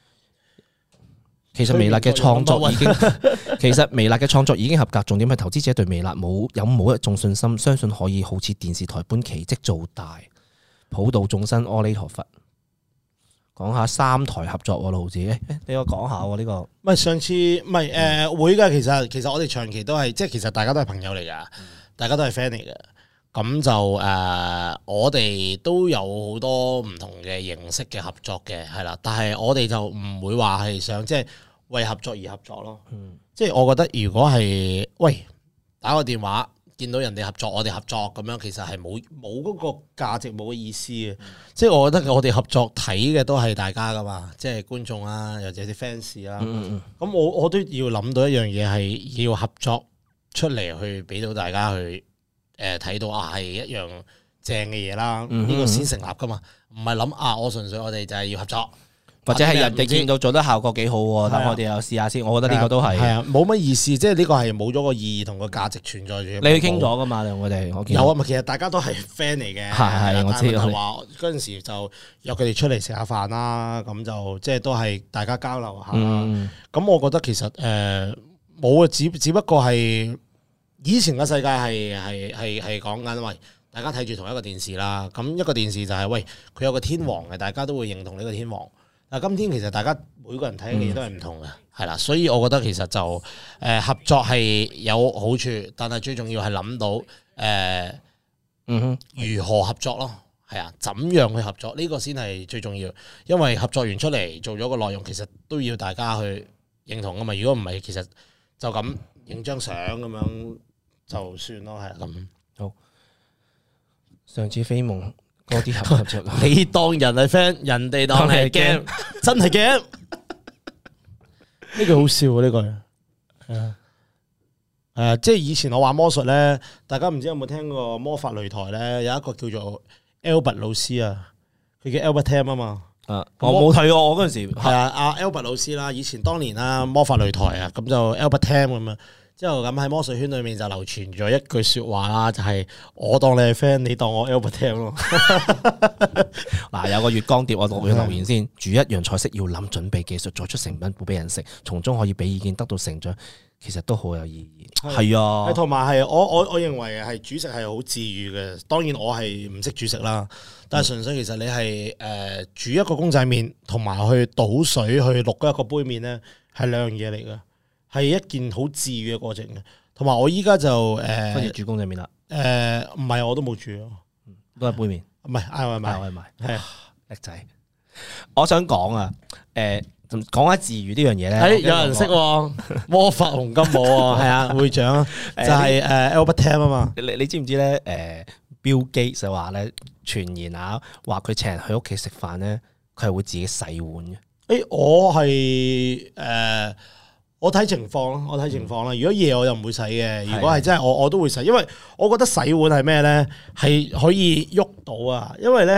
其實微辣嘅創作已經，其實微辣嘅創作已經合格。重點係投資者對微辣冇有冇一種信心，相信可以好似電視台般奇蹟做大，普度眾生，阿彌陀佛。講下三台合作喎，六毫子，誒誒，俾我講下喎呢個。 唔係上次唔係誒會㗎，其實其實我哋長期都係即係其實大家都係朋友嚟㗎，大家都係 friend 嚟嘅。咁就誒、呃，我哋都有好多唔同嘅形式嘅合作嘅，係啦。但係我哋就唔會話係想即係為合作而合作咯。嗯、即係我覺得如果係喂打個電話見到人哋合作，我哋合作咁樣，其實係冇冇嗰個價值，冇個意思嘅。嗯、即係我覺得我哋合作睇嘅都係大家噶嘛，即係觀眾啊，或者啲 fans 啊。咁、嗯嗯、我我都要諗到一樣嘢係要合作出嚟去俾到大家去。誒睇到啊係一樣正嘅嘢啦，呢個先成立噶嘛，唔係諗啊我純粹我哋就係要合作， 或者係人哋見到做得效果幾好喎，等我哋又試下先。我覺得呢個都係係啊， 冇乜意思，即係呢個係冇咗個意義同個價值存在住。 你去傾咗噶嘛？我哋我有啊，咪其實大家都係 friend 嚟嘅， 係係我知。 係話嗰陣時就約佢哋出嚟食下飯啦，咁就即係都係大家交流下啦。咁我覺得其實誒冇啊，只只不過係。以前嘅世界係係係係講緊，喂，大家睇住同一個電視啦。咁一個電視就係、是、喂，佢有個天王嘅，大家都會認同呢個天王。但係今天其實大家每個人睇嘅嘢都係唔同嘅，係啦、嗯。所以我覺得其實就誒、呃、合作係有好處，但係最重要係諗到誒，呃、嗯哼，如何合作咯？係啊，怎樣去合作呢、這個先係最重要。因為合作完出嚟做咗個內容，其實都要大家去認同噶嘛。如果唔係，其實就咁影張相咁樣。就算咯，係咁。好， 上次飛夢嗰啲合合作， 你當人係 friend，人哋當你係 game，真係 game。呢句好笑啊！呢句係啊，誒，即係以前我玩魔術咧，大家唔知有冇聽過魔法擂台咧？有一個叫做 Albert 老師啊，佢叫 Albert Tam 啊嘛。 啊，我冇睇過，我嗰陣時係啊，阿 Albert 老師啦，以前當年啦魔法擂台啊，咁就 Albert Tam 咁樣。之後咁喺魔術圈裏面就流傳咗一句說話啦，就係、是、我當你係 friend，你當我 Albert Tam 咯。 嗱，有個月光碟，我讀佢留言先。煮一樣菜式要諗準備技術，再出成品俾人食，從中可以俾意見，得到成長，其實都好有意義。係啊， 同埋係我我我認為係煮食係好治癒嘅。當然我係唔識煮食啦，但係純粹其實你係誒、呃、煮一個公仔麵，同埋去倒水去渌一個杯麵咧，係兩樣嘢嚟嘅。係一件好治癒嘅過程嘅，同埋我依家就誒， 跟住煮公仔麵啦。 誒，唔係我都冇煮， 都係杯麵， 唔係嗌外賣， 嗌外賣係叻仔。我想講啊，誒，講下治癒呢樣嘢咧。 誒，有人識魔法紅金舞啊，係啊，會長就係誒 Albert Tam 啊嘛。 你你知唔知咧？誒，Bill Gates 就話咧，傳言啊，話佢請人去屋企食飯咧，佢係會自己洗碗嘅。 誒，我係誒。我睇情況咯，我睇情況啦。如果夜我就唔會洗嘅，如果係真係我我都會洗，因為我覺得洗碗係咩咧，係可以喐到啊。因為咧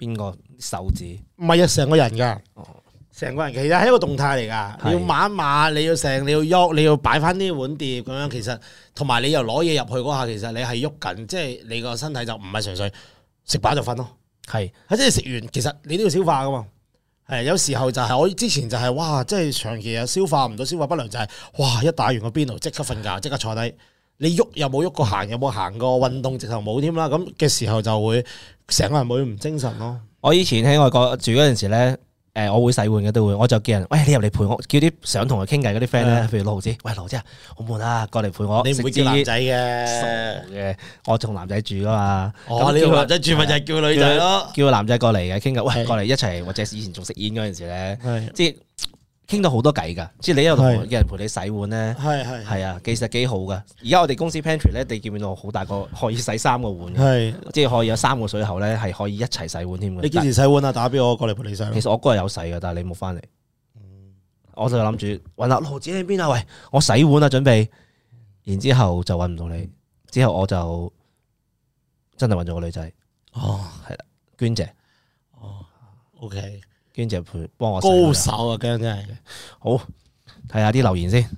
邊個手指？ 唔係啊，成個人㗎。 哦， 成個人其實係一個動態嚟㗎， 係你要抹一抹，你要成，你要喐，你要擺翻啲碗碟咁樣。其實同埋你又攞嘢入去嗰下，其實你係喐緊，即係你個身體就唔係純粹食飽就瞓咯。 係， 即係食完，其實你都要消化㗎嘛。係有時候就係我之前就係、是、哇，即係長期啊消化唔到，消化不良就係、是、哇一打完個邊爐即刻瞓覺，即刻坐低，你喐又冇喐過，行又冇行過，運動直頭冇添啦。咁嘅時候就會成個人會唔精神咯。 我以前喺外國住嗰陣時咧。誒，我會洗碗嘅都會，我就叫人，喂，你入嚟陪我，叫啲想同佢傾偈嗰啲 friend 咧，譬如六毫子，喂，六毫子啊，好悶啊，過嚟陪我。 你唔會叫男仔嘅，嘅，我同男仔住噶嘛。 哦，你同男仔住咪就係叫女仔咯， 叫個男仔過嚟嘅傾偈，喂，過嚟一齊，或者以前仲食煙嗰陣時咧，即係傾到好多偈噶，即係你有同有人陪你洗碗咧， 係係係啊，其實幾好噶。而家我哋公司 pantry 咧，你見唔見到好大個可以洗三個碗， 係即係可以有三個水喉咧，係可以一齊洗碗添嘅。 你幾時洗碗啊？打俾我過嚟陪你洗。 其實我嗰日有洗嘅，但係你冇翻嚟，我就諗住揾下羅子喺邊啊？喂，我洗碗啊，準備，然之後就揾唔到你，之後我就真係揾咗個女仔， 哦， 係啦，娟姐， 哦 ，OK。 娟姐陪幫我高手啊，姜真係好，睇下啲留言先，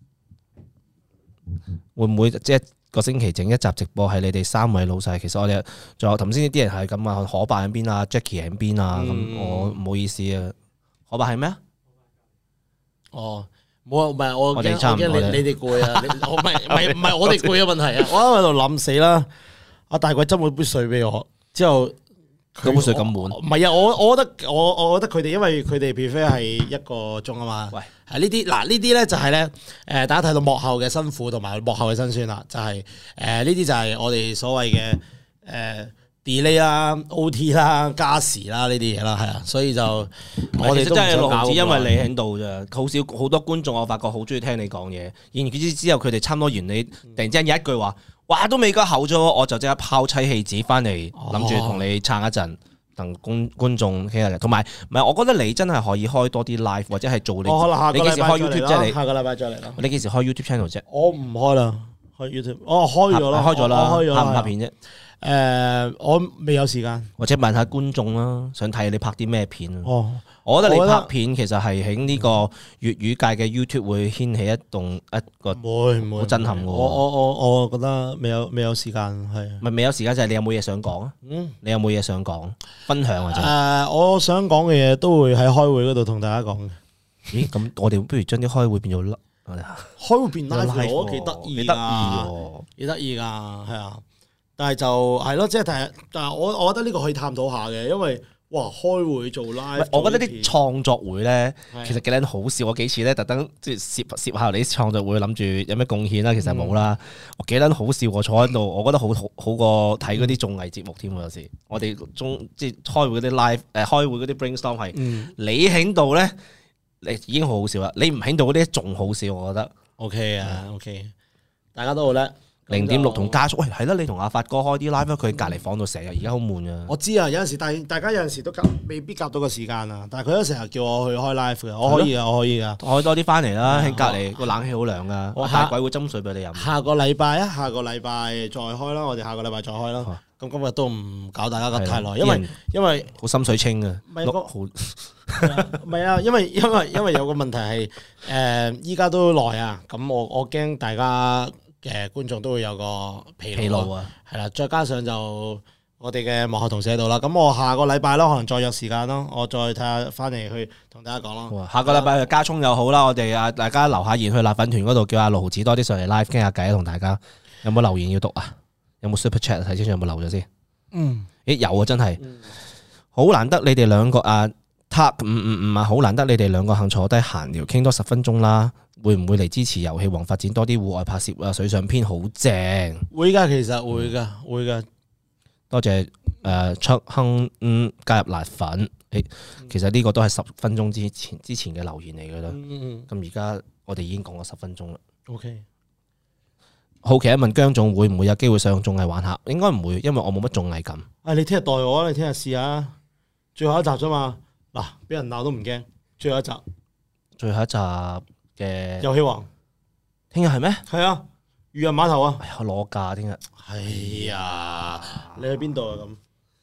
會唔會即係個星期整一集直播係你哋三位老細？其實我哋仲有頭先啲人係咁啊，可伯喺邊啊 ，Jackie 喺邊啊，咁、嗯、我唔好意思啊，可伯係咩啊？ 哦，冇啊，唔係我我哋差唔多你你哋攰啊，我唔係唔係唔係我哋攰嘅問題啊，我喺度諗死啦，阿大鬼斟咗杯水俾我之後。 嗰杯水咁滿， 唔係啊！我我覺得我我覺得佢哋因為佢哋 prefer 係一個鐘啊嘛。喂，係呢啲嗱呢啲咧就係咧誒，大家睇到幕後嘅辛苦同埋幕後嘅辛酸啦，就係誒呢啲就係我哋所謂嘅誒 delay 啦、O T 啦、加時啦呢啲嘢啦，係啊，所以就我哋都真係六毫子，因為你喺度咋，好少好多觀眾我發覺好中意聽你講嘢，然之之後佢哋差唔多完你，突然之間有一句話。哇！都未夠厚咗，我就即刻拋妻棄子翻嚟，諗住同你撐一陣，同觀觀眾傾下偈。同埋，唔係，我覺得你真係可以開多啲 live，或者係做你。你幾時開 YouTube 啫？你下個禮拜再嚟啦。 你幾時開 YouTube channel 啫？ 我唔開啦，開 YouTube。我開咗啦， 開咗啦， 開咗拍唔拍片啫？ 誒，我未有時間， 或者問下觀眾啦，想睇你拍啲咩片啊？ 哦。 我覺得你拍片其實係喺呢個粵語界嘅 YouTube 會掀起一棟一個會唔會好震撼嘅。 我我我我覺得未有未有時間係。 咪未有時間就係你有冇嘢想講啊？嗯，你有冇嘢想講？分享或者誒，我想講嘅嘢都會喺開會嗰度同大家講嘅。 咦？咁我哋不如將啲開會變咗 live。 開會變 live 我幾得意㗎，幾得意㗎，係啊！但係就係咯，即係但係但係我我覺得呢個可以探討下嘅，因為。哇！開會做 live， 我覺得啲創作會咧，其實幾撚好笑。我幾次咧特登即係攝攝下你啲創作會，諗住有咩貢獻啦，其實冇啦。我幾撚好笑，我坐喺度，我覺得好好好過睇嗰啲綜藝節目添。有時我哋中即係開會嗰啲 live，誒開會嗰啲 brainstorm 係，你喺度咧，你已經好好笑啦。你唔喺度嗰啲仲好笑，我覺得。 OK 啊 ，OK，大家都好叻。 零點六同加速，喂係啦，你同阿發哥開啲 live，佢隔離房度成日，而家好悶啊！ 我知啊，有陣時大大家有陣時都夾未必夾到個時間啊，但係佢都成日叫我去開 live 嘅，我可以啊，我可以啊， 開多啲翻嚟啦，喺隔離個冷氣好涼噶，我大鬼會斟水俾你飲。 下個禮拜啊，下個禮拜再開啦，我哋下個禮拜再開啦。咁今日都唔搞大家咁太耐，因為因為好心水清啊， 唔係好唔係啊，因為因為因為有個問題係誒，依家都耐啊，咁我我驚大家。嘅觀眾都會有個疲勞啊，係啦，再加上就我哋嘅幕後同事喺度啦，咁我下個禮拜咯，可能再約時間咯，我再睇下翻嚟去同大家講咯。 下個禮拜加葱又好啦，我哋啊大家留下言去辣粉團嗰度，叫阿六毫子多啲上嚟 live 傾下偈，同大家有冇留言要讀啊？有冇 super chat 睇清楚有冇留咗先？嗯，咦有啊，真係好難得你哋兩個啊 ，Tuck 五五五啊，好難得你哋兩個肯坐低閒聊傾多十分鐘啦。會唔會嚟支持遊戲王發展多啲戶外拍攝啊？水上篇好正， 會噶，其實會噶，會噶。 多謝誒卓亨嗯加入辣粉，誒其實呢個都係十分鐘之前之前嘅留言嚟噶啦。咁而家我哋已經講咗十分鐘啦。 OK， 好奇一問姜總會唔會有機會上綜藝玩下？應該唔會，因為我冇乜綜藝感。 啊，你聽日代我啊，你聽日試下，最後一集啫嘛。嗱，俾人鬧都唔驚，最後一集， 最後一集。嘅遊戲王， 聽日係咩？ 係啊，漁人碼頭啊！ 哎呀，攞假聽日。 係啊，你去邊度啊？咁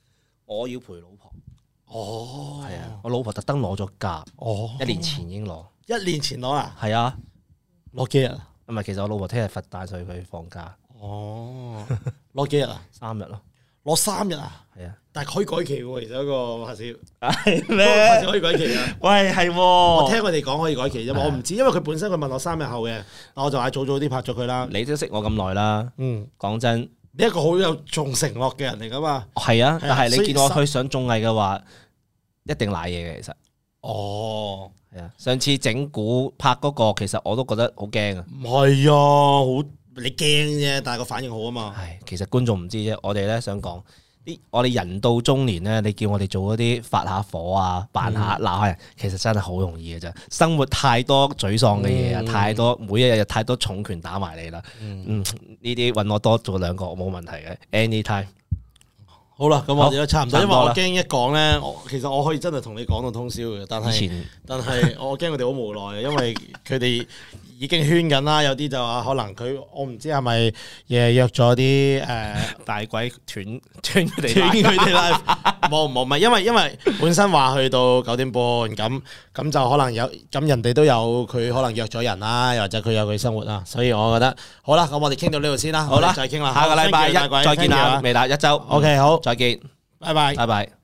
我要陪老婆。 哦， 係啊，我老婆特登攞咗假， 哦， 一年前已經攞。 一年前攞啊？ 係啊， 攞幾日啊？ 唔係，其實我老婆聽日佛誕，所以佢放假。 哦，攞幾日啊？ 三日咯。 攞三日啊？ 係啊， 但係可以改期喎，其實嗰個拍攝。 係拍攝可以改期啊？ 喂，係喎。 我聽佢哋講可以改期啫嘛，我唔知，因為佢本身佢問我三日後嘅，但我就嗌早早啲拍咗佢啦。 你都識我咁耐啦。 嗯， 講真， 你一個好有重承諾嘅人嚟噶嘛。 係啊，但係你見我所以去上綜藝嘅話，一定賴嘢嘅其實。 哦， 係啊，上次整蠱拍嗰個，其實我都覺得好驚啊。 唔係啊，好你驚啫，但係個反應好啊嘛。 係，其實觀眾唔知啫。我哋咧想講啲，我哋人到中年咧，你叫我哋做嗰啲發下火啊、扮下鬧下人，其實真係好容易嘅啫。生活太多沮喪嘅嘢啊， 嗯太多每一日太多重拳打埋你啦。嗯，呢啲揾我多做兩個冇問題嘅，anytime。 好啦，咁我哋都差唔多，因為差唔多啦我驚一講咧，我其實我可以真係同你講到通宵嘅，但係以前但係我驚佢哋好無奈，因為佢哋已經圈緊啦，有啲就話可能佢我唔知係咪誒約咗啲誒大鬼斷斷佢哋斷佢哋啦，冇冇唔係，因為因為本身話去到九點半咁咁就可能有咁人哋都有佢可能約咗人啦，又或者佢有佢生活啦，所以我覺得好啦，咁我哋傾到呢度先啦， 好啦， 再傾啦， 下個禮拜一再見啦，微辣一周 ，OK 好， 再見， 拜拜。 拜拜。